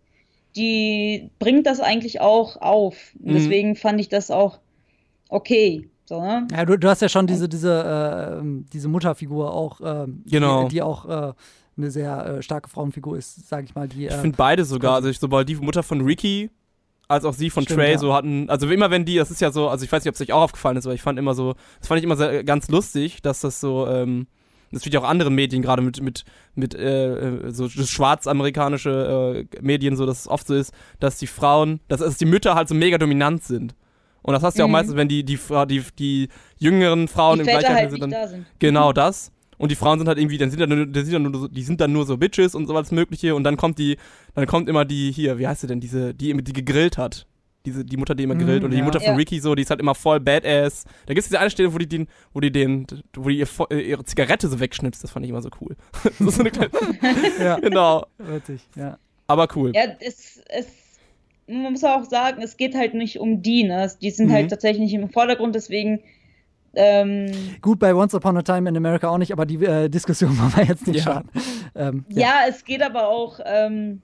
die bringt das eigentlich auch auf. Und Mhm. deswegen fand ich das auch okay. So, ne? Ja, du, du hast ja schon diese, diese, äh, ähm, diese Mutterfigur auch, ähm, Genau. die, die auch äh, eine sehr äh, starke Frauenfigur ist, sage ich mal. Die, ich äh, finde beide sogar, also ich, sowohl die Mutter von Ricky als auch sie von Stimmt, Trey ja. so hatten, also immer wenn die, das ist ja so, also ich weiß nicht, ob es euch auch aufgefallen ist, aber ich fand immer so, das fand ich immer sehr, ganz lustig, dass das so, ähm, das wird ja auch andere Medien, gerade mit, mit, mit äh, so das schwarzamerikanische äh, Medien so, dass es oft so ist, dass die Frauen, dass, dass die Mütter halt so mega dominant sind. Und das hast du ja auch Mhm. meistens, wenn die, die, Fra- die, die jüngeren Frauen Die im Väter Gleichheit halt sind, nicht dann da sind. genau das. Und die Frauen sind halt irgendwie, dann sind dann nur, die sind dann nur, so, die sind dann nur so Bitches und sowas Mögliche. Und dann kommt die, dann kommt immer die hier, wie heißt sie denn, diese, die immer die gegrillt hat. Diese, die Mutter, die immer Mhm, grillt. Oder die ja. Mutter von Ja. Ricky so, die ist halt immer voll badass. Da gibt es diese eine Stelle, wo die den, wo die den, wo die ihr, vo- äh, ihre Zigarette so wegschnipst. Das fand ich immer so cool. Das ist so eine kleine, ja, genau. witzig, ja. Aber cool. Ja, es, es, man muss auch sagen, es geht halt nicht um die, ne? Die sind Mhm. halt tatsächlich nicht im Vordergrund, deswegen, ähm, Gut, bei Once Upon a Time in America auch nicht, aber die äh, Diskussion wollen wir jetzt nicht Ja. starten. Ähm, ja. es geht aber auch, ähm,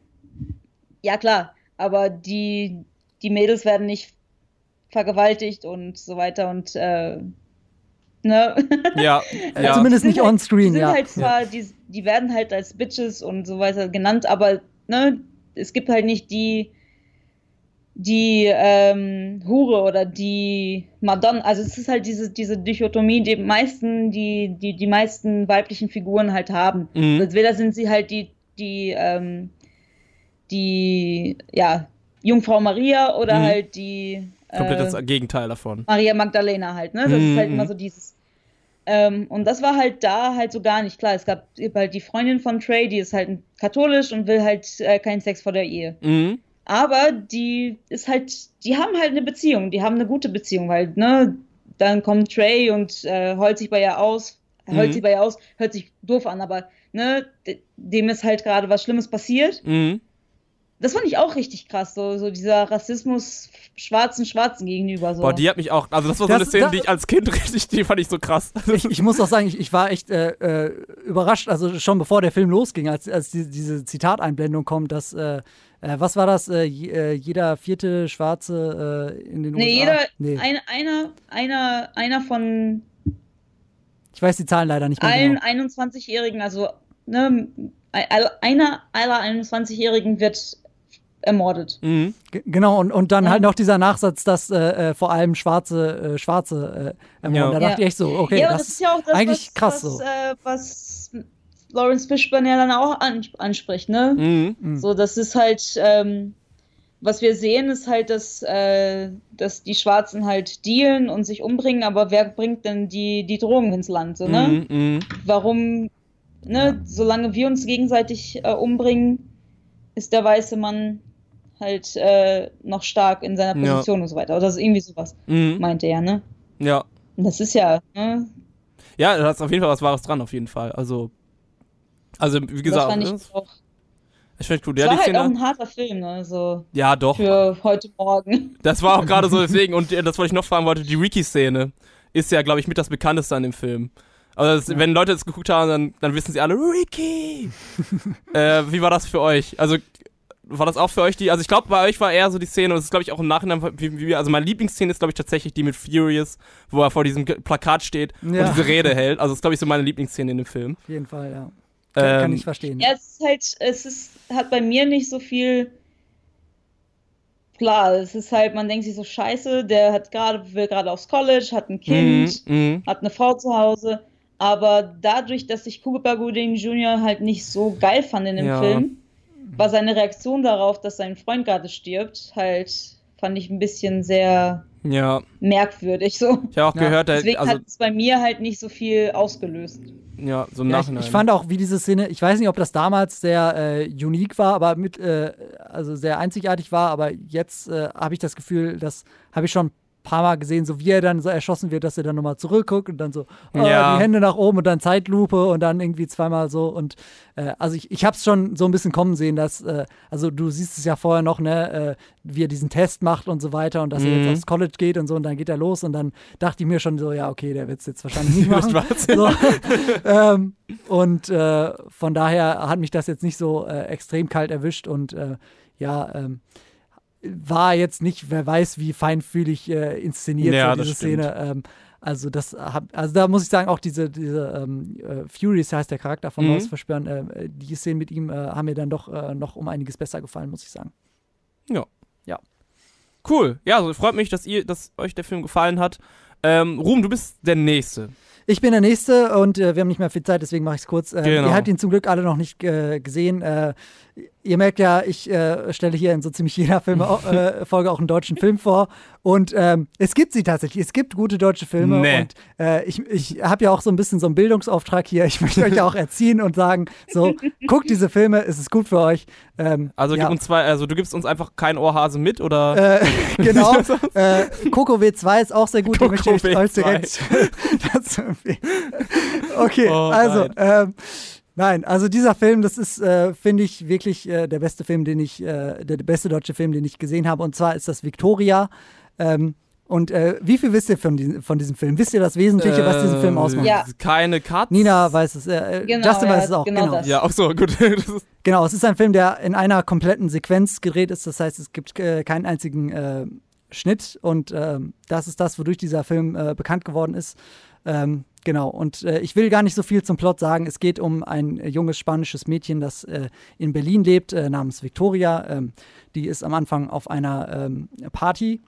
ja klar, aber die, die Mädels werden nicht vergewaltigt und so weiter und, äh, ne? Ja, Äh, ja. Zumindest Die nicht sind halt- on-screen, Die sind ja. halt zwar, die, die werden halt als Bitches und so weiter genannt, aber ne, es gibt halt nicht die, die ähm, Hure oder die Madonna. Also es ist halt diese, diese Dichotomie, die meisten, die, die, die meisten weiblichen Figuren halt haben. Mhm. Entweder sind sie halt die, die, ähm, die, ja, Jungfrau Maria oder Mhm. halt die Komplett äh, das Gegenteil davon. Maria Magdalena halt, ne? Das Mhm, ist halt mhm. immer so dieses. Ähm, und das war halt da halt so gar nicht klar. Es gab halt die Freundin von Trey, die ist halt katholisch und will halt äh, keinen Sex vor der Ehe. Mhm. Aber die ist halt, die haben halt eine Beziehung, die haben eine gute Beziehung, weil, ne, dann kommt Trey und äh, heult sich bei ihr aus, heult Mhm. sich bei ihr aus, hört sich doof an, aber, ne, de- dem ist halt gerade was Schlimmes passiert. Mhm. Das fand ich auch richtig krass, so, so dieser Rassismus Schwarzen Schwarzen gegenüber, so. Boah, die hat mich auch, also das war so Das- eine Szene, das- die ich als Kind richtig, die fand ich so krass. Ich, ich muss auch sagen, ich, ich war echt äh, äh, überrascht, also schon bevor der Film losging, als, als die, diese Zitateinblendung kommt, dass, äh, äh, was war das, äh, je, äh, jeder vierte Schwarze äh, in den Nee, U S A? jeder, Nee, ein, einer, einer, einer von ich weiß die Zahlen leider nicht mehr allen genau. einundzwanzigjährigen, also ne, ein- einer aller einundzwanzigjährigen wird ermordet. Mhm. G- Genau, und, und dann Ja. halt noch dieser Nachsatz, dass äh, äh, vor allem Schwarze, äh, Schwarze äh, ermorden. Ja. Da dachte Ja. ich echt so, okay, ja, aber das, das ist ja auch das, eigentlich was, krass was, so. äh, was Lawrence Fishburne ja dann auch an, anspricht, ne? Mhm. Mhm. So, das ist halt, ähm, was wir sehen, ist halt, dass, äh, dass die Schwarzen halt dealen und sich umbringen, aber wer bringt denn die, die Drogen ins Land, so, ne? Mhm. Mhm. Warum, ne, solange wir uns gegenseitig äh, umbringen, ist der weiße Mann halt äh, noch stark in seiner Ja. Position und so weiter. Oder so, irgendwie sowas, Mhm. meinte er, ne? Ja. Und das ist ja, ne? Ja, da ist auf jeden Fall was Wahres dran, auf jeden Fall. Also, also wie Das gesagt, fand ich ne? auch. ich finde gut. Es Ja, war die halt auch Szene, ein harter Film, ne? So ja, doch. für heute Morgen. Das war auch gerade so deswegen. Und äh, das, was ich noch fragen wollte, die Ricky-Szene ist ja, glaube ich, mit das Bekannteste an dem Film. Also, das, wenn Leute das geguckt haben, dann, dann wissen sie alle, Ricky! äh, wie war das für euch? Also, war das auch für euch die, also ich glaube, bei euch war eher so die Szene, und das ist, glaube ich, auch im Nachhinein, wie, wie, also meine Lieblingsszene ist, glaube ich, tatsächlich die mit Furious, wo er vor diesem G- Plakat steht Ja. und diese Rede hält. Also, das ist, glaube ich, so meine Lieblingsszene in dem Film. Auf jeden Fall, ja. Kann, kann Ähm, ich verstehen. Ja, es ist halt, es ist, hat bei mir nicht so viel. Klar, es ist halt, man denkt sich so, scheiße, der hat gerade, will gerade aufs College, hat ein Kind, Mhm, mhm. hat eine Frau zu Hause. Aber dadurch, dass ich Cuba Gooding Junior halt nicht so geil fand in dem Ja. Film, war seine Reaktion darauf, dass sein Freund gerade stirbt, halt, fand ich ein bisschen sehr Ja, merkwürdig so. ich habe auch Ja, gehört, der, Deswegen also, hat es bei mir halt nicht so viel ausgelöst. Ja, so im Ja, ich, Nachhinein. ich fand auch, wie diese Szene, ich weiß nicht, ob das damals sehr äh, unique war, aber mit, äh, also sehr einzigartig war, aber jetzt äh, habe ich das Gefühl, das habe ich schon ein paar Mal gesehen, so wie er dann so erschossen wird, dass er dann nochmal zurückguckt und dann so oh, Ja. die Hände nach oben und dann Zeitlupe und dann irgendwie zweimal so und äh, also ich, ich habe es schon so ein bisschen kommen sehen, dass, äh, also du siehst es ja vorher noch, ne, äh, wie er diesen Test macht und so weiter und dass er Mhm. jetzt aufs College geht und so und dann geht er los und dann dachte ich mir schon so, ja okay, der wird es jetzt wahrscheinlich nicht machen. Was? So. ähm, und äh, von daher hat mich das jetzt nicht so äh, extrem kalt erwischt und äh, ja, ähm, war jetzt nicht, wer weiß, wie feinfühlig äh, inszeniert Ja, so das diese stimmt. Szene. Ähm, also das hab, also da muss ich sagen, auch diese, diese ähm, äh, Furious heißt der Charakter von Mhm. Lawrence Fishburne, äh, die Szenen mit ihm äh, haben mir dann doch äh, noch um einiges besser gefallen, muss ich sagen. Cool. Ja, also freut mich, dass ihr, dass euch der Film gefallen hat. Ähm, Ruben, du bist der Nächste. Ich bin der Nächste und äh, wir haben nicht mehr viel Zeit, deswegen mache ich es kurz. Äh, Genau. Ihr habt ihn zum Glück alle noch nicht äh, gesehen. Äh, ihr merkt ja, ich äh, stelle hier in so ziemlich jeder Filme, äh, Folge auch einen deutschen Film vor. Und ähm, es gibt sie tatsächlich. Es gibt gute deutsche Filme. Nee. Und äh, ich, ich habe ja auch so ein bisschen so einen Bildungsauftrag hier. Ich möchte euch ja auch erziehen und sagen, so, guckt diese Filme, es ist gut für euch. Ähm, Also, ja. gib uns zwei, also du gibst uns einfach keinen Ohrhase mit, oder? Äh, genau. äh, Coco W zwei ist auch sehr gut. Die möchte ich Coco euch W zwei. direkt dazu empfehlen. Okay, Oh, also, nein. ähm, nein, also dieser Film, das ist, äh, finde ich, wirklich äh, der beste Film, den ich, äh, der beste deutsche Film, den ich gesehen habe. Und zwar ist das Victoria. Ähm, und äh, wie viel wisst ihr von, diesem- von diesem Film? Wisst ihr das Wesentliche, was diesen Film ausmacht? Ja. Keine Cuts. Nina weiß es. Äh, Genau, Justin ja, weiß es auch. genau Genau. das. Ja, auch so, gut. Das ist, Genau, es ist ein Film, der in einer kompletten Sequenz gedreht ist. Das heißt, es gibt äh, keinen einzigen äh, Schnitt. Und ähm, das ist das, wodurch dieser Film äh, bekannt geworden ist. Ähm, genau, und äh, ich will gar nicht so viel zum Plot sagen. Es geht um ein äh, junges spanisches Mädchen, das äh, in Berlin lebt, äh, namens Victoria. Ähm, die ist am Anfang auf einer ähm, Party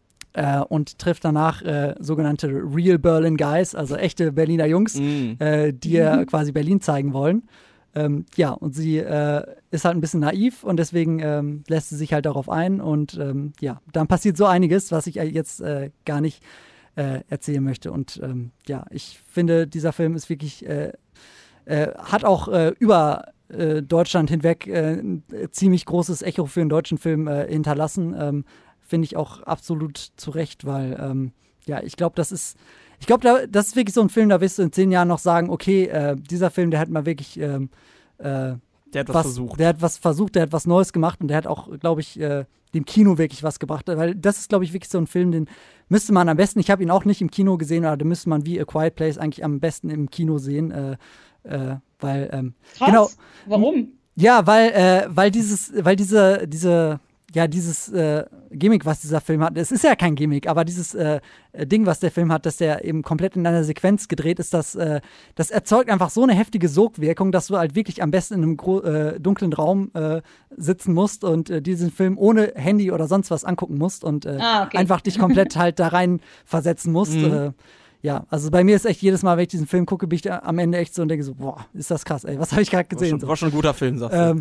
äh, und trifft danach äh, sogenannte Real Berlin Guys, also echte Berliner Jungs, mm. äh, die ihr quasi Berlin zeigen wollen. Ähm, ja, und sie äh, ist halt ein bisschen naiv und deswegen ähm, lässt sie sich halt darauf ein. Und ähm, ja, dann passiert so einiges, was ich äh, jetzt äh, gar nicht äh, erzählen möchte. Und ähm, ja, ich finde, dieser Film ist wirklich, äh, äh, hat auch äh, über äh, Deutschland hinweg äh, ein ziemlich großes Echo für einen deutschen Film äh, hinterlassen. Ähm, finde ich auch absolut zu Recht, weil ähm, ja, ich glaube, das ist Ich glaube, da, das ist wirklich so ein Film, da wirst du in zehn Jahren noch sagen, okay, äh, dieser Film, der hat mal wirklich ähm, äh, Der hat was, was versucht. Der hat was versucht, der hat was Neues gemacht und der hat auch, glaube ich, äh, dem Kino wirklich was gebracht. Weil das ist, glaube ich, wirklich so ein Film, den müsste man am besten, ich habe ihn auch nicht im Kino gesehen, aber den müsste man wie A Quiet Place eigentlich am besten im Kino sehen. Äh, äh, weil, ähm, Krass. genau, Warum? ja, weil, äh, weil dieses, weil diese, diese, ja, dieses äh, Gimmick, was dieser Film hat, es ist ja kein Gimmick, aber dieses äh, Ding, was der Film hat, dass der eben komplett in einer Sequenz gedreht ist, das, äh, das erzeugt einfach so eine heftige Sogwirkung, dass du halt wirklich am besten in einem gro- äh, dunklen Raum äh, sitzen musst und äh, diesen Film ohne Handy oder sonst was angucken musst und äh, Ah, okay. einfach dich komplett halt da rein versetzen musst. Mhm. Äh, ja, also bei mir ist echt jedes Mal, wenn ich diesen Film gucke, bin ich da am Ende echt so und denke so, boah, ist das krass, ey, was habe ich gerade War gesehen? schon, So. war schon ein guter Film, sagst du. Ähm,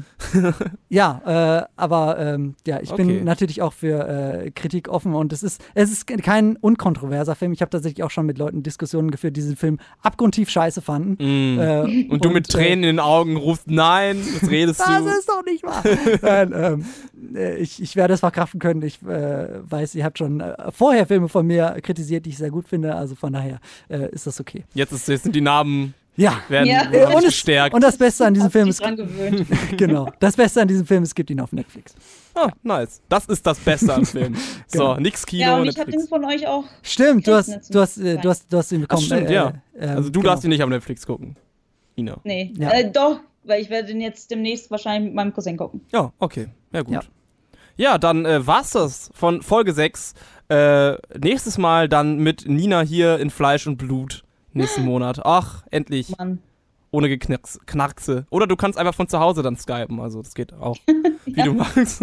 ja, äh, aber ähm, ja, ich Okay. bin natürlich auch für äh, Kritik offen und es ist, es ist kein unkontroverser Film. Ich habe tatsächlich auch schon mit Leuten Diskussionen geführt, die diesen Film abgrundtief scheiße fanden. Mm. Äh, und du mit Tränen in den Augen rufst, nein, was redest Das du? ist doch nicht wahr. Nein, ähm, äh, ich, ich werde es verkraften können. Ich äh, weiß, ihr habt schon äh, vorher Filme von mir kritisiert, die ich sehr gut finde. Also von daher äh, ist das okay. Jetzt, ist, jetzt sind die Narben, Ja. werden, Ja. werden und, es, gestärkt. und das Beste an diesem Hab Film dich ist, dran gewöhnt. genau, das Beste an diesem Film ist, es gibt ihn auf Netflix. Ah, nice. Das ist das Beste am Film. So, Genau. nix Kino, Ja, und ich habe den Netflix. von euch auch. Stimmt, du hast, Netflix du hast, äh, du hast, du hast ihn Ach, bekommen. stimmt, äh, ja. äh, Also du genau. darfst ihn nicht auf Netflix gucken. Ina. Nee, Ja. äh, doch, weil ich werde den jetzt demnächst wahrscheinlich mit meinem Cousin gucken. Ja, okay. Ja, gut. Ja. Ja, dann äh, war's das von Folge sechs. Äh, nächstes Mal dann mit Nina hier in Fleisch und Blut. Nächsten Monat. Ach, endlich. Mann. Ohne Geknarks, Knarkse. Oder du kannst einfach von zu Hause dann skypen. Also das geht auch, wie Ja. du magst.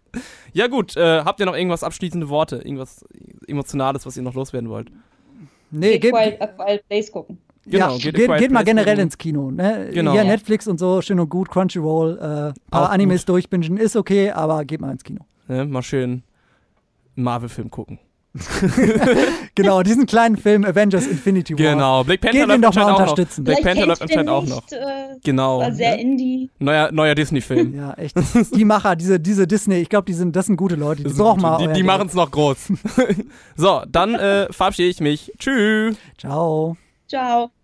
Ja gut, äh, habt ihr noch irgendwas abschließende Worte? Irgendwas Emotionales, was ihr noch loswerden wollt? Nee, Geht geht, Quiet, A Quiet Place gucken. Genau, ja, geht geht, A geht, Quiet mal Place generell gucken. ins Kino. Ne? Genau. Hier Ja. Netflix und so, schön und gut, Crunchyroll, äh, paar Auch Animes durchbingen ist okay, aber geht mal ins Kino. Ne, mal schön einen Marvel-Film gucken. Genau, diesen kleinen Film Avengers Infinity War. Genau, Black Panther Geht läuft ihn doch mal anscheinend auch noch. unterstützen. Black Vielleicht Panther läuft kennt ihr anscheinend den auch noch. nicht, äh, Genau. War sehr ne? Indie. Neuer, neuer Disney-Film. Ja, echt. Die Macher, diese, diese Disney, ich glaube, die sind, das sind gute Leute. Die Das brauchen sind mal. gute- euer Die, die Geld. machen es noch groß. So, dann äh, verabschiede ich mich. Tschüss. Ciao. Ciao.